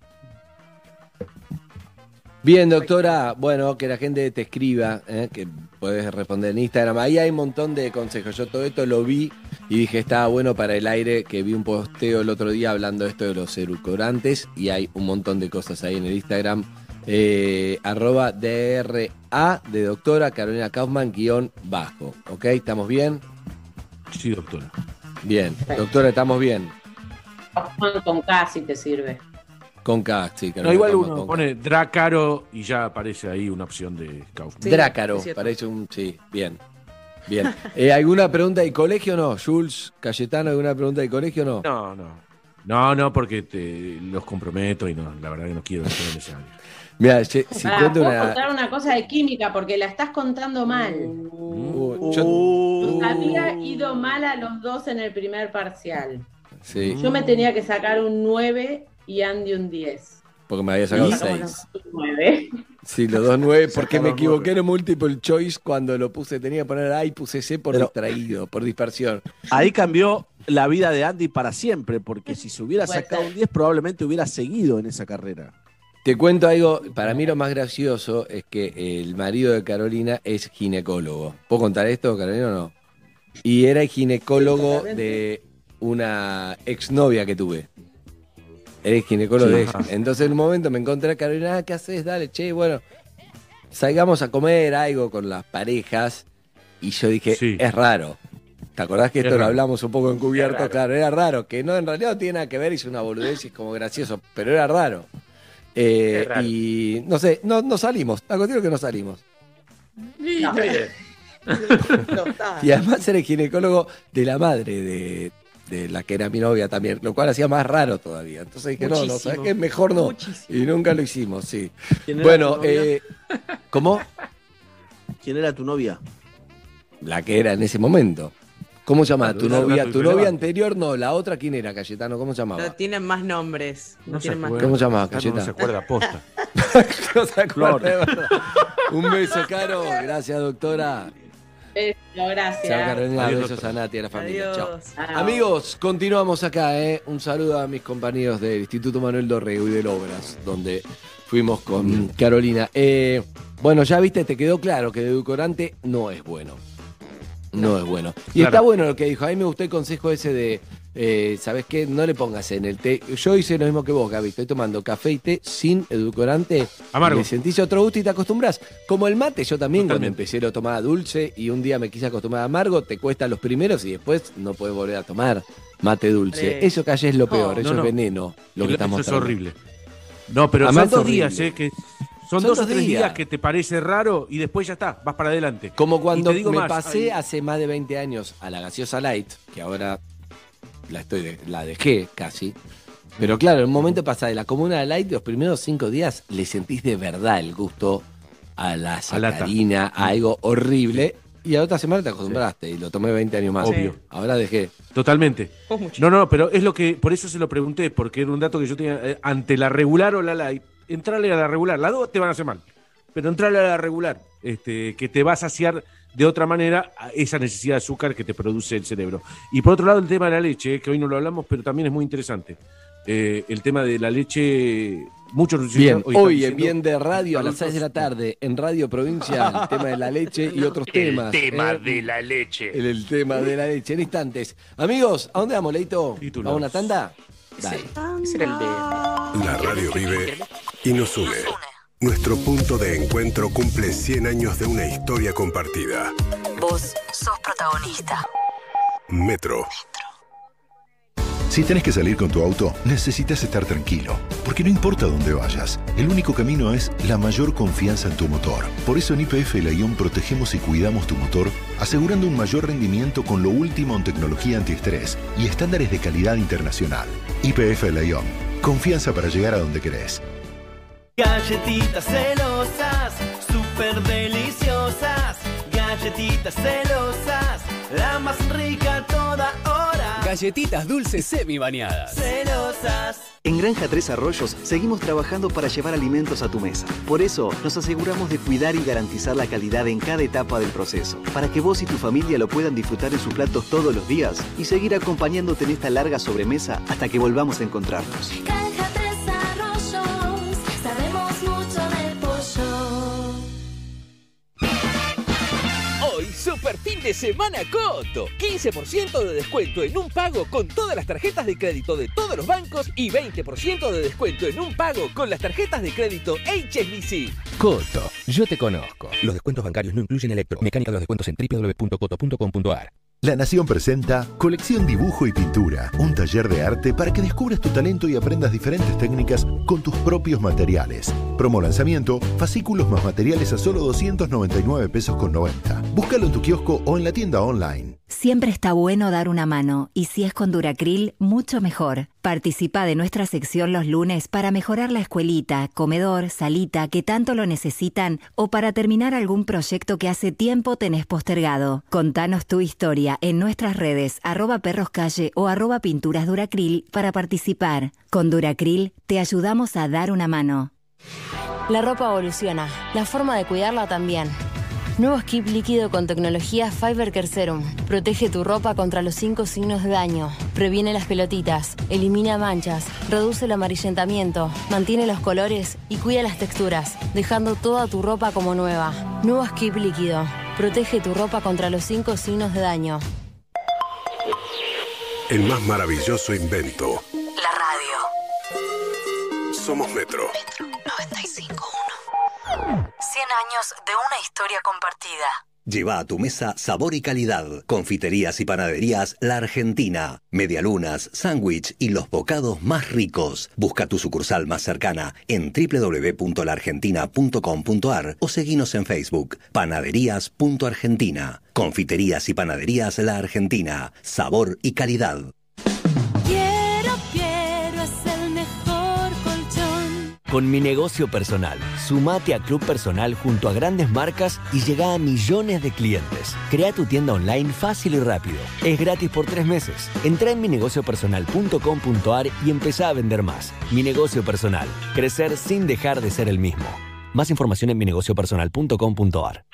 Bien, doctora. Bueno, que la gente te escriba, que podés responder en Instagram. Ahí hay un montón de consejos. Yo todo esto lo vi y dije, estaba bueno para el aire, que vi un posteo el otro día hablando de esto de los edulcorantes, y hay un montón de cosas ahí en el Instagram. @DRA de doctora Carolina Kaufman _ ¿Ok? ¿Estamos bien?
Sí, doctora.
Bien. Doctora, ¿estamos bien?
Con K si te sirve.
Con K, sí.
No, igual uno pone Drácaro y ya aparece ahí una opción de Kaufman.
Sí, Drácaro, parece un... Sí, bien. Bien. ¿Alguna pregunta de colegio o no? Jules, Cayetano, ¿alguna pregunta de colegio o no?
No, porque los comprometo y no, la verdad que no quiero estar en ese área.
Mira, si cuento
¿puedo contar una cosa de química? Porque la estás contando mal. Había ido mal a los dos en el primer parcial.
Sí.
Yo me tenía que sacar un 9 y Andy un 10.
Porque me había sacado 6.
9.
Sí, los dos 9, porque me equivoqué en el multiple choice cuando lo puse. Tenía que poner A y puse C por distraído, por dispersión.
Ahí cambió la vida de Andy para siempre, porque si se hubiera sacado un 10 probablemente hubiera seguido en esa carrera.
Te cuento algo, para mí lo más gracioso es que el marido de Carolina es ginecólogo. ¿Puedo contar esto, Carolina, o no? Y era el ginecólogo de una exnovia que tuve. Eres ginecólogo
Sí.
de ella. Entonces en un momento me encontré a Carolina, ¿qué haces? Dale, che, bueno, salgamos a comer algo con las parejas. Y yo dije, es raro. ¿Te acordás que
Es
esto lo
raro.
hablamos un poco encubierto? Claro, era raro, que no, en realidad no tiene nada que ver, hice una boludez y es como gracioso, pero era raro.
raro.
Y no sé, no salimos, a continuo que no salimos.
Y está bien.
Y además era el ginecólogo de la madre de la que era mi novia también, lo cual hacía más raro todavía. Entonces dije, no,
Muchísimo.
¿sabes qué? Mejor no.
Muchísimo.
Y nunca lo hicimos, sí.
¿Quién era
Bueno,
tu novia?
¿cómo?
¿Quién era tu novia?
La que era en ese momento. ¿Cómo se llama?
Claro,
¿Tu
era
novia?
una
¿Tu
tuya
novia
antes.
anterior? No, la otra, ¿quién era, Cayetano? ¿Cómo se llamaba?
No tienen más nombres. No tienen más
¿Cómo se llamaba,
Cayetano? No se
Cayetano?
acuerda, posta.
No se acuerda, de verdad. Un beso, Caro. Gracias, doctora.
Beso, gracias.
Chao, Carolina.
Adiós,
Besos a Nati y a la familia.
Adiós.
Chao.
Chao.
Amigos, continuamos acá. Un saludo a mis compañeros del Instituto Manuel Dorrego y del Obras, donde fuimos con Carolina. Bueno, ya viste, te quedó claro que el edulcorante no es bueno. No es bueno. Y
Claro.
está bueno lo que dijo. A mí me gustó el consejo ese de, ¿sabes qué? No le pongas en el té. Yo hice lo mismo que vos, Gaby. Estoy tomando café y té sin edulcorante.
Amargo.
Le sentís otro gusto y te acostumbras. Como el mate, yo también cuando
Totalmente.
empecé lo tomaba dulce y un día me quise acostumbrar a amargo, te cuesta los primeros y después no puedes volver a tomar mate dulce.
Sí.
Eso que allá es lo peor, eso
No, no.
es veneno. Lo que estamos
Eso es
tratando.
horrible. No, pero
Además,
son dos
es horrible.
días, que son
Son
2 o
dos
3
días.
días que te parece raro y después ya está, vas para adelante.
Como cuando
Y te digo
me
más,
pasé
hay-
hace más de 20 años a la gaseosa light, que ahora la dejé casi. Pero claro, en un momento pasa de la comuna de light, los primeros 5 días le sentís de verdad el gusto a la sacarina, a algo horrible. Y a la otra semana te acostumbraste y lo tomé 20 años más.
Obvio.
Ahora dejé.
Totalmente.
Vos mucho.
No, pero es lo que, por eso se lo pregunté, porque era un dato que yo tenía ante la regular o la light. Entrarle a la regular, las dos te van a hacer mal, pero entrarle a la regular, que te va a saciar de otra manera a esa necesidad de azúcar que te produce el cerebro. Y por otro lado, el tema de la leche, que hoy no lo hablamos, pero también es muy interesante. El tema de la leche, muchos
Bien,
están
hoy en
diciendo-
Bien de Radio a las 6 de la tarde en Radio Provincia, el tema de la leche y otros temas.
El tema de la leche.
El tema de la leche en instantes. Amigos, ¿a dónde vamos, Leito? ¿Vamos a una tanda? Dale.
Ese era el de.
La radio vive y nos une. Nuestro punto de encuentro cumple 100 años de una historia compartida.
Vos sos protagonista.
Metro.
Si tenés que salir con tu auto, necesitas estar tranquilo, porque no importa dónde vayas, el único camino es la mayor confianza en tu motor. Por eso en YPF Lyon protegemos y cuidamos tu motor, asegurando un mayor rendimiento con lo último en tecnología antiestrés y estándares de calidad internacional. YPF Lyon, confianza para llegar a donde querés.
Galletitas celosas, súper deliciosas. Galletitas celosas, la más rica toda hora.
Galletitas dulces semi bañadas.
Celosas.
En Granja Tres Arroyos seguimos trabajando para llevar alimentos a tu mesa. Por eso nos aseguramos de cuidar y garantizar la calidad en cada etapa del proceso, para que vos y tu familia lo puedan disfrutar en sus platos todos los días y seguir acompañándote en esta larga sobremesa hasta que volvamos a encontrarnos.
Granja Tres Arroyos, sabemos mucho de pollo.
Hoy, super fin de semana Coto. 15% de descuento en un pago con todas las tarjetas de crédito de todos los bancos y 20% de descuento en un pago con las tarjetas de crédito HSBC.
Coto, yo te conozco. Los descuentos bancarios no incluyen electro. Mecánica de los descuentos en www.coto.com.ar.
La Nación presenta Colección Dibujo y Pintura, un taller de arte para que descubras tu talento y aprendas diferentes técnicas con tus propios materiales. Promo lanzamiento, fascículos más materiales a solo 299 pesos con 90. Búscalo en tu kiosco o en la tienda online.
Siempre está bueno dar una mano, y si es con Duracril, mucho mejor. Participa de nuestra sección los lunes para mejorar la escuelita, comedor, salita que tanto lo necesitan o para terminar algún proyecto que hace tiempo tenés postergado. Contanos tu historia en nuestras redes @perroscalle o @pinturasduracril para participar. Con Duracril te ayudamos a dar una mano.
La ropa evoluciona, la forma de cuidarla también. Nuevo skip líquido con tecnología Fiber Care Serum. Protege tu ropa contra los 5 signos de daño. Previene las pelotitas, elimina manchas, reduce el amarillentamiento, mantiene los colores y cuida las texturas, dejando toda tu ropa como nueva. Nuevo skip líquido. Protege tu ropa contra los 5 signos de daño.
El más maravilloso invento.
La radio.
somos Metro.
95.1. 100 años de una historia compartida.
Lleva a tu mesa sabor y calidad. Confiterías y panaderías La Argentina. Medialunas, sándwich y los bocados más ricos. Busca tu sucursal más cercana en www.laargentina.com.ar o seguinos en Facebook. Panaderías.argentina. Confiterías y panaderías La Argentina. Sabor y calidad.
Quiero, es el mejor colchón.
Con Mi Negocio Personal, sumate a Club Personal junto a grandes marcas y llega a millones de clientes. Crea tu tienda online fácil y rápido. Es gratis por 3 meses. Entra en minegociopersonal.com.ar y empezá a vender más. Mi Negocio Personal. Crecer sin dejar de ser el mismo. Más información en minegociopersonal.com.ar.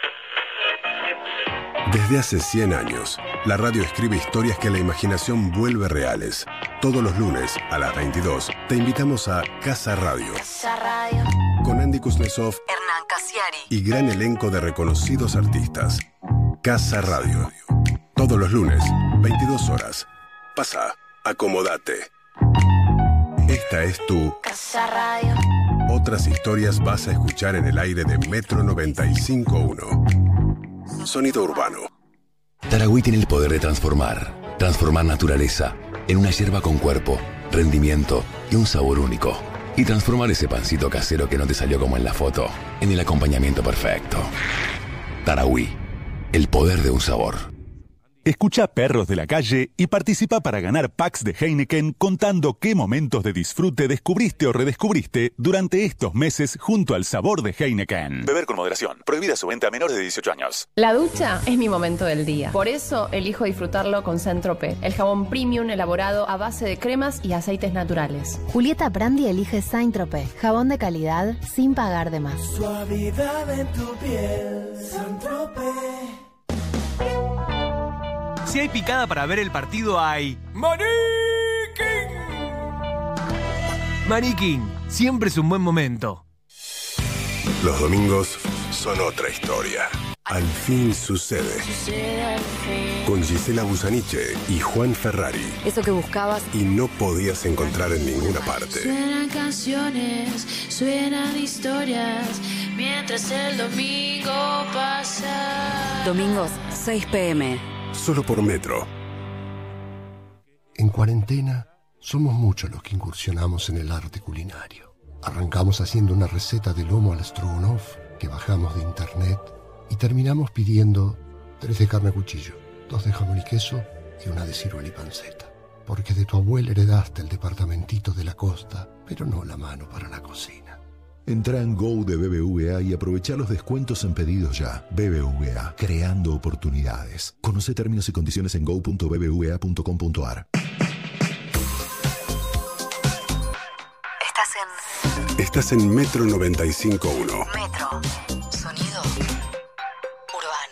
Desde hace 100 años, la radio escribe historias que la imaginación vuelve reales. Todos los lunes, a las 22, te invitamos a Casa Radio. Con Andy Kuznetsov,
Hernán Casiari
y gran elenco de reconocidos artistas. Casa Radio. Todos los lunes, 22 horas. Pasa, acomodate. Esta es tu
Casa Radio.
Otras historias vas a escuchar en el aire de Metro 95.1. Sonido urbano.
Tarahui tiene el poder de transformar naturaleza en una yerba con cuerpo, rendimiento y un sabor único. Y transformar ese pancito casero que no te salió como en la foto en el acompañamiento perfecto. Tarahui, el poder de un sabor.
Escucha Perros de la Calle y participa para ganar packs de Heineken contando qué momentos de disfrute descubriste o redescubriste durante estos meses junto al sabor de Heineken.
Beber con moderación. Prohibida su venta a menores de 18 años.
La ducha es mi momento del día. Por eso elijo disfrutarlo con Saint-Tropez, el jabón premium elaborado a base de cremas y aceites naturales.
Julieta Brandi elige Saint-Tropez, jabón de calidad sin pagar de más.
Suavidad en tu piel, Saint-Tropez.
Si hay picada para ver el partido, hay Maní King. Maní King, siempre es un buen momento.
Los domingos son otra historia. Al fin sucede. Con Gisela Busaniche y Juan Ferrari.
Eso que buscabas.
Y no podías encontrar en ninguna parte.
Suenan canciones, suenan historias, mientras el domingo pasa.
Domingos, 6 p.m.
Solo por Metro.
En cuarentena, somos muchos los que incursionamos en el arte culinario. Arrancamos haciendo una receta de lomo al stroganoff que bajamos de internet y terminamos pidiendo 3 de carne a cuchillo, 2 de jamón y queso y 1 de ciruela y panceta. Porque de tu abuela heredaste el departamentito de la costa, pero no la mano para la cocina.
Entra en Go de BBVA y aprovecha los descuentos en pedidos ya. BBVA, creando oportunidades. Conoce términos y condiciones en go.bbva.com.ar.
Estás en Metro 95.1.
Metro. Sonido urbano.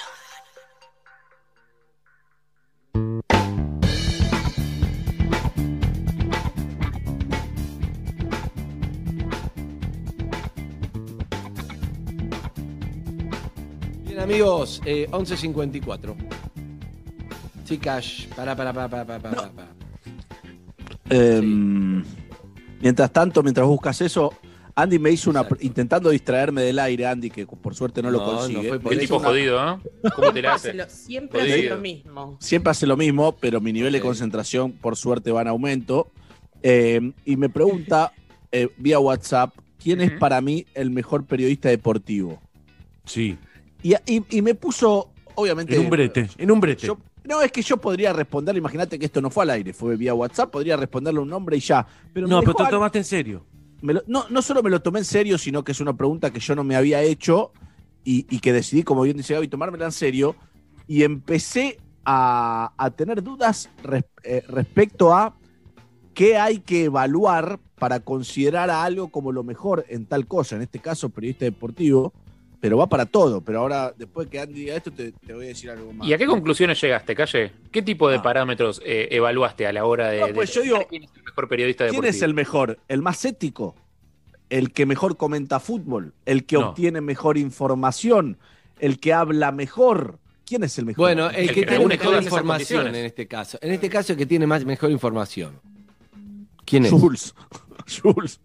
Bien, amigos, 11:54. Chicas, para.
Mientras tanto, mientras buscas eso, Andy me hizo intentando distraerme del aire, Andy, que por suerte no lo consigue.
Qué tipo jodido, ¿eh? ¿Cómo te la hace?
Siempre hace lo mismo.
Siempre hace lo mismo, pero mi nivel de concentración, por suerte, va en aumento. Y me pregunta vía WhatsApp, ¿quién es para mí el mejor periodista deportivo?
Sí.
Y me puso, obviamente...
En un brete.
No, es que yo podría responderle, imagínate que esto no fue al aire, fue vía WhatsApp, podría responderle un nombre y ya. Pero
pero te tomaste en serio.
No solo me lo tomé en serio, sino que es una pregunta que yo no me había hecho y que decidí, como bien dice Gaby, tomármela en serio. Y empecé a tener dudas respecto a qué hay que evaluar para considerar a algo como lo mejor en tal cosa, en este caso periodista deportivo, pero va para todo. Pero ahora, después que Andy diga esto, te voy a decir algo más.
¿Y a qué conclusiones llegaste, Calle? ¿Qué tipo de parámetros evaluaste a la hora de,
yo digo,
quién es el mejor periodista deportivo?
¿Quién es el mejor? ¿El más ético? ¿El que mejor comenta fútbol? ¿El que obtiene mejor información? ¿El que habla mejor? ¿Quién es el mejor?
Bueno, el que tiene mejor información en este caso. En este caso, el que tiene mejor información. ¿Quién es?
Jules. Jules.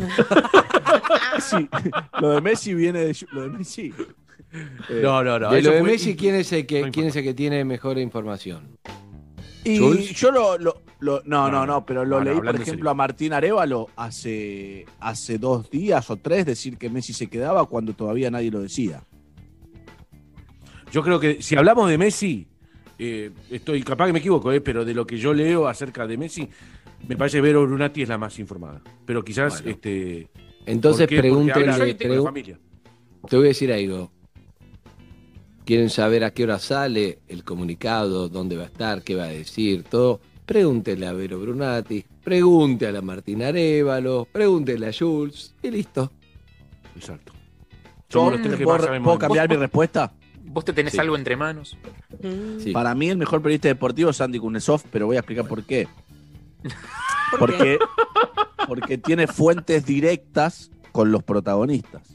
Sí, lo de Messi viene de lo de Messi.
No.
De
eso
lo de
fue-
Messi, ¿quién es el
no
que
importa.
tiene mejor información?
Y
¿Jules?
yo pero lo
No,
leí, por
hablando en
ejemplo,
serio.
a Martín Arévalo hace 2 días o 3 decir que Messi se quedaba cuando todavía nadie lo decía.
Yo creo que si hablamos de Messi, estoy capaz que me equivoco, pero de lo que yo leo acerca de Messi, me parece que Vero Brunati es la más informada. Pero quizás,
Bueno.
¿por
Entonces
qué? Porque
pregúntenle.
habla de la familia.
Te voy a decir algo. ¿Quieren saber a qué hora sale el comunicado, dónde va a estar, qué va a decir, todo? Pregúntenle a Vero Brunati, pregúntenle a Martín Arévalo, pregúntenle a Jules y listo.
Exacto.
Yo,
Somos los tres que más sabemos
¿Puedo
de
cambiar mi
¿Vos-
respuesta?
¿Vos te tenés
Sí.
algo entre manos?
Sí.
Para mí el mejor periodista deportivo es Andy Kuznetsov, pero voy a explicar por qué.
¿Por qué?
Porque tiene fuentes directas con los protagonistas.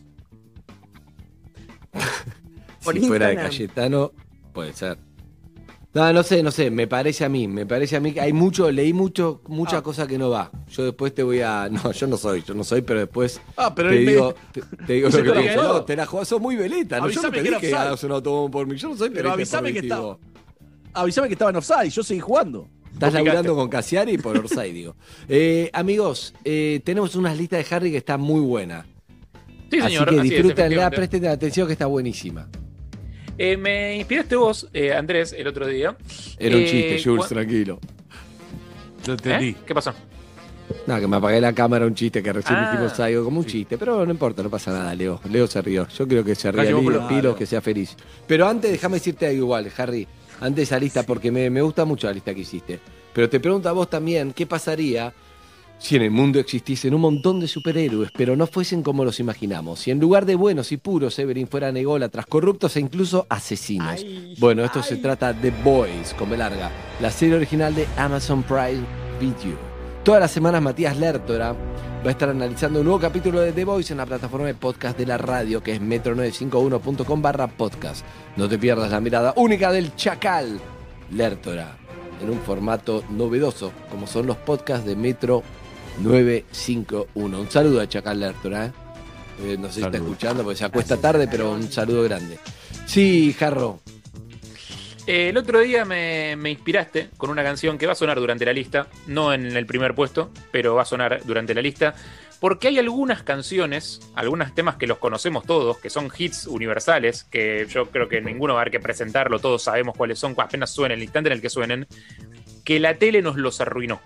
Por
Si fuera de
Instagram.
Cayetano, puede ser. No sé, me parece a mí que hay leí mucha cosa que no va. Yo después te voy a. No, yo no soy, pero después
Pero
te
él
digo lo
Se
que
te lo
pienso.
quedó.
No, te la jugás, sos muy veleta. No, yo no
Avísame
te
que era
dije que
offside.
hagas un autobombo por mí. Yo no soy
Pero
periodista
avísame que
deportivo.
Avísame que estaba en offside, yo seguí jugando.
Estás
Vos
laburando
picaste.
con Casiari por Orsay, digo. Amigos, tenemos unas listas de Harry que está muy buena.
Sí,
Así
señor.
que
así es,
disfrútenla,
efectivamente.
presten atención que está buenísima.
Me inspiraste vos, Andrés, el otro día.
Era un chiste, Jules,
cua-
tranquilo.
Lo entendí.
¿Qué pasó?
No, que me apagué la cámara, un chiste que recién
Ah,
dijimos algo como un chiste, pero no importa, no pasa nada, Leo. Leo se rió. Yo creo que se ría
Cayó,
Leo,
pero-
Pilo, que sea feliz. Pero antes, déjame decirte algo igual, Harry. Antes de esa lista, porque me gusta mucho la lista que hiciste. Pero te pregunto a vos también, ¿qué pasaría si en el mundo existiesen un montón de superhéroes, pero no fuesen como los imaginamos? Si en lugar de buenos y puros, Everin fueran ególatras, corruptos e incluso asesinos. Bueno, esto se trata de The Boys, con B larga, la serie original de Amazon Prime Video. Todas las semanas Matías Lertora va a estar analizando un nuevo capítulo de The Voice en la plataforma de podcast de la radio, que es metro951.com/podcast. No te pierdas la mirada única del Chacal Lertora, en un formato novedoso, como son los podcasts de Metro 951. Un saludo a Chacal Lertora, no sé si está escuchando porque se acuesta tarde, pero un saludo grande. Sí, Jarro.
El otro día me inspiraste con una canción que va a sonar durante la lista, no en el primer puesto, pero va a sonar durante la lista, porque hay algunas canciones, algunos temas que los conocemos todos, que son hits universales, que yo creo que ninguno va a haber que presentarlo, todos sabemos cuáles son, apenas suenen, el instante en el que suenen, que la tele nos los arruinó.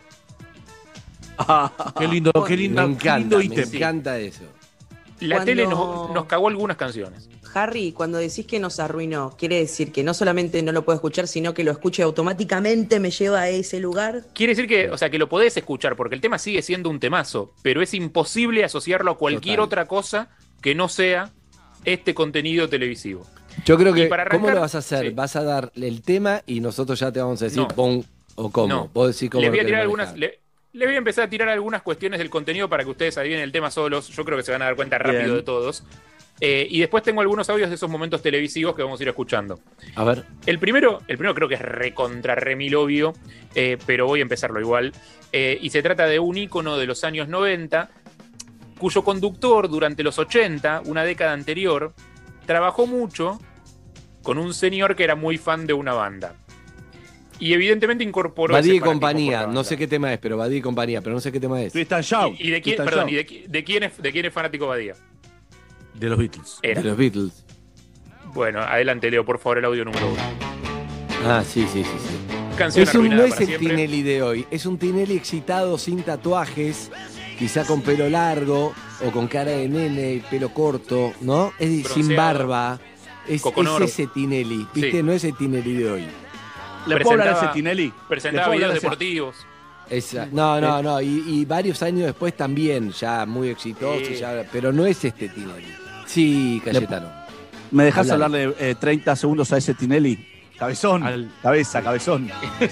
Qué lindo, qué lindo,
Me
qué lindo
encanta, me
ítem.
encanta eso.
La
Cuando-
tele nos cagó algunas canciones.
Harry, cuando decís que nos arruinó, ¿quiere decir que no solamente no lo puedo escuchar, sino que lo escuche automáticamente me lleva a ese lugar?
Quiere decir que, o sea, que lo podés escuchar, porque el tema sigue siendo un temazo, pero es imposible asociarlo a cualquier
Total.
otra cosa que no sea este contenido televisivo.
Yo creo
Y
que,
para
¿cómo
arrancar-
lo vas a hacer?
sí.
¿Vas a dar el tema y nosotros ya te vamos a decir
No.
pon o cómo?
No.
Vos decís cómo
Les
lo
voy a
querés
tirar
manejar.
algunas. Les voy a empezar a tirar algunas cuestiones del contenido para que ustedes adivinen el tema solos. Yo creo que se van a dar cuenta rápido
Bien.
de todos. Y después tengo algunos audios de esos momentos televisivos que vamos a ir escuchando.
A ver.
El primero creo que es recontra remil obvio, pero voy a empezarlo igual. Y se trata de un ícono de los años 90, cuyo conductor durante los 80, una década anterior, trabajó mucho con un señor que era muy fan de una banda. Y evidentemente incorporó
Badí
ese
y
fanatismo por
compañía,
la
no
banda.
sé qué tema es, pero Badí y compañía, pero no sé qué tema es.
Tristan Shaw.
¿Y de quién,
Tristan
perdón,
Shaw.
¿y de quién es fanático Badía?
De los Beatles.
Era.
De los Beatles.
Bueno, adelante Leo, por favor, el audio número 1.
Ah, sí.
Canción
No
arruinada
es
para
el
siempre.
Tinelli de hoy, es un Tinelli excitado sin tatuajes, quizá con pelo largo o con cara de nene, pelo corto, ¿no? Es sin
Bronceado.
barba. Es
Coconoro.
ese Tinelli, ¿viste?
Sí.
No es el Tinelli de hoy.
¿Le puedo hablar a ese
Presentaba-
Tinelli?
Presentaba
¿Le puedo
videos
hablar a ese-
deportivos.
No. Y varios años después también, ya muy exitoso,
Sí.
pero no es este Tinelli. Sí, Cayetano.
¿Me dejas
Hablale.
hablarle 30 segundos a ese Tinelli? Cabezón, cabezón.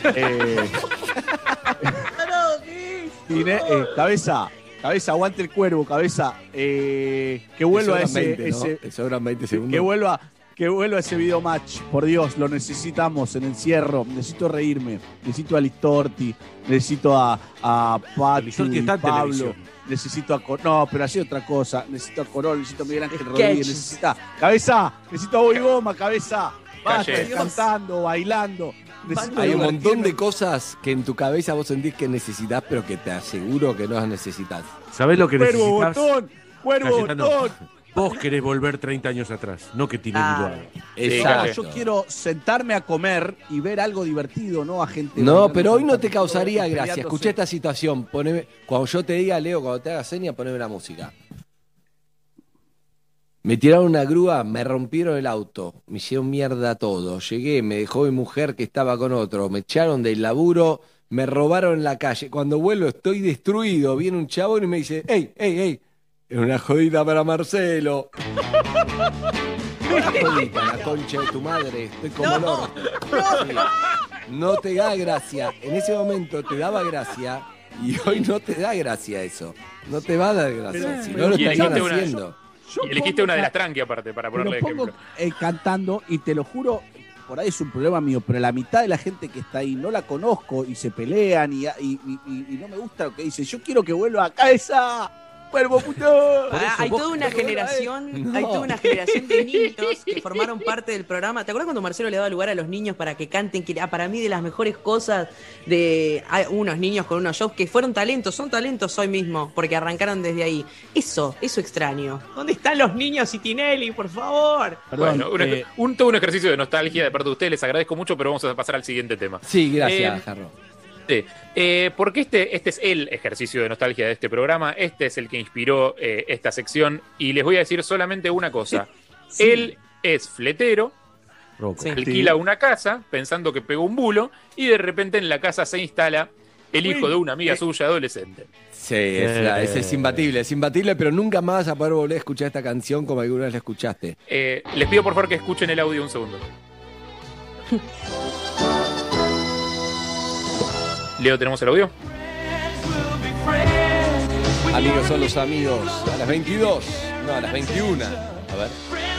Cabeza, aguante el cuervo, cabeza. Que vuelva
Te sobran
ese,
20, ¿no?
ese-
Te sobran 20
que
segundos.
Que vuelva ese video match, por Dios, lo necesitamos en encierro. Necesito reírme, necesito a Listorti, necesito a Pati,
Listorti está en
Pablo,
televisión.
necesito a no, pero así otra cosa. Necesito a Corol, necesito a Miguel Ángel Rodríguez, necesito Cabeza, necesito a Bobby Goma, Cabeza. Basta,
Calle.
cantando, bailando. Necesito
Hay un montón
divertirme.
de cosas que en tu cabeza vos sentís que necesitas, pero que te aseguro que no las necesitas.
¿Sabés lo que
Cuervo
necesitas?
botón, cuervo
Cayetano,
botón.
vos querés volver 30 años atrás, no que Tinelli lo haga.
Exacto.
Yo quiero sentarme a comer y ver algo divertido, no a gente.
No,
bailando,
pero hoy no te
cantando,
causaría gracia.
peleándose.
Escuché esta situación. Cuando yo te diga, Leo, cuando te haga seña, poneme la música. Me tiraron una grúa, me rompieron el auto, me hicieron mierda todo. Llegué, me dejó mi mujer que estaba con otro, me echaron del laburo, me robaron en la calle. Cuando vuelvo estoy destruido. Viene un chabón y me dice, ¡ey, ey, ey! Es una jodida para Marcelo. Una jodita, la concha de tu madre. Estoy como el orto. Sí. No te da gracia. En ese momento te daba gracia y hoy no te da gracia eso. No te va a dar gracia. Si no lo
Y
estarían
elegiste
haciendo.
Y elegiste una de las tranqui aparte, para ponerle
Lo pongo
ejemplo.
cantando y te lo juro, por ahí es un problema mío, pero la mitad de la gente que está ahí no la conozco y se pelean y no me gusta lo que dicen. Yo quiero que vuelva a cabeza. ¡Cuervo puto!
Hay toda una generación, hay toda una generación de niños que formaron parte del programa. ¿Te acuerdas cuando Marcelo le daba lugar a los niños para que canten? Que para mí de las mejores cosas de hay unos niños con unos shows que fueron talentos, son talentos hoy mismo, porque arrancaron desde ahí. Eso extraño. ¿Dónde están los niños y Tinelli, por favor?
Bueno, todo un ejercicio de nostalgia de parte de ustedes, les agradezco mucho, pero vamos a pasar al siguiente tema.
Sí, gracias, Jarro.
Sí, porque este es el ejercicio de nostalgia de este programa, este es el que inspiró esta sección, y les voy a decir solamente una cosa.
Sí.
Él es fletero, alquila una casa pensando que pegó un bulo, y de repente en la casa se instala el hijo de una amiga suya adolescente.
Sí, es imbatible, pero nunca más vas a poder volver a escuchar esta canción como alguna vez la escuchaste.
Les pido por favor que escuchen el audio un segundo. Leo, ¿tenemos el audio?
Amigos son los amigos. A las 22, no, a las 21. A ver.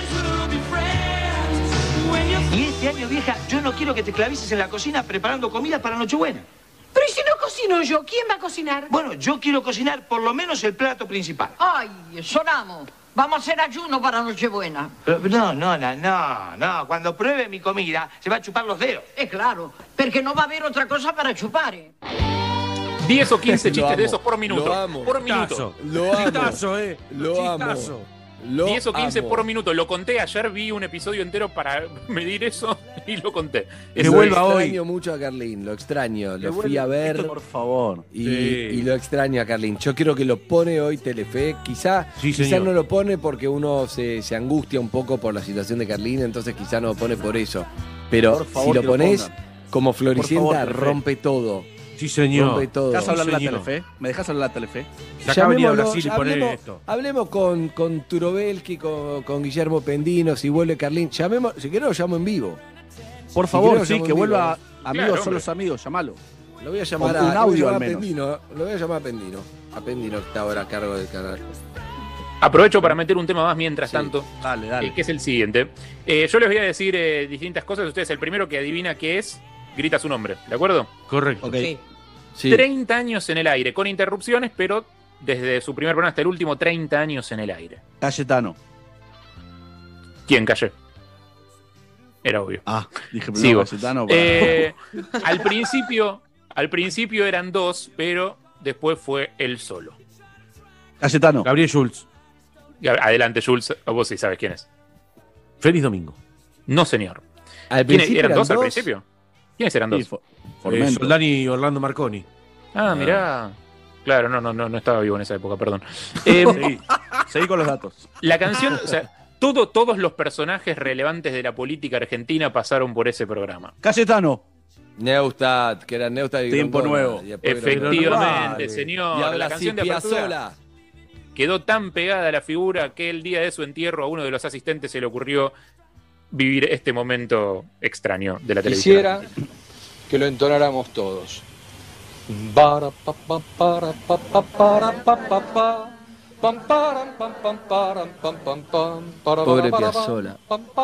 Y este año, vieja, yo no quiero que te clavices en la cocina preparando comida para Nochebuena.
Pero ¿y si no cocino yo? ¿Quién va a cocinar?
Bueno, yo quiero cocinar por lo menos el plato principal.
Ay, sonamos. Vamos a hacer ayuno para Nochebuena.
No. Cuando pruebe mi comida, se va a chupar los dedos.
Es claro, porque no va a haber otra cosa para chupar,
10 o 15
Lo
chistes
amo,
de esos por minuto.
lo amo.
Por minuto.
Lo amo.
Chistazo,
Lo amo.
Chistazo.
Lo
10 o 15
amo.
por minuto. Lo conté ayer, vi un episodio entero para medir eso y lo conté.
Que
Lo
vuelva hoy.
extraño mucho a Carlín, lo extraño. Lo fui
vuelva
a ver.
esto, por favor.
Y lo extraño a Carlín. Yo quiero que lo pone hoy Telefe. Quizá
señor.
no lo pone porque uno se angustia un poco por la situación de Carlín, entonces quizá no lo pone por eso. Pero
Por favor,
si lo
que lo
pones
pongan.
como Floricienta,
Por favor, Telefe.
rompe todo.
Sí, señor.
Rompe todo.
¿Me dejas hablar
Sí,
la
señor.
Telefe? ¿Me dejas hablar la Telefe?
Se acaba de venir a
Llamémoslo,
Brasil y poner esto.
Hablemos con Turovelki, con Guillermo Pendino, si vuelve Carlín. Llamemos, si querés lo llamo en vivo.
Por
Si
favor,
querés, lo
sí,
llamo
que
en
vuelva.
vivo.
Amigos
Claro,
son
hombre.
los amigos, llamalo.
Lo voy a llamar
Con un audio al menos.
Pendino. Lo voy a llamar a Pendino. A Pendino que está ahora a cargo del canal.
Aprovecho para meter un tema más mientras tanto,
Dale.
que es el siguiente. Yo les voy a decir distintas cosas. Ustedes, el primero que adivina qué es, grita su nombre. ¿De acuerdo?
Correcto.
Ok.
Sí.
30 años en el aire, con interrupciones, pero desde su primer programa hasta el último, 30 años en el aire.
Cayetano.
¿Quién cayó? Era obvio.
Dije
Sigo.
primero Cayetano.
Al principio eran dos, pero después fue él solo.
Cayetano.
Gabriel Schultz.
Adelante, Jules, vos sí sabes quién es.
Feliz domingo.
No, señor.
Al
¿Quiénes
principio
eran
eran
dos al
dos.
principio? ¿Quiénes eran dos?
Formento.
Soldán y Orlando Marconi.
Ah, mirá. Claro, no estaba vivo en esa época, perdón.
Seguí con los datos.
La canción, o sea, todos los personajes relevantes de la política argentina pasaron por ese programa.
Cayetano.
Neustadt, que era Neustadt y
Tiempo
Grondona,
nuevo.
y después
Efectivamente,
Vale.
señor.
Y ahora
la
sí,
canción de apertura
Piazzolla.
quedó tan pegada a la figura que el día de su entierro a uno de los asistentes se le ocurrió vivir este momento extraño de la televisión.
Quisiera que lo entonáramos todos. Para pa pa para pa pa para pa pa pa
Pobre Piazzolla.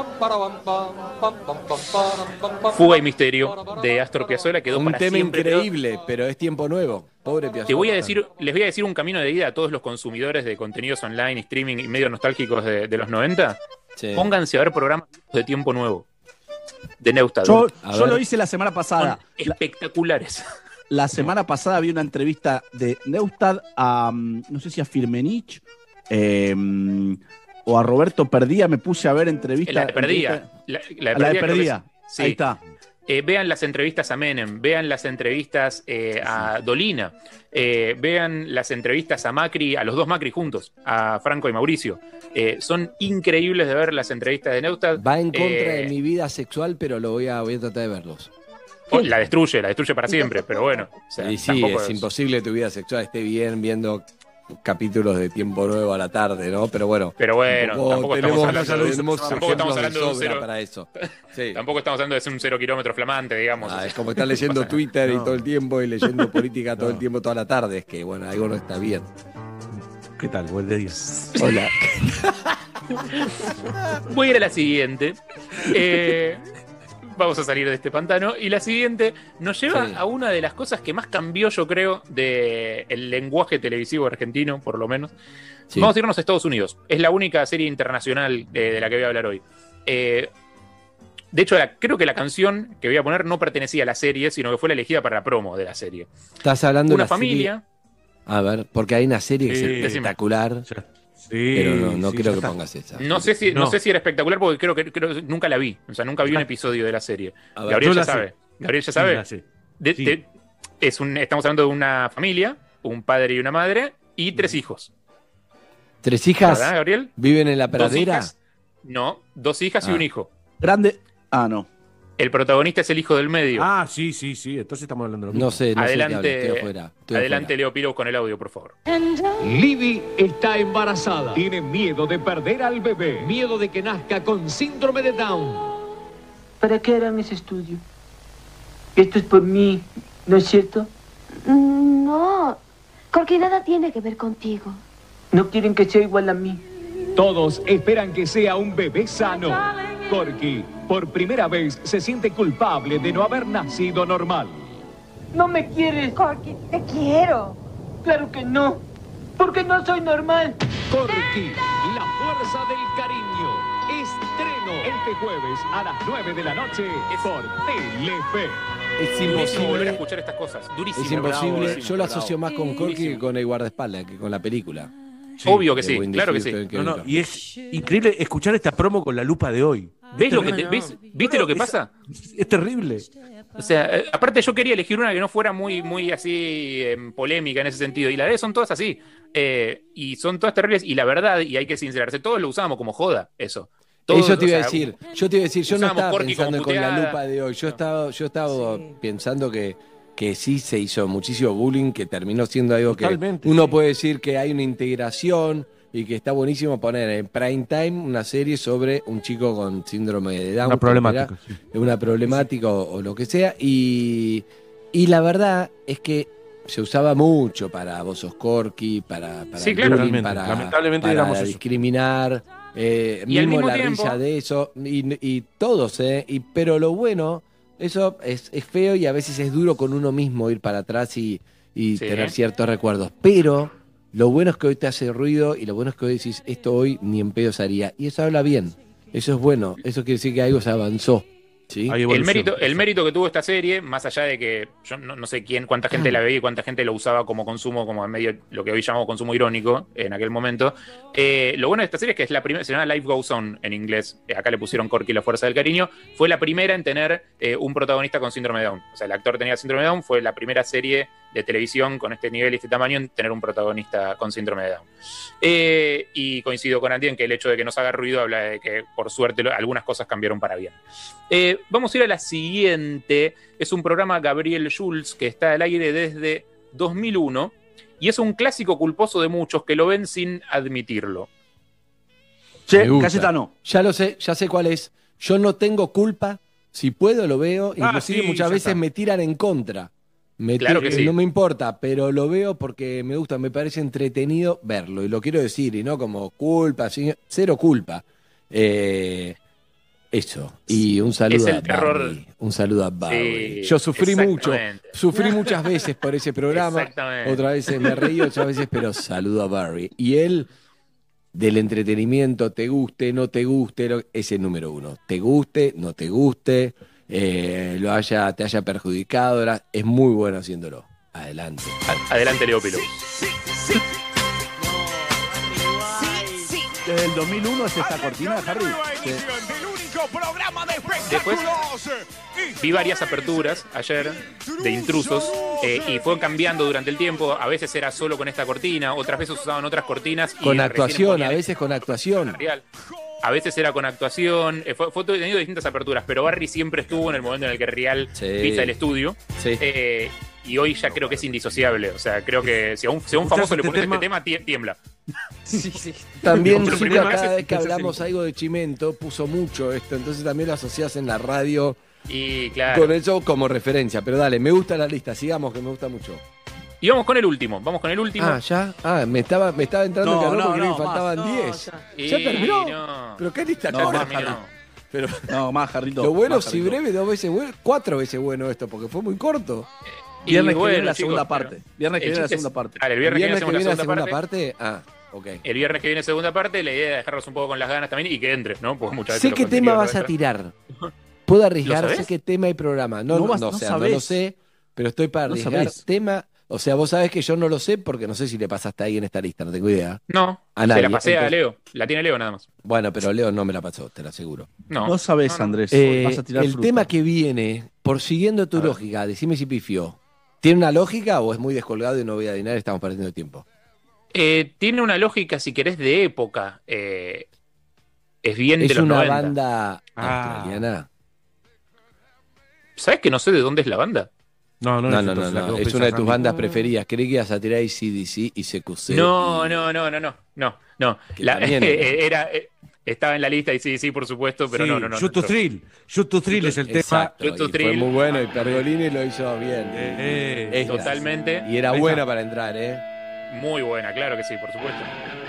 Fuga y Misterio de Astor Piazzolla quedó
Un
para
tema
siempre.
increíble, pero es tiempo nuevo. Pobre Piazzolla.
Les voy a decir un camino de ida a todos los consumidores de contenidos online, streaming y medios nostálgicos de los 90.
Sí.
Pónganse a ver programas de Tiempo Nuevo. De Neustad.
Yo lo hice la semana pasada.
Son espectaculares.
La semana pasada vi una entrevista de Neustad a, no sé si a Firmenich o a Roberto Perdía. Me puse a ver entrevistas.
La de Perdía. La
de Perdía.
Sí.
Ahí está.
Vean las entrevistas a Menem, vean las entrevistas a Dolina, vean las entrevistas a Macri, a los dos Macri juntos, a Franco y Mauricio. Son increíbles de ver las entrevistas de Neustad.
Va en contra de mi vida sexual, pero voy a tratar de verlos.
La destruye para siempre, pero bueno. O sea,
Y sí,
tampoco
es imposible que tu vida sexual esté bien viendo capítulos de Tiempo Nuevo a la tarde, ¿no? Pero bueno,
tampoco estamos hablando de un cero
para eso. Sí.
Tampoco estamos hablando de ser un 0 kilómetro flamante, digamos.
Es como estar leyendo Twitter y todo el tiempo y leyendo política todo el tiempo, toda la tarde. Es que, bueno, algo no está bien.
¿Qué tal? Buen día.
Hola.
Voy a ir a la siguiente. Vamos a salir de este pantano. Y la siguiente nos lleva a una de las cosas que más cambió, yo creo, del lenguaje televisivo argentino, por lo menos. Sí. Vamos a irnos a Estados Unidos. Es la única serie internacional de la que voy a hablar hoy. De hecho, creo que la canción que voy a poner no pertenecía a la serie, sino que fue la elegida para la promo de la serie.
Estás hablando
de
una familia. A ver, porque hay una serie que es espectacular.
Sí,
pero no quiero que pongas esa.
No sé si era espectacular porque creo que nunca la vi. O sea, nunca vi un episodio de la serie.
Ver,
Gabriel ya sabe. Gabriel ya sabe.
Sí.
Estamos hablando de una familia, un padre y una madre, y 3 hijos.
3 hijas.
¿Verdad, Gabriel?
¿Viven en la pradera?
No, 2 hijas y un hijo.
Grande. No.
El protagonista es el hijo del medio.
Sí. Entonces estamos hablando de lo mismo.
No sé
adelante,
estoy afuera.
Adelante, Leo Piro, con el audio, por favor.
Libby está embarazada. Tiene miedo de perder al bebé. Miedo de que nazca con síndrome de Down.
¿Para qué harán ese estudio? Esto es por mí, ¿no es cierto?
No, porque nada tiene que ver contigo.
No quieren que sea igual a mí.
Todos esperan que sea un bebé sano. Corky, por primera vez, se siente culpable de no haber nacido normal.
¿No me quieres?
Corky, te quiero.
Claro que no, porque no soy normal.
Corky, la fuerza del cariño. Estreno este jueves a las 9 de la noche por Telefe.
Es
imposible volver a escuchar estas cosas. Durísimo.
Es imposible.
Bravo,
yo lo asocio más con Corky que con el guardaespaldas, que con la película.
Sí, obvio que sí, claro que sí.
Y es increíble escuchar esta promo con la lupa de hoy.
¿Ves lo que ¿Viste lo que pasa?
Es terrible.
O sea, aparte yo quería elegir una que no fuera muy así polémica en ese sentido. Y la verdad son todas así. Y son todas terribles. Y la verdad, y hay que sincerarse, todos lo usábamos como joda, eso. Todos,
yo te iba a decir, yo no estaba pensando con la lupa de hoy. Yo estaba pensando que sí se hizo muchísimo bullying, que terminó siendo algo
totalmente,
que uno puede decir que hay una integración y que está buenísimo poner en prime time una serie sobre un chico con síndrome de Down.
Una problemática.
Una problemática o lo que sea. Y la verdad es que se usaba mucho para vos sos Corky, para bullying,
lamentablemente
para discriminar, mismo la
tiempo,
risa de eso, y todos, pero lo bueno... Eso es feo y a veces es duro con uno mismo ir para atrás y tener ciertos recuerdos. Pero lo bueno es que hoy te hace ruido y lo bueno es que hoy decís, esto hoy ni en pedo se haría. Y eso habla bien. Eso es bueno. Eso quiere decir que algo se avanzó. ¿Sí?
El mérito que tuvo esta serie, más allá de que yo no sé cuánta gente la veía y cuánta gente lo usaba como consumo, como en medio lo que hoy llamamos consumo irónico en aquel momento. Lo bueno de esta serie es que es la primera, se llama Life Goes On en inglés. Acá le pusieron Corky, la fuerza del cariño. Fue la primera en tener un protagonista con síndrome de Down. O sea, el actor tenía síndrome de Down, fue la primera serie de televisión con este nivel y este tamaño en tener un protagonista con síndrome de Down. Y coincido con Andy en que el hecho de que nos haga ruido habla de que por suerte algunas cosas cambiaron para bien. Vamos a ir a la siguiente. Es un programa Gabriel Schulz que está al aire desde 2001 y es un clásico culposo de muchos que lo ven sin admitirlo.
Che, Cayetano.
Ya lo sé, ya sé cuál es. Yo no tengo culpa. Si puedo lo veo. Inclusive muchas veces me tiran en contra.
Claro que sí.
No me importa, pero lo veo porque me gusta, me parece entretenido verlo. Y lo quiero decir, y no como culpa, cero culpa. Eso. Y un saludo a Barry. Un saludo a Barry.
Sí,
Yo sufrí mucho.
exactamente.
Sufrí muchas veces por ese programa.
Exactamente.
Otras veces me reí, otras veces, pero saludo a Barry. Y él, del entretenimiento, te guste, no te guste, es el número uno. Te guste, no te guste, te haya perjudicado, es muy bueno haciéndolo. Adelante.
Adelante, Leópilo.
Desde el 2001 es esta cortina, Harry. Sí.
Después vi varias aperturas ayer de intrusos y fueron cambiando durante el tiempo. A veces era solo con esta cortina, otras veces usaban otras cortinas.
Con actuación, a veces con actuación.
A veces era con actuación. Fue tenido distintas aperturas, pero Barry siempre estuvo en el momento en el que Real pisa el estudio.
Sí.
Y hoy ya creo que es indisociable. O sea, creo que si a un famoso le pones este tema, tiembla.
Sí, sí.
También
Lo
Zucca,
primero que
cada
hace
vez que
es
hablamos algo de Chimento, puso mucho esto, entonces también lo asociás en la radio
Y claro.
con eso como referencia. Pero dale, me gusta la lista, sigamos, que me gusta mucho.
Y vamos con el último.
Ah, ¿ya? Ah, me estaba entrando en calor porque me faltaban 10. ¿Ya terminó?
No.
¿Pero qué lista
No,
corta?
más, Harry.
Pero
No, más, Jarrito.
lo bueno,
más,
si
Jarrito.
breve, 2 veces bueno, 4 veces bueno esto, porque fue muy corto.
Viernes que
bueno,
viene la
chicos,
segunda
pero-
parte. Viernes que
el
viene la
chiste es-
segunda parte.
Dale, el viernes que viene hacemos
la
la segunda parte.
Ah, ok.
El viernes que viene segunda parte, la idea es dejarlos un poco con las ganas también y que entre, ¿no? Porque muchas veces
Sé
lo
qué tema
contenido
vas
no
a
entra.
tirar. Puedo arriesgar,
¿Lo
sé
sabés?
qué tema y programa. No,
No
no,
vas-
o sea,
no
no lo
sabés.
sé, pero estoy para
No
arriesgar
sabés.
tema. O sea, vos sabés que yo no lo sé porque no sé si le pasaste ahí en esta lista, no tengo idea.
No,
A
se
nadie.
la pasé a
Entonces-
Leo. La tiene Leo nada más.
Bueno, pero Leo no me la pasó, te lo aseguro.
No.
No sabés, Andrés. Vas a tirar
El
fruta.
tema que viene, por siguiendo tu lógica, decime si pifió. ¿Tiene una lógica o es muy descolgado y no voy a adivinar? Estamos perdiendo tiempo.
Tiene una lógica, si querés, de época. Es bien
Es
de los
una
90.
banda australiana.
¿Sabés que no sé de dónde es la banda?
No,
No, es una de tus bandas preferidas. Creí que ibas a tirar AC/DC y CQC.
No.
Que
La-
también
estaba en la lista y sí, por supuesto, pero no.
Shoot to Thrill. Shoot to Thrill es el tema.
Exacto,
Shoot to
y fue
Thrill.
muy bueno y Pergolini lo hizo bien. Esta.
Totalmente.
Y era
Ahí
buena
está.
para entrar, ¿eh?
Muy buena, claro que sí, por supuesto.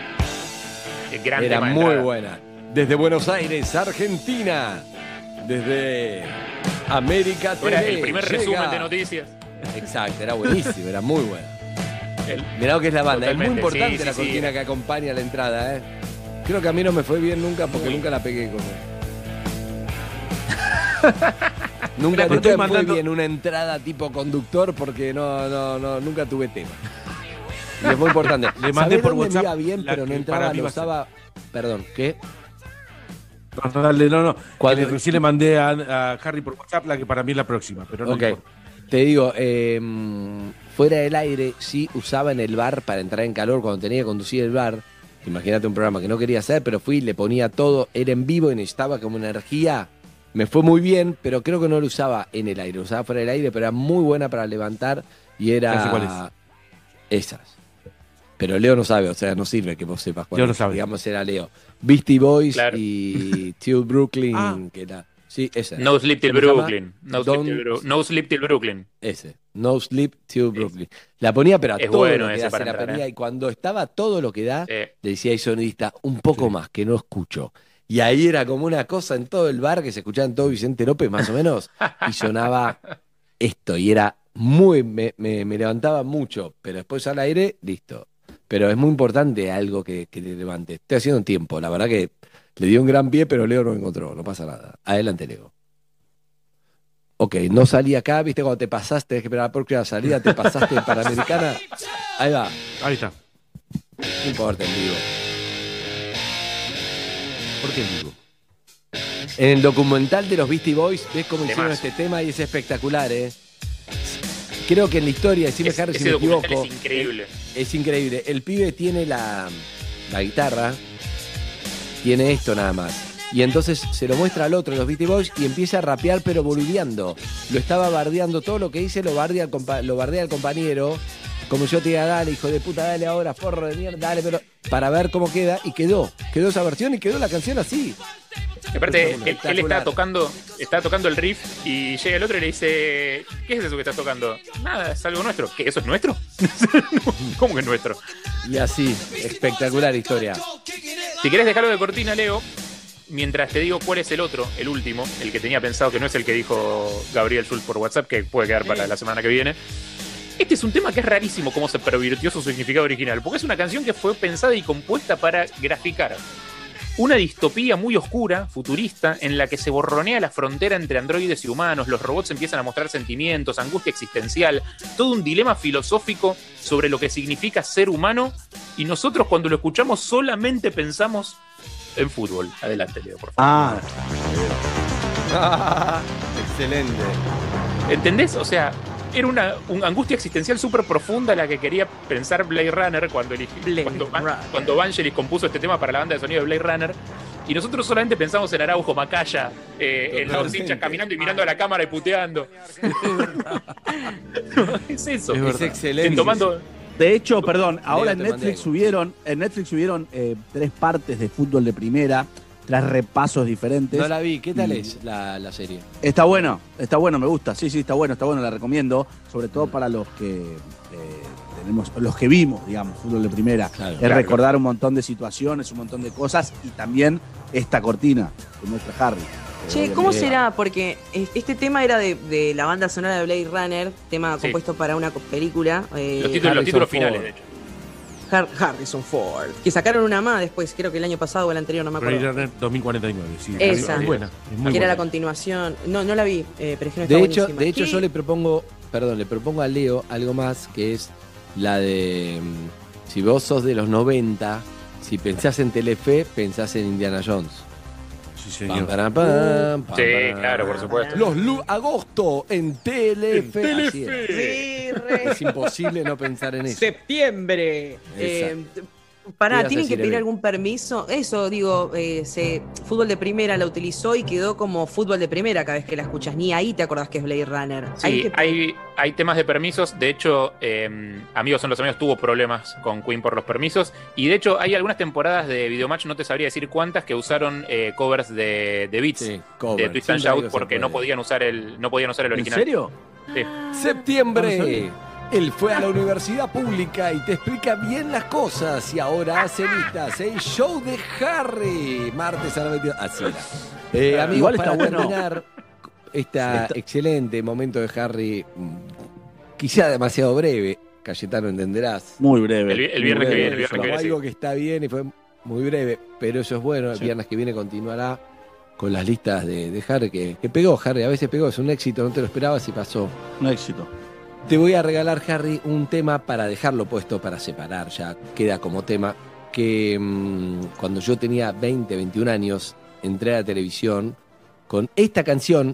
Gran
Era
tema de
muy
entrada.
buena. Desde Buenos Aires, Argentina. Desde América TV.
Era el primer
llega-
resumen de noticias.
Exacto, era buenísimo, era muy buena.
El-
Mirá lo que es la banda. Es muy
Totalmente,
importante
sí,
la
sí,
cortina
sí.
que acompaña la entrada, ¿eh? Creo que a mí no me fue bien nunca porque nunca la pegué como. Nunca
Pero
me
estoy
fue
mandando-
bien una entrada tipo conductor porque nunca tuve tema. Y es muy importante.
Le mandé
¿Sabés
por
dónde me
WhatsApp
iba bien,
la
pero no
que
entraba,
para mí
lo
va a ser.
usaba. Perdón, ¿qué?
No.
Cuando-
Recién le mandé a Harry por WhatsApp la que para mí es la próxima, pero no
Ok.
importa.
Te digo, fuera del aire, sí usaba en el bar para entrar en calor cuando tenía que conducir el bar. Imagínate un programa que no quería hacer, pero fui, le ponía todo, era en vivo y necesitaba como energía. Me fue muy bien, pero creo que no lo usaba en el aire, lo usaba fuera del aire, pero era muy buena para levantar y
Ya sé cuál
era esas. Pero Leo no sabe, o sea, no sirve que vos sepas cuál
Leo no
es.
sabe.
Digamos, era Leo. Beastie Boys
Claro.
y Till Brooklyn,
Ah.
que era. Sí, esa.
No Sleep Till
¿Cómo se llama?
Brooklyn. No
Don't-
Sleep Till Brooklyn.
Ese, No Sleep Till Brooklyn. La ponía, pero a
es
todo
bueno
lo que
ese
da, se
para
la
entrar,
ponía,
¿eh?
y cuando estaba todo lo que da,
Sí.
le decía al sonidista, un poco más, que no escucho. Y ahí era como una cosa en todo el bar, que se escuchaba en todo Vicente López, más o menos, y sonaba esto, y era muy, me levantaba mucho, pero después al aire, listo. Pero es muy importante algo que te levante. Estoy haciendo un tiempo, la verdad que le dio un gran pie, pero Leo no encontró, no pasa nada. Adelante, Leo. Ok, no salí acá, viste, cuando te pasaste, tenés que esperar por la salida, te pasaste en Panamericana. Ahí va,
Ahí está.
no importa en vivo.
¿Por qué digo?
En el documental de los Beastie Boys, ves cómo hicieron
Temazo.
este tema y es espectacular, ¿eh? Creo que en la historia, decime Harry si
Ese
me
documental
equivoco,
es increíble.
es increíble. El pibe tiene la guitarra, tiene esto nada más. Y entonces se lo muestra al otro, los Beastie Boys, y empieza a rapear pero boludeando. Lo estaba bardeando, todo lo que dice lo bardea al compañero. Como yo te diga, dale, hijo de puta, dale ahora, forro de mierda, dale, pero para ver cómo queda. Y quedó esa versión y quedó la canción así.
Aparte, él está tocando el riff y llega el otro y le dice: ¿qué es eso que estás tocando? Nada, es algo nuestro. ¿Qué? ¿Eso es nuestro? ¿Cómo que es nuestro?
Y así, espectacular historia.
Si querés dejarlo de cortina, Leo, mientras te digo cuál es el otro, el último, el que tenía pensado, que no es el que dijo Gabriel Schultz por WhatsApp, que puede quedar para la semana que viene. Este es un tema que es rarísimo cómo se pervirtió su significado original, porque es una canción que fue pensada y compuesta para graficar una distopía muy oscura, futurista, en la que se borronea la frontera entre androides y humanos, los robots empiezan a mostrar sentimientos, angustia existencial, todo un dilema filosófico sobre lo que significa ser humano, y nosotros cuando lo escuchamos solamente pensamos en fútbol. Adelante, Leo, por favor.
Excelente.
¿Entendés? O sea, era una angustia existencial súper profunda la que quería pensar Blade Runner cuando Vangelis compuso este tema para la banda de sonido de Blade Runner. Y nosotros solamente pensamos en Araujo, Macaya, en los hinchas caminando y mirando a la cámara y puteando. Es eso.
Es excelente.
De hecho, perdón, ahora en Netflix subieron 3 partes de fútbol de primera, 3 repasos diferentes.
No la vi, ¿qué tal es la serie?
Está bueno, me gusta, sí, está bueno, la recomiendo, sobre todo para los que los que vimos, digamos, fútbol de primera. Claro, recordar un montón de situaciones, un montón de cosas, y también esta cortina que muestra Harry.
Che, ¿cómo será? Porque este tema era de la banda sonora de Blade Runner, tema compuesto para una película.
Los títulos finales, de hecho.
Harrison Ford. Que sacaron una más después, creo que el año pasado o el anterior, no me acuerdo.
Blade Runner 2049, sí.
Esa.
Es buena. Es muy
que era
buena.
la continuación. No la vi, pero es que no está buenísima.
De hecho, yo le propongo a Leo algo más, que es la de... Si vos sos de los 90, si pensás en Telefe, pensás en Indiana Jones.
Sí, señor.
Claro, por supuesto.
Agosto en Telefe.
Sí, re.
Es imposible no pensar en eso.
Septiembre. ¿Tienen que pedir algún permiso? Eso, digo, fútbol de primera la utilizó y quedó como fútbol de primera cada vez que la escuchas. Ni ahí te acordás que es Blade Runner.
Sí, hay temas de permisos. De hecho, Amigos son los Amigos tuvo problemas con Queen por los permisos. Y de hecho, hay algunas temporadas de Videomatch, no te sabría decir cuántas, que usaron covers de Beats, de Twist and Shout, porque no podían usar el original.
¿En serio?
Sí.
Septiembre. Él fue a la universidad pública y te explica bien las cosas. Y ahora hace listas. El show de Harry. Martes a la 22. Así era. Amigos,
igual
para
está bueno
terminar excelente momento de Harry, quizá demasiado breve. Cayetano, entenderás.
Muy breve.
El viernes que viene.
Algo que está bien y fue muy breve, pero eso es bueno. El viernes que viene continuará con las listas de Harry, que pegó Harry. A veces pegó, es un éxito, no te lo esperabas y pasó.
Un éxito.
Te voy a regalar, Harry, un tema para dejarlo puesto, para separar, ya queda como tema, que cuando yo tenía 20, 21 años, entré a la televisión con esta canción,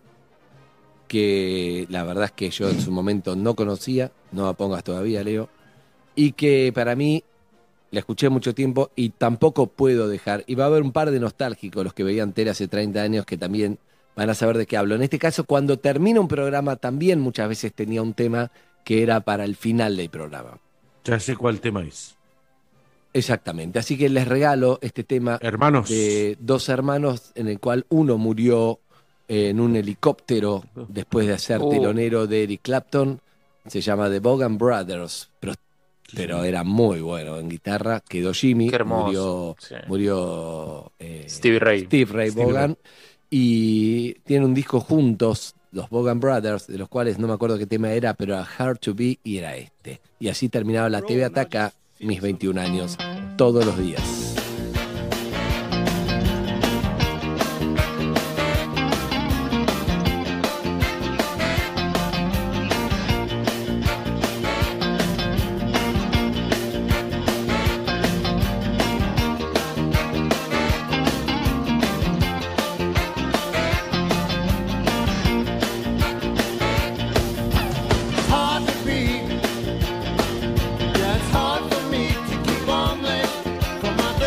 que la verdad es que yo en su momento no conocía, no la pongas todavía, Leo, y que para mí la escuché mucho tiempo y tampoco puedo dejar, y va a haber un par de nostálgicos, los que veían tele hace 30 años, que también van a saber de qué hablo. En este caso, cuando termina un programa, también muchas veces tenía un tema que era para el final del programa.
Ya sé cuál tema es.
Exactamente. Así que les regalo este tema de 2 hermanos, en el cual uno murió en un helicóptero después de ser telonero de Eric Clapton. Se llama The Vaughan Brothers, pero era muy bueno en guitarra. Quedó Jimmy,
qué hermoso.
murió
Steve Ray
Vaughan. Y tienen un disco juntos, los Vaughan Brothers, de los cuales no me acuerdo qué tema era, pero era Hard to Be y era este. Y así terminaba la TV Ataca, mis 21 años, todos los días.
Hard to be, yeah, it's hard for me to keep on living for my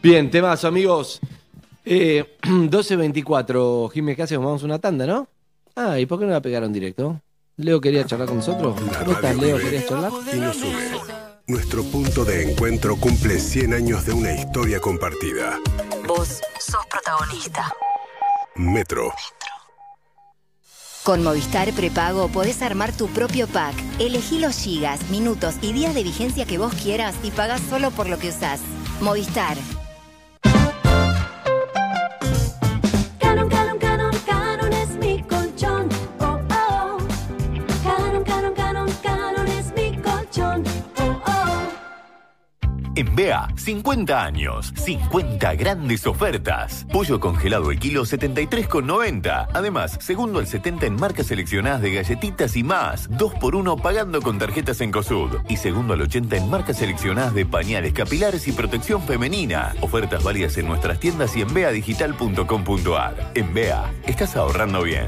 Bien, temazo, amigos. 12:24. Jiménez, ¿qué hacemos? Vamos a una tanda, ¿no? Ah, ¿y por qué no la pegaron directo? ¿Leo quería charlar con nosotros? ¿Cómo estás, Leo? ¿Querías charlar?
Y nos une. Nuestro punto de encuentro cumple 100 años de una historia compartida.
Vos sos protagonista.
Metro.
Con Movistar Prepago podés armar tu propio pack. Elegí los gigas, minutos y días de vigencia que vos quieras y pagás solo por lo que usás. Movistar.
Canon, Canon, Canon, Canon es mi colchón. Oh, oh. Canon, Canon, Canon, Canon es mi colchón. Oh, oh.
En BEA, 50 años, 50 grandes ofertas. Pollo congelado el kilo 73,90. Además, segundo al 70 en marcas seleccionadas de galletitas y más. 2x1 pagando con tarjetas en COSUD. Y segundo al 80 en marcas seleccionadas de pañales capilares y protección femenina. Ofertas válidas en nuestras tiendas y en beadigital.com.ar. En BEA, estás ahorrando bien.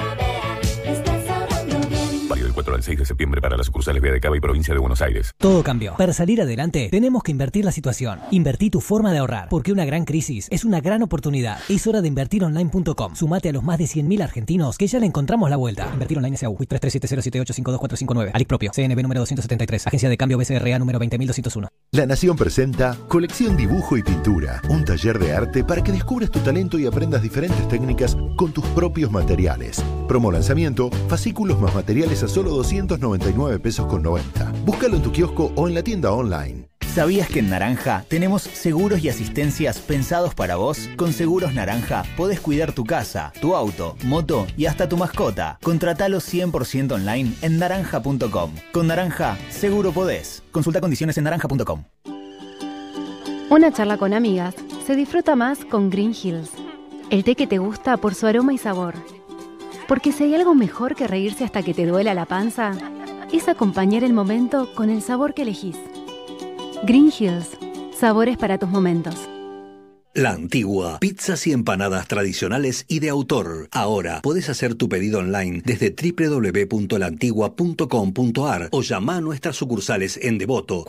Válido del 4 al 6 de septiembre para las sucursales BEA de Cava y Provincia de Buenos Aires.
Todo cambió. Para salir adelante, tenemos que invertir la situación. Invertí tu forma de ahorrar, porque una gran crisis es una gran oportunidad. Es hora de invertironline.com. Sumate a los más de 100.000 argentinos que ya le encontramos la vuelta. Invertir Online S.A.U. 337078524459. Alic propio. CNB número 273. Agencia de cambio BCRA número 20201.
La Nación presenta Colección Dibujo y Pintura, un taller de arte para que descubras tu talento y aprendas diferentes técnicas con tus propios materiales. Promo lanzamiento, fascículos más materiales a solo 299 pesos con 90. Búscalo en tu kiosco o en la tienda online.
¿Sabías que en Naranja tenemos seguros y asistencias pensados para vos? Con Seguros Naranja podés cuidar tu casa, tu auto, moto y hasta tu mascota. Contratalo 100% online en naranja.com. Con Naranja, seguro podés. Consulta condiciones en naranja.com.
Una charla con amigas se disfruta más con Green Hills. El té que te gusta por su aroma y sabor. Porque si hay algo mejor que reírse hasta que te duela la panza, es acompañar el momento con el sabor que elegís. Green Hills, sabores para tus momentos.
La Antigua, pizzas y empanadas tradicionales y de autor. Ahora podés hacer tu pedido online desde www.laantigua.com.ar o llama a nuestras sucursales en Devoto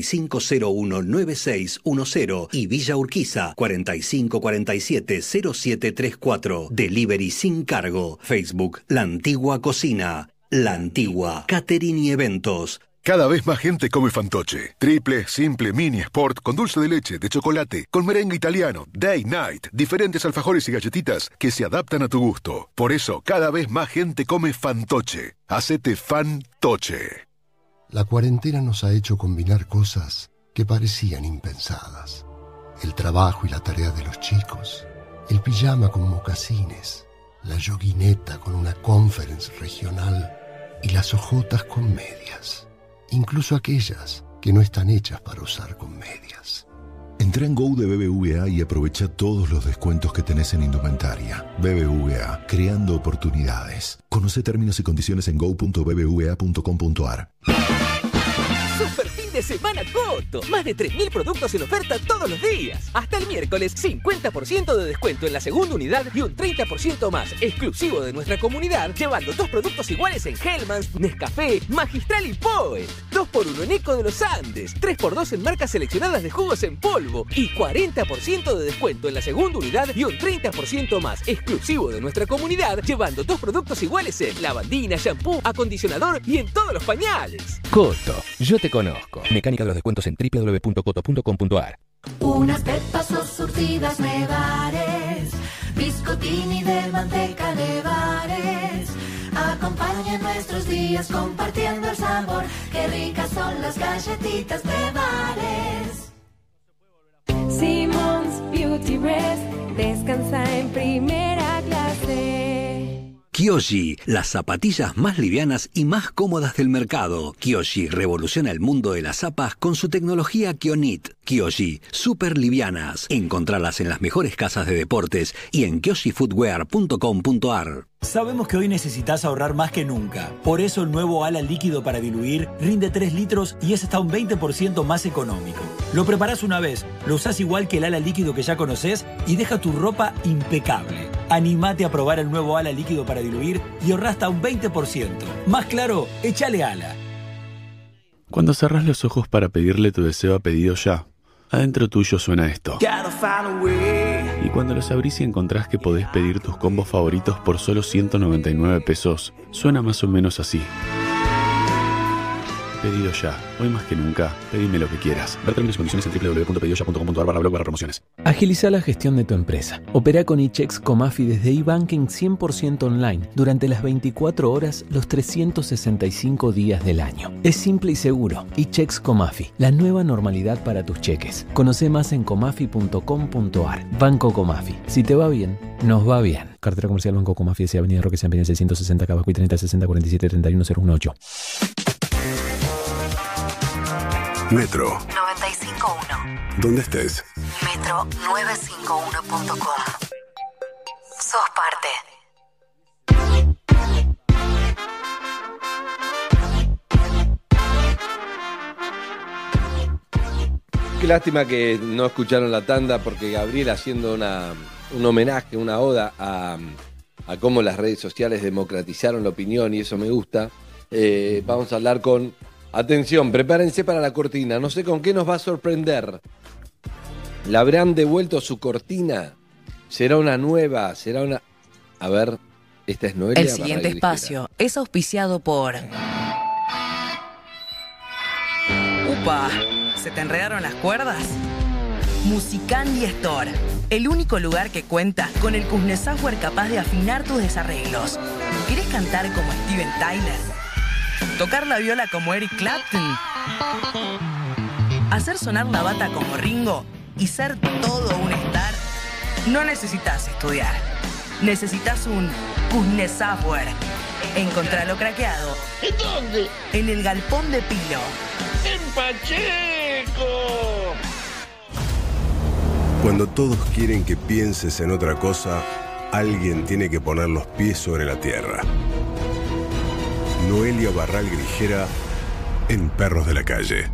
4501-9610 y Villa Urquiza 4547-0734. Delivery sin cargo. Facebook La Antigua Cocina. La Antigua, catering y eventos.
Cada vez más gente come fantoche. Triple, simple, mini, sport, con dulce de leche, de chocolate, con merengue italiano, day, night, diferentes alfajores y galletitas que se adaptan a tu gusto. Por eso, cada vez más gente come fantoche. Hacete fantoche.
La cuarentena nos ha hecho combinar cosas que parecían impensadas. El trabajo y la tarea de los chicos, el pijama con mocasines, la yoguineta con una conference regional y las ojotas con medias. Incluso aquellas que no están hechas para usar con medias.
Entra en Go de BBVA y aprovecha todos los descuentos que tenés en indumentaria. BBVA, creando oportunidades. Conoce términos y condiciones en go.bbva.com.ar.
Super fin de semana Coto. Más de 3.000 productos en oferta todos los días. Hasta el miércoles, 50% de descuento en la segunda unidad y un 30% más exclusivo de nuestra comunidad, llevando 2 productos iguales en Hellmann's, Nescafé, Magistral y Poet. 2x1 en Eco de los Andes, 3x2 en marcas seleccionadas de jugos en polvo y 40% de descuento en la segunda unidad y un 30% más exclusivo de nuestra comunidad, llevando 2 productos iguales en lavandina, shampoo, acondicionador y en todos los pañales.
Coto, yo te conozco. Mecánica de los descuentos en www.coto.com.ar.
Unas pepas o surtidas nevares, biscottini de manteca nevares. Acompaña nuestros días compartiendo el sabor. Qué ricas son las galletitas nevares. Simmons Beauty Rest descansa en primera clase.
Kyoshi, las zapatillas más livianas y más cómodas del mercado. Kyoshi revoluciona el mundo de las zapas con su tecnología Kionit. Kyoshi, super livianas. Encontralas en las mejores casas de deportes y en kyoshifootwear.com.ar.
Sabemos que hoy necesitas ahorrar más que nunca. Por eso el nuevo ala líquido para diluir rinde 3 litros y es hasta un 20% más económico. Lo preparás una vez, lo usás igual que el ala líquido que ya conocés y deja tu ropa impecable. Animate a probar el nuevo ala líquido para diluir y ahorrá hasta un 20%. Más claro, échale ala.
Cuando cerrás los ojos para pedirle tu deseo a pedido ya,
Adentro tuyo suena esto. Y cuando los abrís y encontrás que podés pedir tus combos favoritos por solo 199 pesos, suena más o menos así. Pedido ya. Hoy más que nunca, pedime lo que quieras. Ver términos y condiciones en www.pedidoya.com.ar/blog/promociones.
Agiliza la gestión de tu empresa. Opera con eChecks Comafi desde eBanking 100% online durante las 24 horas, los 365 días del año. Es simple y seguro. eChecks Comafi, la nueva normalidad para tus cheques. Conoce más en comafi.com.ar. Banco Comafi. Si te va bien, nos va bien. Cartera comercial Banco Comafi, S. Avenida Roque San Pérez 660 Cabacuy 30 60 47 31 018.
Metro.
95.1.
¿Dónde estés?
Metro951.com. Sos parte.
Qué lástima que no escucharon la tanda, porque Gabriel, haciendo un homenaje, una oda a cómo las redes sociales democratizaron la opinión, y eso me gusta. Vamos a hablar con... Atención, prepárense para la cortina. No sé con qué nos va a sorprender. ¿Le habrán devuelto su cortina? ¿Será una nueva? ¿Será una...? A ver, esta es Noelia.
El siguiente espacio es auspiciado por... ¡Upa! ¿Se te enredaron las cuerdas? Musicandy Store. El único lugar que cuenta con el Kuznets-Software capaz de afinar tus desarreglos. ¿Querés cantar como Steven Tyler? ¿Tocar la viola como Eric Clapton? ¿Hacer sonar la bata como Ringo? ¿Y ser todo un star? No necesitas estudiar. Necesitas un Kuznets-Software. Encontralo craqueado.
¿En dónde?
En el Galpón de Pilo.
¡En Pacheco!
Cuando todos quieren que pienses en otra cosa, alguien tiene que poner los pies sobre la tierra. Noelia Barral Grijera en Perros de la Calle.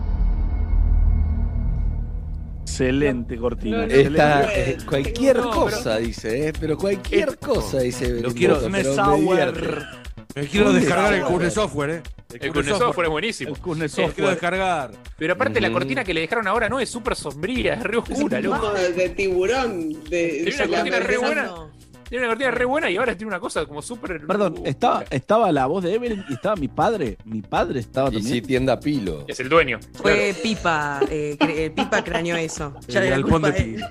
Excelente cortina.
Esta, cualquier cosa, dice, pero cualquier cosa, dice.
Lo quiero,
pero
me quiero descargar el Kuznets-Software,
El Kuznets-Software es buenísimo.
El Kuznets-Software quiero descargar.
Pero aparte la cortina que le dejaron ahora no es súper sombría, es re oscura, loco.
De tiburón.
Tiene una cortina re buena. Tiene una cortina re buena y ahora tiene una cosa como súper...
Perdón, estaba la voz de Evelyn y estaba mi padre. Mi padre estaba también.
Y sí, tienda Pilo.
Es el dueño.
Fue Pipa. Pipa craneó eso. Ya
el galpón de Pilo.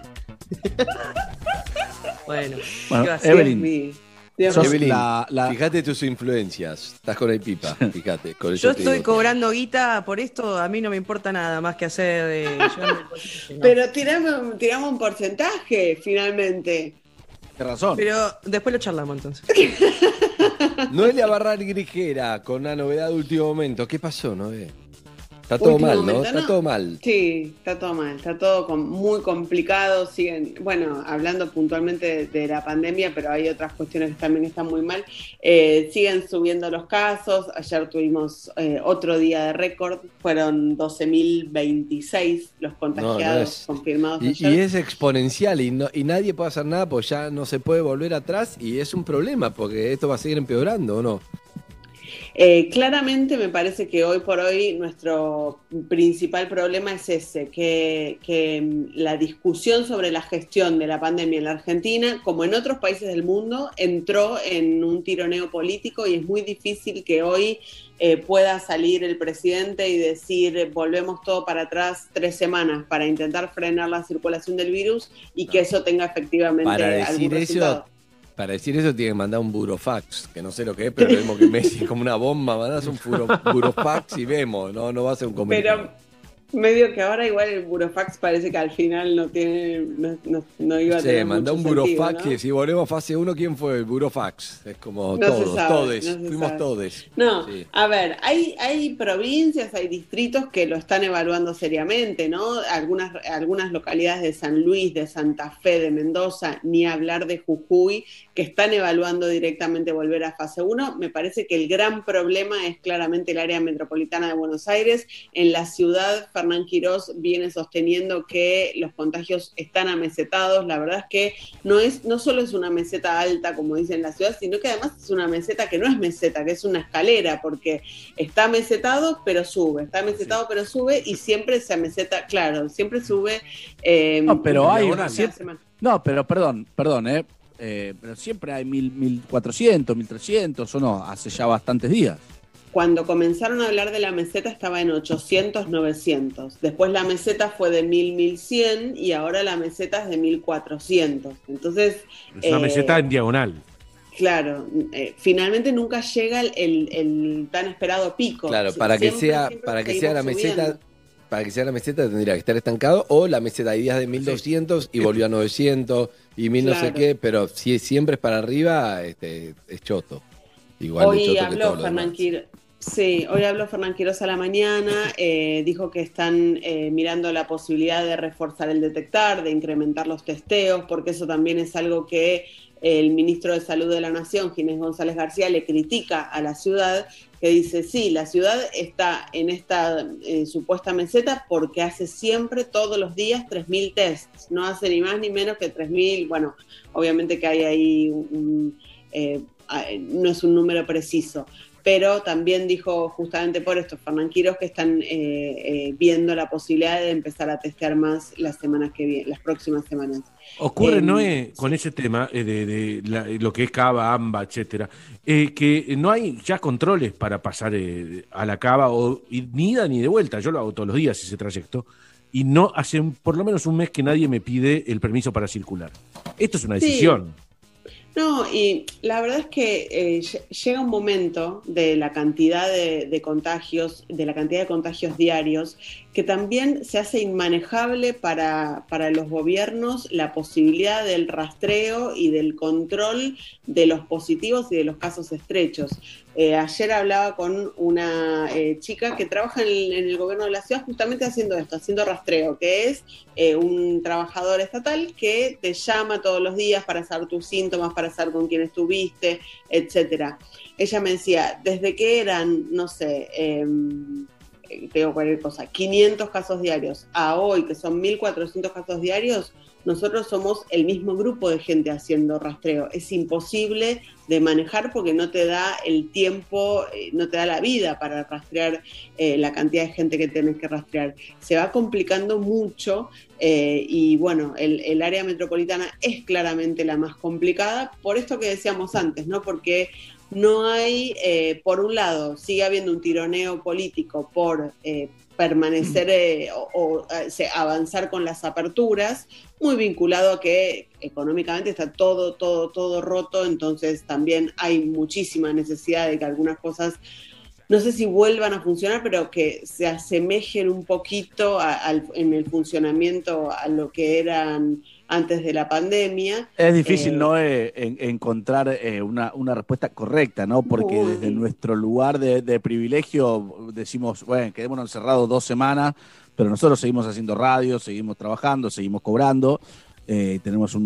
Bueno,
Evelyn.
Evelyn, fíjate tus influencias. Estás con el Pipa, fíjate. Con
yo estoy cobrando guita por esto, a mí no me importa nada más que hacer...
Pero tiramos un porcentaje, finalmente.
Tienes razón.
Pero después lo charlamos entonces.
Noelia Barral Grijera, con una novedad de último momento. ¿Qué pasó, Noé? Está todo
Último
mal,
momento,
¿no? Está todo mal.
Sí, está todo mal. Está todo muy complicado. Siguen, bueno, hablando puntualmente de la pandemia, pero hay otras cuestiones que también están muy mal. Siguen subiendo los casos. Ayer tuvimos otro día de récord. Fueron 12.026 los contagiados confirmados ayer.
Y es exponencial y nadie puede hacer nada, pues ya no se puede volver atrás, y es un problema porque esto va a seguir empeorando, ¿o no?
Claramente me parece que hoy por hoy nuestro principal problema es ese, que la discusión sobre la gestión de la pandemia en la Argentina, como en otros países del mundo, entró en un tironeo político, y es muy difícil que hoy pueda salir el presidente y decir volvemos todo para atrás 3 semanas para intentar frenar la circulación del virus y que eso tenga efectivamente algún resultado.
Para decir eso tiene que mandar un burofax, que no sé lo que es, pero vemos que Messi es como una bomba, mandás un burofax y vemos, no va a ser un comunicado.
Pero medio que ahora igual el burofax parece que al final no iba a tener
Sí, mandó un
mucho
burofax,
sentido, ¿no?
y si volvemos fase 1, ¿quién fue el burofax? Es como
No se sabe,
fuimos todos.
No,
Sí.
a ver, hay provincias, hay distritos que lo están evaluando seriamente, ¿no? Algunas localidades de San Luis, de Santa Fe, de Mendoza, ni hablar de Jujuy, que están evaluando directamente volver a fase 1. Me parece que el gran problema es claramente el área metropolitana de Buenos Aires. En la ciudad Fernán Quirós viene sosteniendo que los contagios están amesetados. La verdad es que no solo es una meseta alta, como dicen en la ciudad, sino que además es una meseta que no es meseta, que es una escalera, porque está mesetado, pero sube, está mesetado, pero sube, y siempre se ameseta, claro, siempre sube.
No, pero hay una
semana.
No, pero perdón, pero siempre hay 1.400, 1.300, o no, hace ya bastantes días.
Cuando comenzaron a hablar de la meseta estaba en 800, 900. Después la meseta fue de 1.000, 1.100 y ahora la meseta es de 1.400. Entonces...
Es una meseta en diagonal.
Claro, finalmente nunca llega el tan esperado pico.
Claro, para que sea la meseta... Para que sea la meseta tendría que estar estancado, o la meseta hay días de 1.200 y volvió a 900 y 1.000 no sé qué, pero si siempre es para arriba, es choto. Igual
hoy
de choto
habló
que todo
Fernán Quirós. Sí, hoy habló Fernán Quirós a la mañana, dijo que están mirando la posibilidad de reforzar el detectar, de incrementar los testeos, porque eso también es algo que el ministro de Salud de la Nación, Ginés González García, le critica a la ciudad, que dice, sí, la ciudad está en esta supuesta meseta porque hace siempre, todos los días, 3.000 tests, no hace ni más ni menos que 3.000, bueno, obviamente que hay ahí, no es un número preciso, pero también dijo justamente por esto Fernán Quirós que están viendo la posibilidad de empezar a testear más las semanas que vienen, las próximas semanas.
Ocurre, Noé, con ese tema de lo que es cava, AMBA, etcétera, que no hay ya controles para pasar a la cava, ni ida ni de vuelta. Yo lo hago todos los días ese trayecto, y no hace por lo menos un mes que nadie me pide el permiso para circular. Esto es una decisión.
Sí. No, y la verdad es que llega un momento de la cantidad de contagios, de la cantidad de contagios diarios, que también se hace inmanejable para los gobiernos la posibilidad del rastreo y del control de los positivos y de los casos estrechos. Ayer hablaba con una chica que trabaja en el gobierno de la ciudad justamente haciendo esto, haciendo rastreo, que es un trabajador estatal que te llama todos los días para saber tus síntomas, para saber con quién estuviste, etcétera. Ella me decía, desde que eran, no sé, tengo cualquier cosa, 500 casos diarios, a hoy que son 1.400 casos diarios, nosotros somos el mismo grupo de gente haciendo rastreo. Es imposible de manejar porque no te da el tiempo, no te da la vida para rastrear la cantidad de gente que tenés que rastrear. Se va complicando mucho y bueno, el área metropolitana es claramente la más complicada por esto que decíamos antes, ¿no? Porque no hay, por un lado, sigue habiendo un tironeo político por permanecer avanzar con las aperturas, muy vinculado a que económicamente está todo roto, entonces también hay muchísima necesidad de que algunas cosas, no sé si vuelvan a funcionar, pero que se asemejen un poquito en el funcionamiento a lo que eran antes de la pandemia.
Es difícil, ¿no? Encontrar una respuesta correcta, ¿no? Porque desde nuestro lugar de privilegio decimos, bueno, quedémonos encerrados 2 semanas, pero nosotros seguimos haciendo radio, seguimos trabajando, seguimos cobrando, tenemos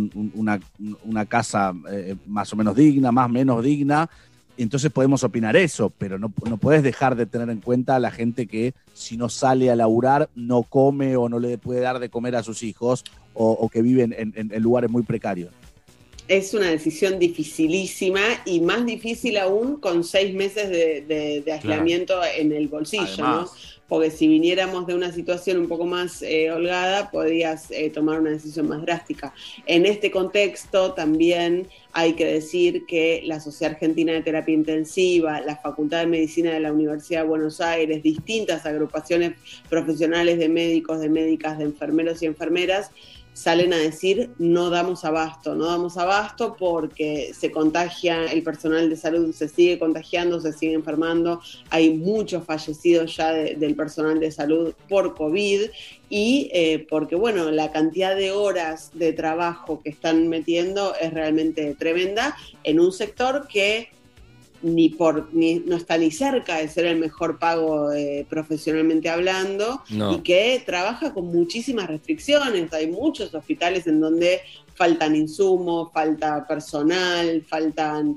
una casa más o menos digna, más o menos digna, entonces podemos opinar eso, pero no puedes dejar de tener en cuenta a la gente que si no sale a laburar, no come o no le puede dar de comer a sus hijos o que viven en lugares muy precarios.
Es una decisión dificilísima y más difícil aún con 6 meses de aislamiento en el bolsillo, además, ¿no? Porque si viniéramos de una situación un poco más holgada, podrías tomar una decisión más drástica. En este contexto también hay que decir que la Sociedad Argentina de Terapia Intensiva, la Facultad de Medicina de la Universidad de Buenos Aires, distintas agrupaciones profesionales de médicos, de médicas, de enfermeros y enfermeras, salen a decir no damos abasto porque se contagia, el personal de salud se sigue contagiando, se sigue enfermando, hay muchos fallecidos ya del personal de salud por COVID y porque bueno, la cantidad de horas de trabajo que están metiendo es realmente tremenda en un sector que no está ni cerca de ser el mejor pago profesionalmente hablando, no. Y que trabaja con muchísimas restricciones. Hay muchos hospitales en donde faltan insumos, falta personal, faltan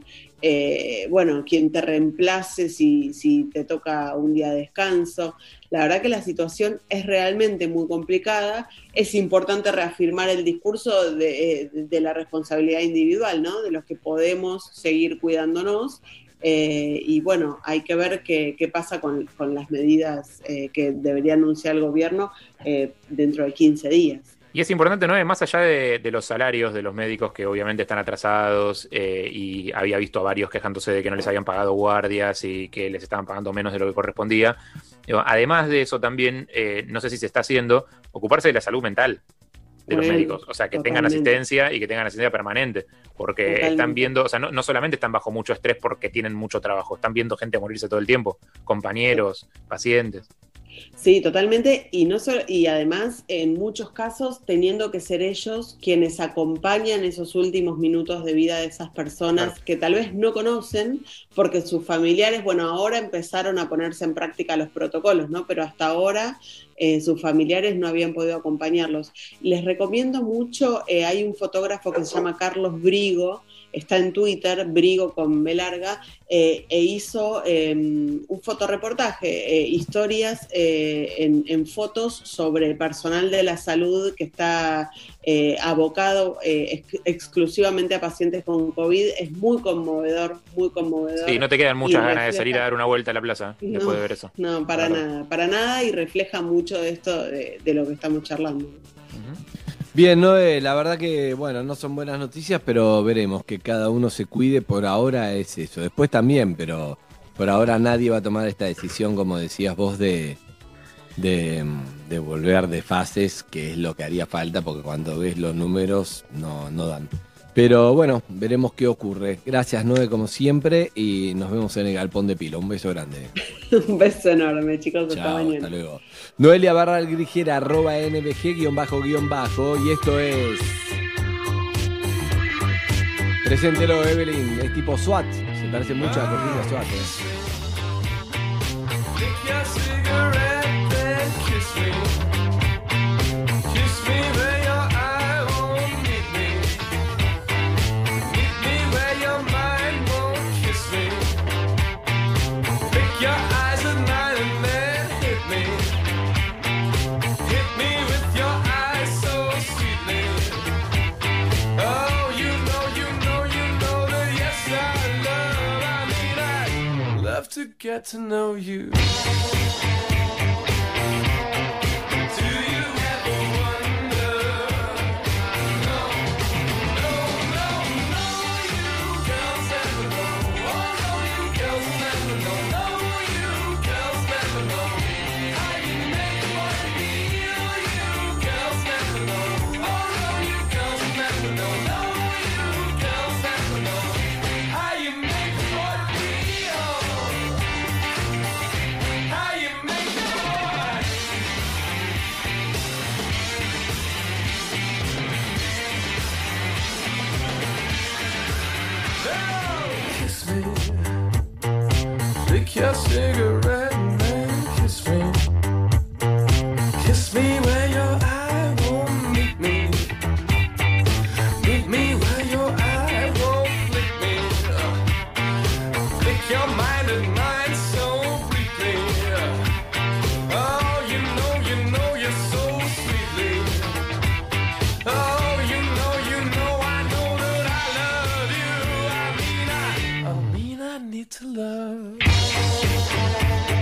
bueno, quien te reemplace si te toca un día de descanso. La verdad que la situación es realmente muy complicada. Es importante reafirmar el discurso de la responsabilidad individual, ¿no? De los que podemos seguir cuidándonos. Y bueno, hay que ver qué pasa con las medidas que debería anunciar el gobierno dentro de 15 días.
Y es importante, ¿no? Más allá de los salarios de los médicos que obviamente están atrasados y había visto a varios quejándose de que no les habían pagado guardias y que les estaban pagando menos de lo que correspondía. Además de eso también, no sé si se está haciendo, ocuparse de la salud mental de los médicos, o sea, que tengan asistencia y que tengan asistencia permanente, porque están viendo, o sea, no solamente están bajo mucho estrés porque tienen mucho trabajo, están viendo gente morirse todo el tiempo, compañeros, pacientes.
Sí, totalmente, y además en muchos casos teniendo que ser ellos quienes acompañan esos últimos minutos de vida de esas personas que tal vez no conocen, porque sus familiares, bueno, ahora empezaron a ponerse en práctica los protocolos, ¿no? Pero hasta ahora sus familiares no habían podido acompañarlos. Les recomiendo mucho, hay un fotógrafo que se llama Carlos Brigo, está en Twitter, Brigo con B larga, e hizo un fotoreportaje, historias en fotos sobre personal de la salud que está abocado exclusivamente a pacientes con COVID. Es muy conmovedor, muy conmovedor.
Sí, no te quedan muchas ganas de salir a dar una vuelta a la plaza después de ver eso.
No, para nada, y refleja mucho de esto de lo que estamos charlando.
Bien, Noé, la verdad que, bueno, no son buenas noticias, pero veremos que cada uno se cuide. Por ahora es eso. Después también, pero por ahora nadie va a tomar esta decisión, como decías vos, de volver de fases, que es lo que haría falta, porque cuando ves los números no dan. Pero bueno, veremos qué ocurre. Gracias, Noé, como siempre, y nos vemos en el Galpón de Pilo. Un beso grande.
Un beso enorme, chicos.
Hasta mañana. Hasta luego. Noelia _Grigera, @NBG_, y esto es... Preséntelo, Evelyn, es tipo SWAT, se parece mucho a la cortina SWAT.
To get to know you. Your cigarette and then kiss me. Kiss me where your eye won't meet me. Meet me where your eye won't flick me. Flick your mind and mine so briefly. Oh, you know you're so sweetly. Oh, you know I know that I love you. I mean I need to love.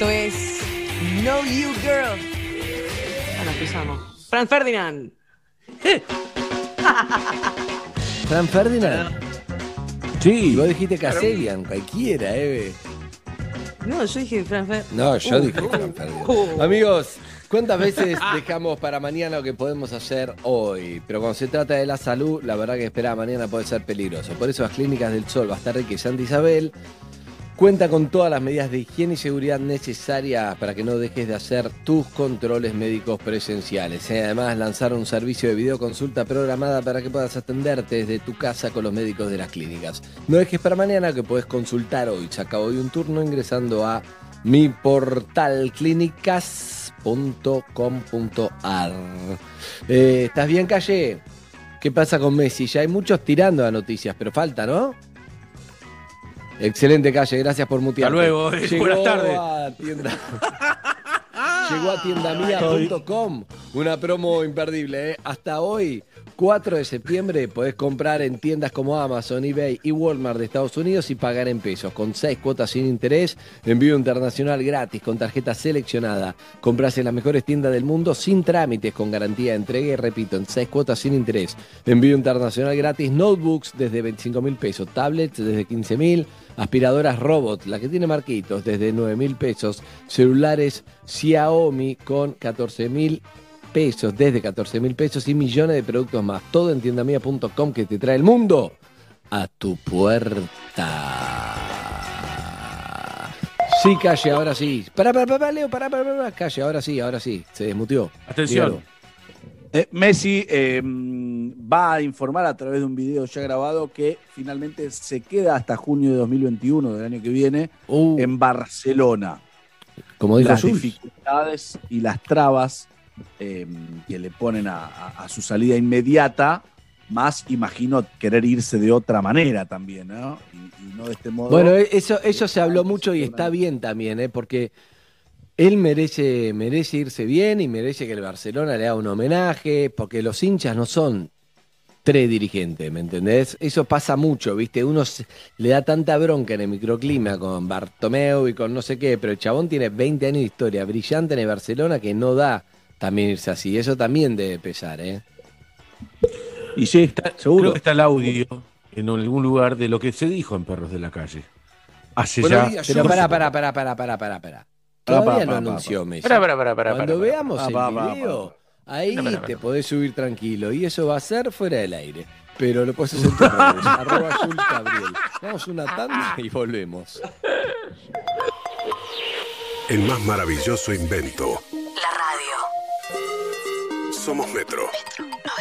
Esto es Know You Girl. Ahora empezamos. Franz Ferdinand.
Franz Ferdinand.
Sí.
Vos dijiste Caselian, cualquiera, Eve.
No, yo dije Franz Ferdinand.
No, yo dije Franz Ferdinand. Amigos, ¿cuántas veces dejamos para mañana lo que podemos hacer hoy? Pero cuando se trata de la salud, la verdad que esperar a mañana puede ser peligroso. Por eso las Clínicas del Sol, Bastarrica y Santa Isabel cuenta con todas las medidas de higiene y seguridad necesarias para que no dejes de hacer tus controles médicos presenciales. Además, lanzaron un servicio de videoconsulta programada para que puedas atenderte desde tu casa con los médicos de las clínicas. No dejes para mañana que puedes consultar hoy. Saca hoy un turno ingresando a mi portal clínicas.com.ar. ¿Estás bien, Calle? ¿Qué pasa con Messi? Ya hay muchos tirando a noticias, pero falta, ¿no? Excelente, Calle, gracias por mutear.
Hasta luego, buenas tardes.
Llegó a tiendamia.com, una promo imperdible, Hasta hoy, 4 de septiembre, podés comprar en tiendas como Amazon, eBay y Walmart de Estados Unidos y pagar en pesos, con 6 cuotas sin interés, envío internacional gratis, con tarjeta seleccionada. Comprás en las mejores tiendas del mundo sin trámites, con garantía de entrega y, repito, en 6 cuotas sin interés. Envío internacional gratis, notebooks desde 25.000 pesos, tablets desde 15.000, aspiradoras robot, la que tiene marquitos, desde 9.000 pesos, celulares Xiaomi con 14.000 pesos, desde 14.000 pesos y millones de productos más. Todo en tiendamia.com, que te trae el mundo a tu puerta. Sí, Calle, ahora sí. Pará, Leo, pará, Calle, ahora sí, se desmuteó.
Atención.
Messi va a informar a través de un video ya grabado que finalmente se queda hasta junio de 2021, del año que viene, en Barcelona.
Como dijo
las
Sus.
dificultades y las trabas que le ponen a su salida inmediata, más imagino querer irse de otra manera también, ¿no? Y no de este modo.
Bueno, eso se habló mucho y está bien también, porque él merece irse bien y merece que el Barcelona le haga un homenaje, porque los hinchas no son 3 dirigentes, ¿me entendés? Eso pasa mucho, ¿viste? Uno le da tanta bronca en el microclima con Bartomeu y con no sé qué, pero el chabón tiene 20 años de historia brillante en el Barcelona que no da también irse así. Eso también debe pesar,
Y sí, seguro.
Creo que está el audio en algún lugar de lo que se dijo en Perros de la Calle. Hace
Bueno,
ya...
pero pará. Todavía no anunció Messi. Cuando veamos el video, ahí te podés subir tranquilo. Y eso va a ser fuera del aire. Pero lo podés hacer en tus redes. @JulesGabriel. Vamos una tanda y volvemos.
El más maravilloso invento.
La radio.
Somos Metro.
Metro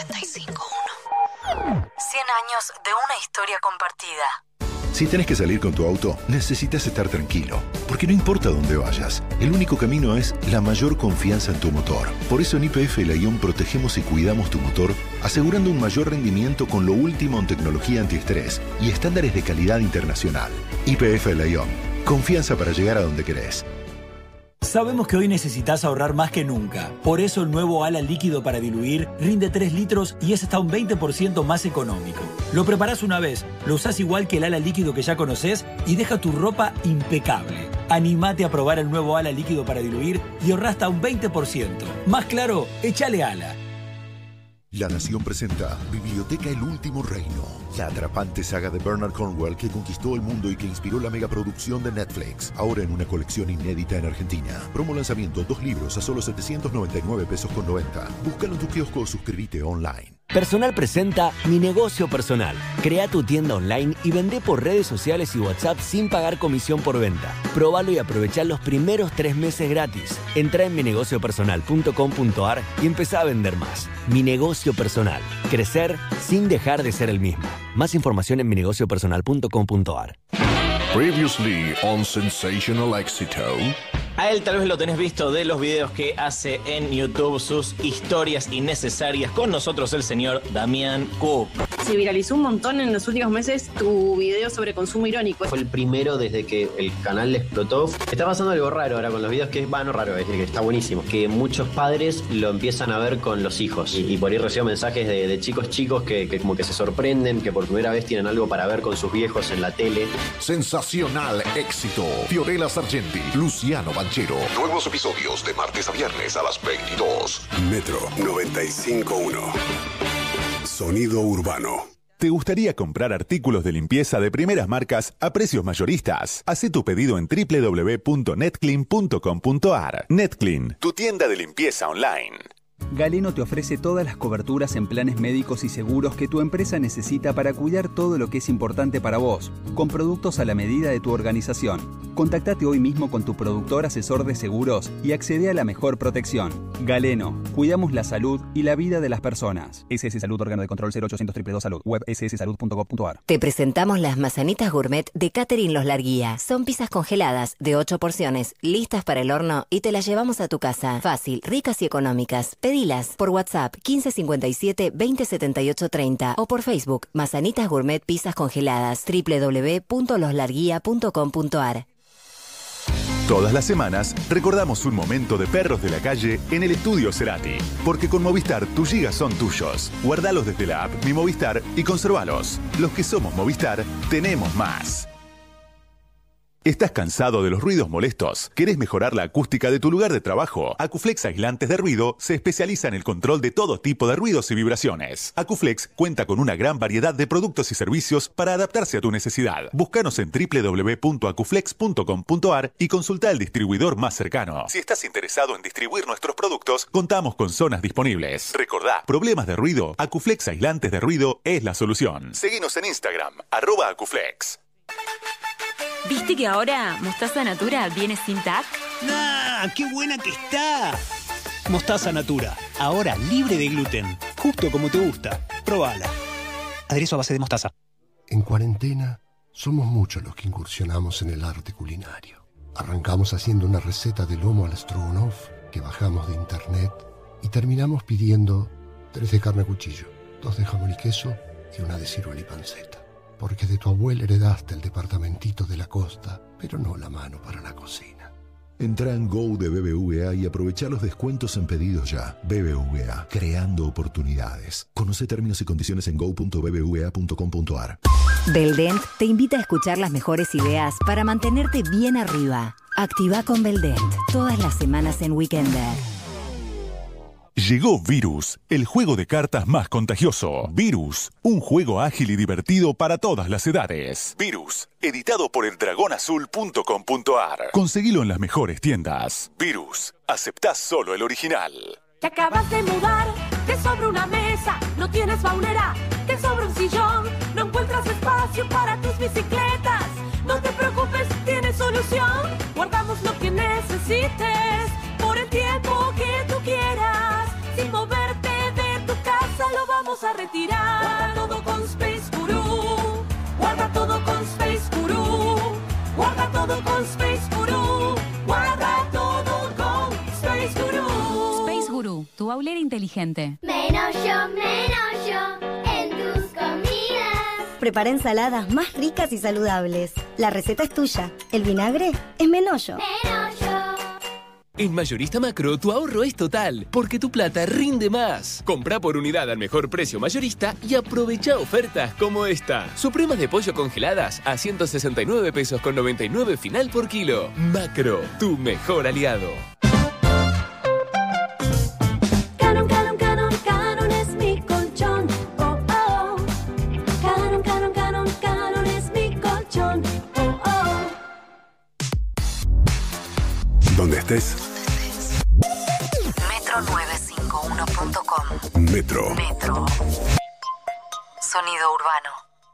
95.1. 100 años de una historia compartida.
Si tenés que salir con tu auto, necesitas estar tranquilo, porque no importa dónde vayas, el único camino es la mayor confianza en tu motor. Por eso en YPF Lyon protegemos y cuidamos tu motor, asegurando un mayor rendimiento con lo último en tecnología antiestrés y estándares de calidad internacional. YPF Lyon, confianza para llegar a donde querés.
Sabemos que hoy necesitas ahorrar más que nunca. Por eso el nuevo ala líquido para diluir rinde 3 litros y es hasta un 20% más económico. Lo preparás una vez, lo usás igual que el ala líquido que ya conocés y deja tu ropa impecable. Animate a probar el nuevo ala líquido para diluir y ahorrá hasta un 20%. Más claro, échale ala.
La Nación presenta Biblioteca El Último Reino, la atrapante saga de Bernard Cornwell que conquistó el mundo y que inspiró la megaproducción de Netflix, ahora en una colección inédita en Argentina. Promo lanzamiento, 2 libros a solo 799 pesos con 90. Búscalo en tu kiosco o suscríbete online.
Personal presenta Mi Negocio Personal. Crea tu tienda online y vende por redes sociales y WhatsApp sin pagar comisión por venta. Próbalo y aprovechá los primeros 3 meses gratis. Entra en minegociopersonal.com.ar y empezá a vender más. Mi Negocio Personal. Crecer sin dejar de ser el mismo. Más información en minegociopersonal.com.ar.
Previously on Sensational Éxito.
A él tal vez lo tenés visto de los videos que hace en YouTube, sus historias innecesarias. Con nosotros el señor Damián Cook.
Se viralizó un montón en los últimos meses tu video sobre consumo irónico.
Fue el primero desde que el canal le explotó. Está pasando algo raro ahora con los videos, que es no raro, es que está buenísimo. Que muchos padres lo empiezan a ver con los hijos. Y por ahí recibo mensajes de chicos que como que se sorprenden, que por primera vez tienen algo para ver con sus viejos en la tele.
Sensacional Éxito. Fiorella Sargenti, Luciano Valderrama, Banchero. Nuevos episodios de martes a viernes a las 22.
Metro 95.1. Sonido urbano.
¿Te gustaría comprar artículos de limpieza de primeras marcas a precios mayoristas? Haz tu pedido en www.netclean.com.ar. Netclean, tu tienda de limpieza online.
Galeno te ofrece todas las coberturas en planes médicos y seguros que tu empresa necesita para cuidar todo lo que es importante para vos, con productos a la medida de tu organización. Contactate hoy mismo con tu productor asesor de seguros y accede a la mejor protección. Galeno, cuidamos la salud y la vida de las personas. SS Salud, órgano de control 0800 222 Salud, web sssalud.gov.ar.
Te presentamos las manzanitas gourmet de Catherine Los Larguía. Son pizzas congeladas de 8 porciones, listas para el horno y te las llevamos a tu casa. Fácil, ricas y económicas. Pedilas por WhatsApp 1557 2078 30 o por Facebook Manzanitas Gourmet Pizzas Congeladas www.loslarguía.com.ar.
Todas las semanas recordamos un momento de perros de la calle en el estudio Cerati. Porque con Movistar tus gigas son tuyos. Guardalos desde la app Mi Movistar y conservalos. Los que somos Movistar tenemos más. ¿Estás cansado de los ruidos molestos? ¿Querés mejorar la acústica de tu lugar de trabajo? Acuflex Aislantes de Ruido se especializa en el control de todo tipo de ruidos y vibraciones. Acuflex cuenta con una gran variedad de productos y servicios para adaptarse a tu necesidad. Búscanos en www.acuflex.com.ar y consulta al distribuidor más cercano. Si estás interesado en distribuir nuestros productos, contamos con zonas disponibles. Recordá, problemas de ruido, Acuflex Aislantes de Ruido es la solución. Seguinos en Instagram, @Acuflex.
¿Viste que ahora Mostaza Natura viene sin TAC?
¡Ah! ¡Qué buena que está! Mostaza Natura, ahora libre de gluten, justo como te gusta. Probala. Aderezo a base de mostaza.
En cuarentena, somos muchos los que incursionamos en el arte culinario. Arrancamos haciendo una receta de lomo al stroganoff que bajamos de internet y terminamos pidiendo 3 de carne a cuchillo, 2 de jamón y queso y 1 de ciruela y panceta. Porque de tu abuela heredaste el departamentito de la costa, pero no la mano para la cocina.
Entra en Go de BBVA y aprovecha los descuentos en pedidos ya. BBVA, creando oportunidades. Conoce términos y condiciones en go.bbva.com.ar.
Beldent te invita a escuchar las mejores ideas para mantenerte bien arriba. Activa con Beldent todas las semanas en Weekender.
Llegó Virus, el juego de cartas más contagioso. Virus, un juego ágil y divertido para todas las edades. Virus, editado por eldragonazul.com.ar. Conseguilo en las mejores tiendas. Virus, aceptás solo el original.
Te acabas de mudar, te sobra una mesa, no tienes baulera, te sobra un sillón, no encuentras espacio para tus bicicletas. No te preocupes, tienes solución. Guardamos lo que necesites por el tiempo que tú quieras. Sin moverte de tu casa lo vamos a retirar. Guarda todo con Space Guru. Guarda todo con Space Guru. Guarda todo con Space Guru. Guarda todo con Space Guru.
Space Guru, tu baulera inteligente.
Menos yo en tus comidas.
Prepara ensaladas más ricas y saludables. La receta es tuya. El vinagre es Menollo.
En Mayorista Macro, tu ahorro es total, porque tu plata rinde más. Comprá por unidad al mejor precio mayorista y aprovecha ofertas como esta. Supremas de pollo congeladas a 169 pesos con 99 final por kilo. Macro, tu mejor aliado.
Canon, Canon, Canon, Canon es mi colchón. Oh, oh. Canon, Canon, Canon, Canon es mi colchón. Oh, oh.
Donde estés.
Metro951.com.
Metro.
Sonido urbano.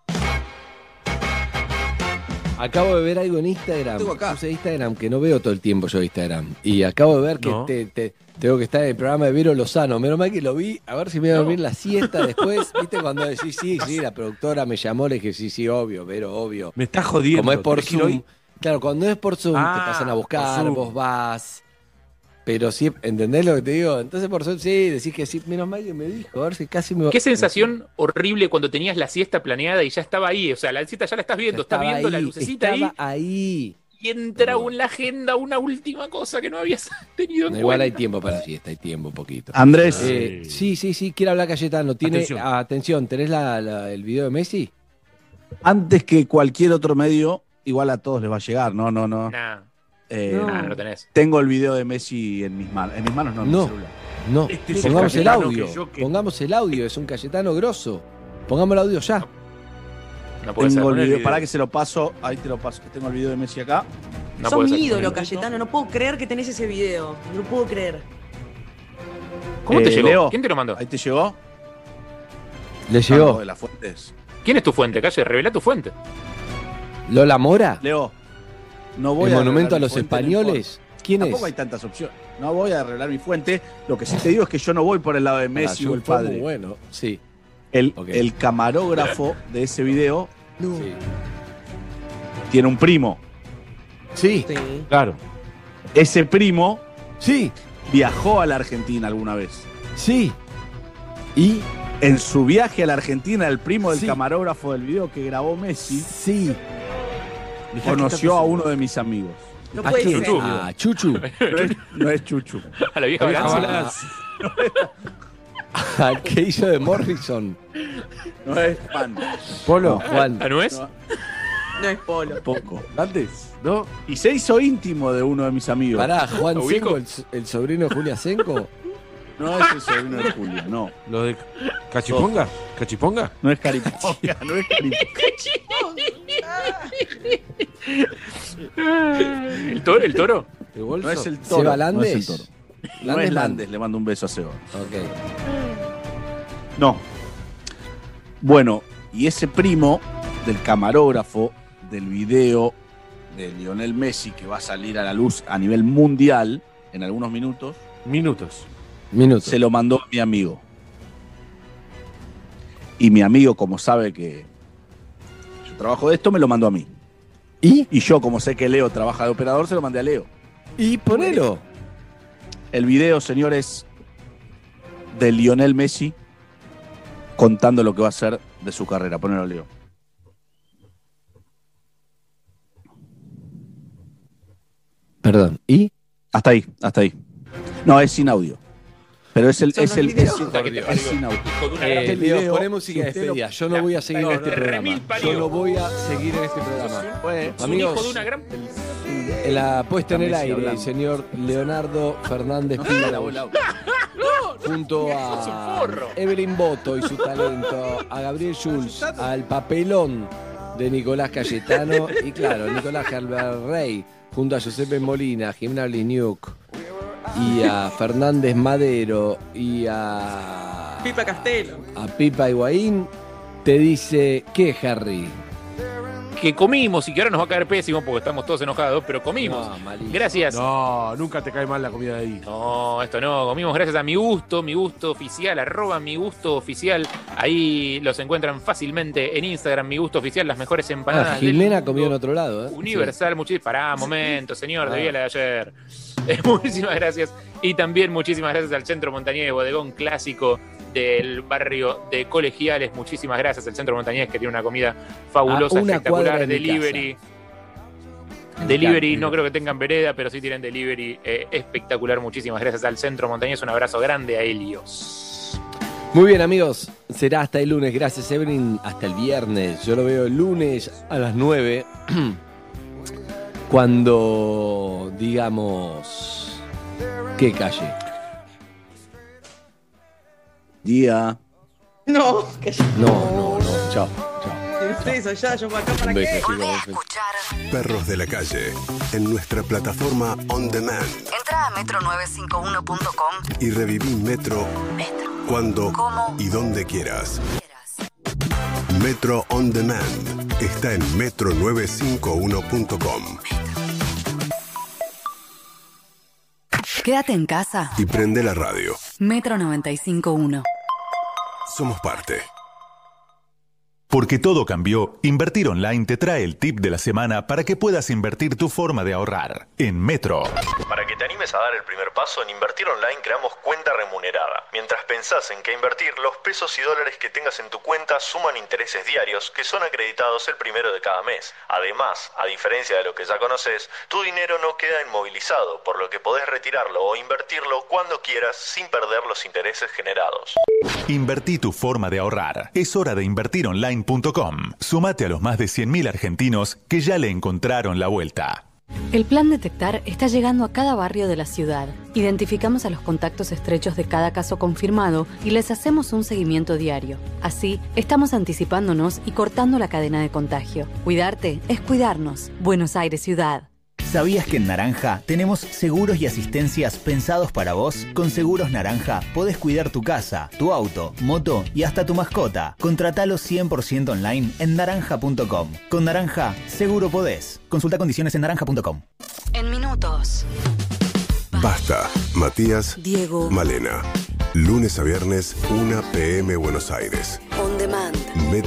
Acabo de ver algo en Instagram. Puse Instagram, que no veo todo el tiempo yo Instagram. Y acabo de ver que tengo que estar en el programa de Vero Lozano. Menos mal que lo vi. A ver si me voy a dormir la siesta después. ¿Viste? Cuando decís sí, la productora me llamó, le dije sí, obvio, Vero, obvio.
Me estás jodiendo.
Como es por
¿Tenés que ir
Zoom.
hoy?
Claro, cuando es por Zoom te pasan a buscar, vos vas. Pero sí, ¿entendés lo que te digo? Entonces por Zoom sí, decís que sí. Menos mal que me dijo, a ver si casi me...
Qué sensación horrible cuando tenías la siesta planeada y ya estaba ahí. O sea, la siesta ya la estás viendo, estás viendo la lucecita
ahí.
Y entra en la agenda una última cosa que no habías tenido en
Igual
cuenta.
hay tiempo para la siesta, hay tiempo, un poquito.
Andrés.
Sí, quiere hablar Cayetano. Atención, ¿tenés el video de Messi?
Antes que cualquier otro medio, igual a todos les va a llegar, no.
Nah. No lo tenés.
Tengo el video de Messi en mis manos. En mis manos no, en mi celular.
No,
Este es
pongamos el
Cayetano
audio. Pongamos el audio, es un Cayetano grosso. Pongamos el audio ya.
No puede ser.
Tengo el
Poner el
video,
video.
pará que se lo paso. Ahí te lo paso. Tengo el video de Messi acá.
No
Sos
puede
mi
ser.
ídolo, Cayetano. No puedo creer que tenés ese video. No puedo creer.
¿Cómo te llegó?
Leo,
¿Quién te lo mandó?
Ahí te llegó.
Le llegó.
De las fuentes.
¿Quién es tu fuente, Calle? Revela tu fuente.
¿Lola Mora?
Leo, no voy
¿El
a
monumento
revelar
a
mi
los
fuente, no
españoles?
importa.
¿Quién
Tampoco
es?
hay tantas opciones. No voy a revelar mi fuente. Lo que sí te digo es que yo no voy por el lado de Messi o el
fue
padre.
muy bueno, sí.
El camarógrafo de ese video
Sí.
tiene un primo.
Sí.
Claro.
Ese primo
sí
viajó a la Argentina alguna vez.
Sí. Y
en su viaje a la Argentina, el primo del
Sí.
camarógrafo del video que grabó Messi
sí.
conoció a uno de mis amigos.
No
¿A
puede
quién?
ser.
A Chuchu.
No es Chuchu.
A la vieja balanza.
Al que hizo de Morrison.
No es Juan.
Polo. Juan.
¿Ah, no es?
No es Polo.
Poco.
Antes, ¿no?
Y se hizo íntimo de uno de mis amigos.
Pará, Juan
¿Lo ubico?
Senko, el sobrino de Julia Senko.
No es el sobrino de Julio, no.
¿Lo de Cachiponga? ¿Cachiponga?
No es Cariponga, no es
¿El toro? ¿El toro?
¿El bolso?
No es el toro.
¿Seba
No es el
Landes?
toro. No es Landes, le mando un beso a Seba.
Ok.
No. Bueno, y ese primo del camarógrafo del video de Lionel Messi, que va a salir a la luz a nivel mundial en algunos minutos, se lo mandó a mi amigo. Y mi amigo, como sabe que yo trabajo de esto, me lo mandó a mí. Y yo, como sé que Leo trabaja de operador, se lo mandé a Leo.
Y ponelo.
El video, señores, de Lionel Messi contando lo que va a ser de su carrera. Ponelo, Leo.
Perdón, ¿y?
Hasta ahí, hasta ahí. No, es sin audio. Pero es el.
Son
Es
los
el
videos.
es sin audio.
Leo,
video,
poné música de
si usted
despedida. Yo no voy a seguir en este programa. Yo no voy a seguir en este programa. Amigos, en la puesta en el
Messi
aire, el
hablando.
señor Leonardo Fernández Pilaus, junto a Evelyn Boto y su talento, a Gabriel Schulz, al papelón de Nicolás Cayetano y claro, Nicolás Rey, junto a Giuseppe Molina, Jimena Bliniuk y a Fernández Madero y a
Pipa Castelo.
Pipa Higuaín, te dice, ¿qué, Harry?
Que comimos y que ahora nos va a caer pésimo porque estamos todos enojados, pero comimos.
No, malísimo.
Gracias.
No, nunca te cae mal la comida de ahí.
No, esto no, comimos gracias a Mi Gusto oficial, @Mi Gusto Oficial. Ahí los encuentran fácilmente en Instagram, Mi Gusto Oficial, las mejores empanadas.
Jimena
del
comió en otro lado, ¿eh?
Universal, pará, momento, señor, debía la de ayer. Muchísimas gracias. Y también muchísimas gracias al Centro Montañés, bodegón clásico del barrio de Colegiales. Muchísimas gracias al Centro Montañés, que tiene una comida fabulosa,
A una cuadra
espectacular,
de mi
delivery.
casa.
Delivery, no creo que tengan vereda, pero sí tienen delivery espectacular. Muchísimas gracias al Centro Montañés. Un abrazo grande a Helios.
Muy bien, amigos. Será hasta el lunes. Gracias, Evelyn. Hasta el viernes. Yo lo veo el lunes a las 9. Cuando digamos... ¿Qué calle?
Día.
No, que yo.
No. Chao.
Ustedes allá, yo acá para
Un beso,
qué.
chicos.
Perros de la calle, en nuestra plataforma On Demand.
Entra a metro951.com.
Y reviví Metro cuando y donde quieras. Metro On Demand está en metro951.com.
Quédate en casa.
Y prende la radio.
Metro 95.1.
Somos parte.
Porque todo cambió, Invertir Online te trae el tip de la semana para que puedas invertir tu forma de ahorrar. En Metro.
Para que te animes a dar el primer paso, en Invertir Online creamos cuenta remunerada. Mientras pensás en qué invertir, los pesos y dólares que tengas en tu cuenta suman intereses diarios que son acreditados el primero de cada mes. Además, a diferencia de lo que ya conoces, tu dinero no queda inmovilizado, por lo que podés retirarlo o invertirlo cuando quieras sin perder los intereses generados.
Invertí tu forma de ahorrar. Es hora de invertironline.com. Sumate a los más de 100.000 argentinos que ya le encontraron la vuelta.
El Plan Detectar está llegando a cada barrio de la ciudad. Identificamos a los contactos estrechos de cada caso confirmado y les hacemos un seguimiento diario. Así, estamos anticipándonos y cortando la cadena de contagio. Cuidarte es cuidarnos. Buenos Aires Ciudad.
¿Sabías que en Naranja tenemos seguros y asistencias pensados para vos? Con Seguros Naranja podés cuidar tu casa, tu auto, moto y hasta tu mascota. Contratalo 100% online en naranja.com. Con Naranja, seguro podés. Consulta condiciones en naranja.com.
En minutos.
Basta. Matías,
Diego,
Malena. Lunes a viernes, 1 p.m. Buenos Aires.
On Demand.
Metro